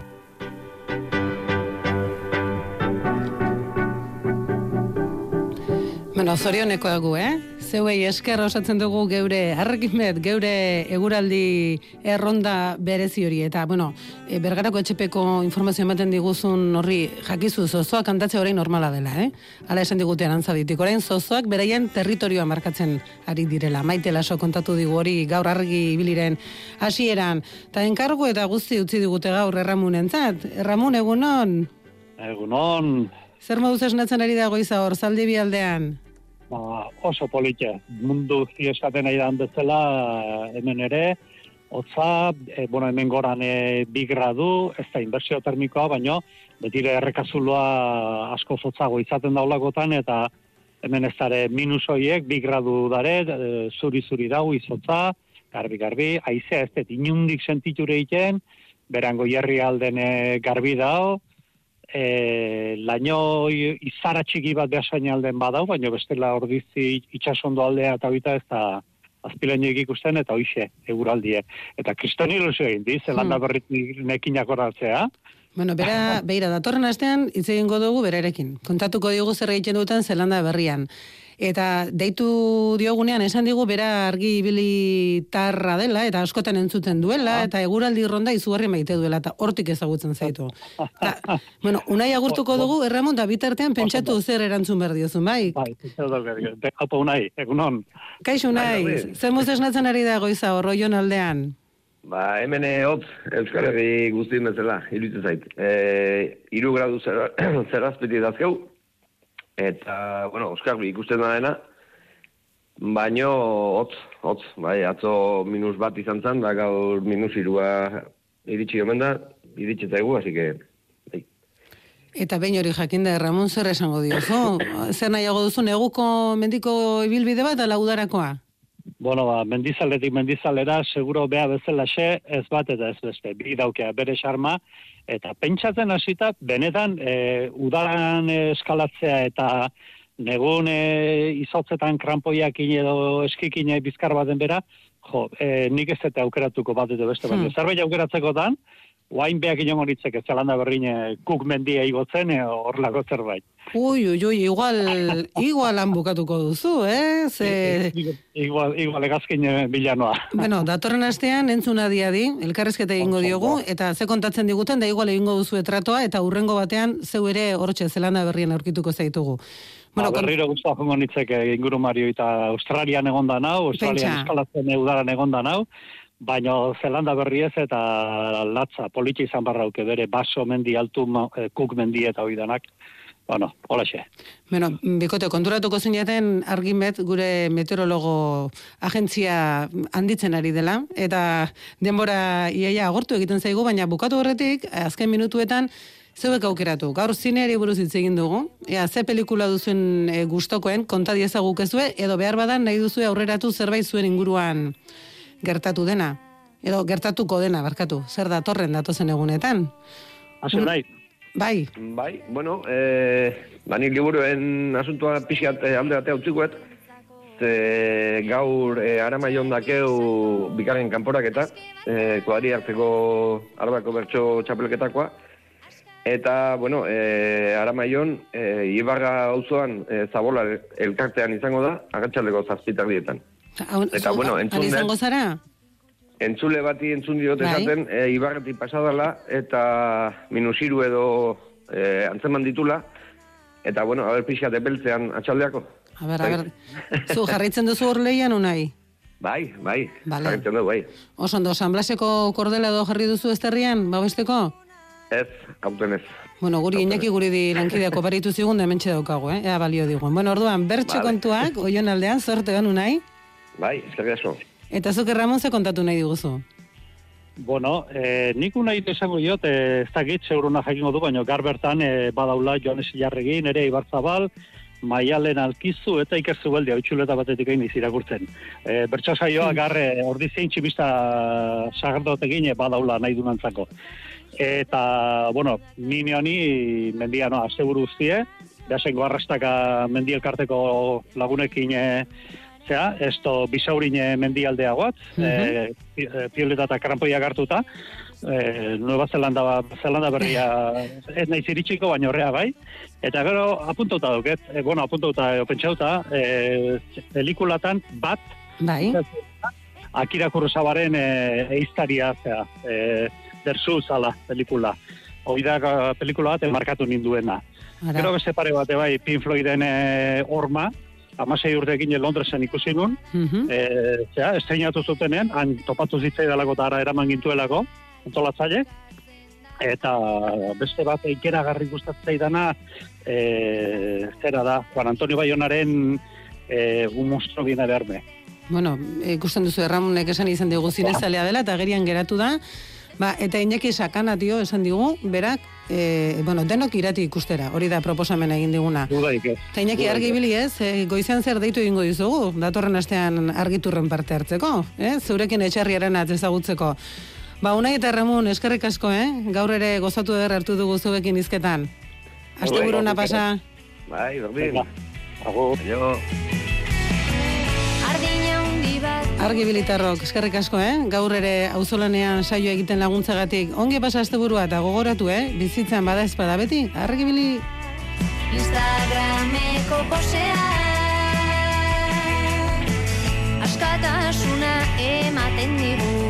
Bueno, zorioneko egu, eh? Zeuei esker osatzen dugu geure arrekimet, geure eguraldi erronda berezi hori. Eta, bueno, e, Bergarako etxepeko informazio ematen diguzun horri jakizu zozoak kantatzea orain normala dela, eh? Hala esan digute arantzaditik. Orain zozoak beraien territorioa markatzen ari direla. Maite Laso kontatu digu hori gaur argi ibiliren hasieran. Ta enkargu eta guzti utzi digute gaur Erramunentzat. Erramun, egunon? Egunon. Zer moduz esnatzen ari da goiza hor, Zaldibi aldean? Ba, oso politxe. Mundu esaten nahi dan bezala hemen ere, hotza, e, bueno, hemen goran e, bi gradu, ez da inbertsio termikoa, baino, betire errekazuloa asko zotzago izaten daulakotan, eta hemen ez dara minus horiek, bi gradu dare, e, zuri-zuri dau, izotza, garbi-garbi, haizea ez dut inundik sentiture egiten, berango jarri alden e, garbi dau, E, laino izara txiki bat behasain alden badau, baina bestela ordizi itxasondo aldea eta bita ez da azpilainoik ikusten eta hoixe eguraldie. Eta kriston ilusio egin di, Zelanda hmm. berrit nekinak horatzea. Bueno, bera, beira, datorren astean hitz egingo dugu berarekin. Kontatuko diogu zer egiten duten Zelanda berrian. Eta deitu diogunean esan digu bera argi ibilitarra dela eta askotan entzuten duela eta eguraldi ronda izugarri maite duela eta hortik ezagutzen zaitu. Ta, bueno, unai agurtuko dugu, Erramon, da bitartean pentsatu zer erantzun behar diozun, bai? Bai, haupa unai, egunon. Kaixo unai, zer muz esnatzen ari da goiza horroion aldean? Ba, hemen hotz, Euskal Herri guztien bezala, iruditzen zait. E, iru gradu zerazpeti dazkeu, eta, bueno, Euskarbi ikusten da dena, baino hotz, hotz, bai, atzo minus bat izan zen, da gaur minus irua iritsi omen da, iritsi zaigu, hasi que, bai. Eta behin hori jakinda, Ramon, zer esango diozu? Zer nahiago duzu, neguko mendiko ibilbide bat, ala udarakoa? Bueno, ba, mendizaletik mendizalera, seguro beha bezalaxe, ez bat eta ez beste, bi daukea bere xarma, eta pentsatzen hasita benetan, e, udaran eskalatzea eta negun e, izotzetan krampoiakin edo eskikin bizkar baten bera, jo, e, nik ez eta aukeratuko bat edo beste, baina hmm. zerbait aukeratzekotan, oain behak inongo nitzeke Zelanda berrine kuk mendia igotzen, e, horlako zerbait. Ui, ui, ui, igual, igual han bukatuko duzu, eh? Ze... Igual, igual egazkin bilanoa. Bueno, datorren astean entzuna diadi, elkarrezketa egingo diogu, eta ze kontatzen diguten, da igual egingo duzu etratoa, eta hurrengo batean zeu ere hortxe Zelanda berrien aurkituko zaitugu. Bueno, ba, berriro guztua jongo nitzeke inguru Mario eta Australian egonda nau, Australian eskalatzen udaran egonda nau, baina Zelanda berriez eta latza, politi izan barrauke bere baso mendi altu, kuk mendi eta oidanak. Bueno, hola xe. Bueno, bikote, konturatuko zineten argimet gure meteorologo agentzia handitzen ari dela, eta denbora iaia agortu egiten zaigu, baina bukatu horretik, azken minutuetan, zeuek aukeratu. Gaur zineari buruz hitz egin dugu, ea, ze pelikula duzuen e, gustokoen, konta diezaguk ezue, edo behar badan nahi duzue aurreratu zerbait zuen inguruan gertatu dena, edo gertatuko dena, barkatu, zer datorren datozen egunetan. Hase nahi. Bai. Bai, bueno, eh, bani liburuen asuntua pixkat eh, alde batea utzikuet, ze gaur eh, Aramaion dakeu bigarren kanporaketa, eh, kuadri hartzeko Arabako bertso txapelketakoa, eta, bueno, eh, Aramaion, eh, Ibarra auzoan eh, Zabola elkartean izango da, agatxaldeko zazpitak dietan. Eta, bueno, entzun izango zara? Entzule bati entzun diot esaten, e, Ibarretik pasadala, eta minusiru edo e, antzeman ditula, eta, bueno, haber pixkat epeltzean atxaldeako. A ber, a ber, zu jarritzen duzu hor lehian unai? Bai, bai, vale. Jarritzen dugu, bai. Oso ondo, San Blaseko kordela edo jarri duzu esterrian, babesteko? Ez, hauten ez. Bueno, guri Iñaki guri di lankideako baritu zigun, da hementxe daukagu, eh? Ea balio digun. Bueno, orduan, bertxe vale. Kontuak, oion aldean, zorte gan unai? Bai, eskerrik asko. Eta zuke Ramon ze kontatu nahi diguzu? Bueno, eh, nik unai esango diot, eh, ez dakit zeuruna jakingo du, baina gar bertan eh, badaula Joanes Ilarregin, ere Ibarzabal, Maialen Alkizu eta Iker Zubeldi hautxuleta batetik egin irakurtzen. E, Bertso saioa garre ordizien tximista sagardotekin badaula nahi dunantzako. Eta, bueno, nini honi mendia no, asteburu guztie, behasengo arrastaka mendielkarteko lagunekin e, zera, esto bisaurine mendialdeagoat, uh -huh. e, pioleta eta karampoiak hartuta, e, Nueva Zelanda, Zelanda berria ez nahi ziritxiko, baina horrea bai. Eta gero apuntauta duket, e, bueno, apuntauta e, pentsauta, e, pelikulatan bat, bai. Akira Kurosawaren e, eiztaria, zera, e, dersu zala pelikula. Hoi da pelikula bat markatu ninduena. Ara. Gero beste pare bate bai, Pink Floyden e, Orma, amasei urtekin Londresen ikusi nun, uh-huh. e, zera, estreinatu zutenean, han topatu zitzai dalako eta ara eraman gintuelako, antolatzaile, eta beste bat ikeragarri gustatzei dana, e, zera da, Juan Antonio Bayonaren e, un monstruo viene a verme. Bueno, ikusten duzu Erramunek esan izan digu zinezalea dela, eta gerian geratu da, ba, eta Iñaki Sakana, tio, esan digu, berak, e, bueno, denok irati ikustera, hori da proposamena egin diguna. Dudaik ez. Eta Iñaki argi bili ez, e, goizean zer deitu egingo dizugu, datorren astean argiturren parte hartzeko, eh? Zurekin etxarriaren ezagutzeko. Ba, Unai eta Ramon, eskerrik asko, eh? Gaur ere gozatu eder hartu dugu zuekin izketan. Asteburuna pasa. Bai, berdin. Agur. Aio. Argi Bilitarrok, eskerrik asko, eh? Gaur ere auzolanean saio egiten laguntzagatik. Ongi pasa asteburua eta gogoratu, eh? Bizitzan bada espada beti. Argi Bili. Instagrameko posea askatasuna ematen digu.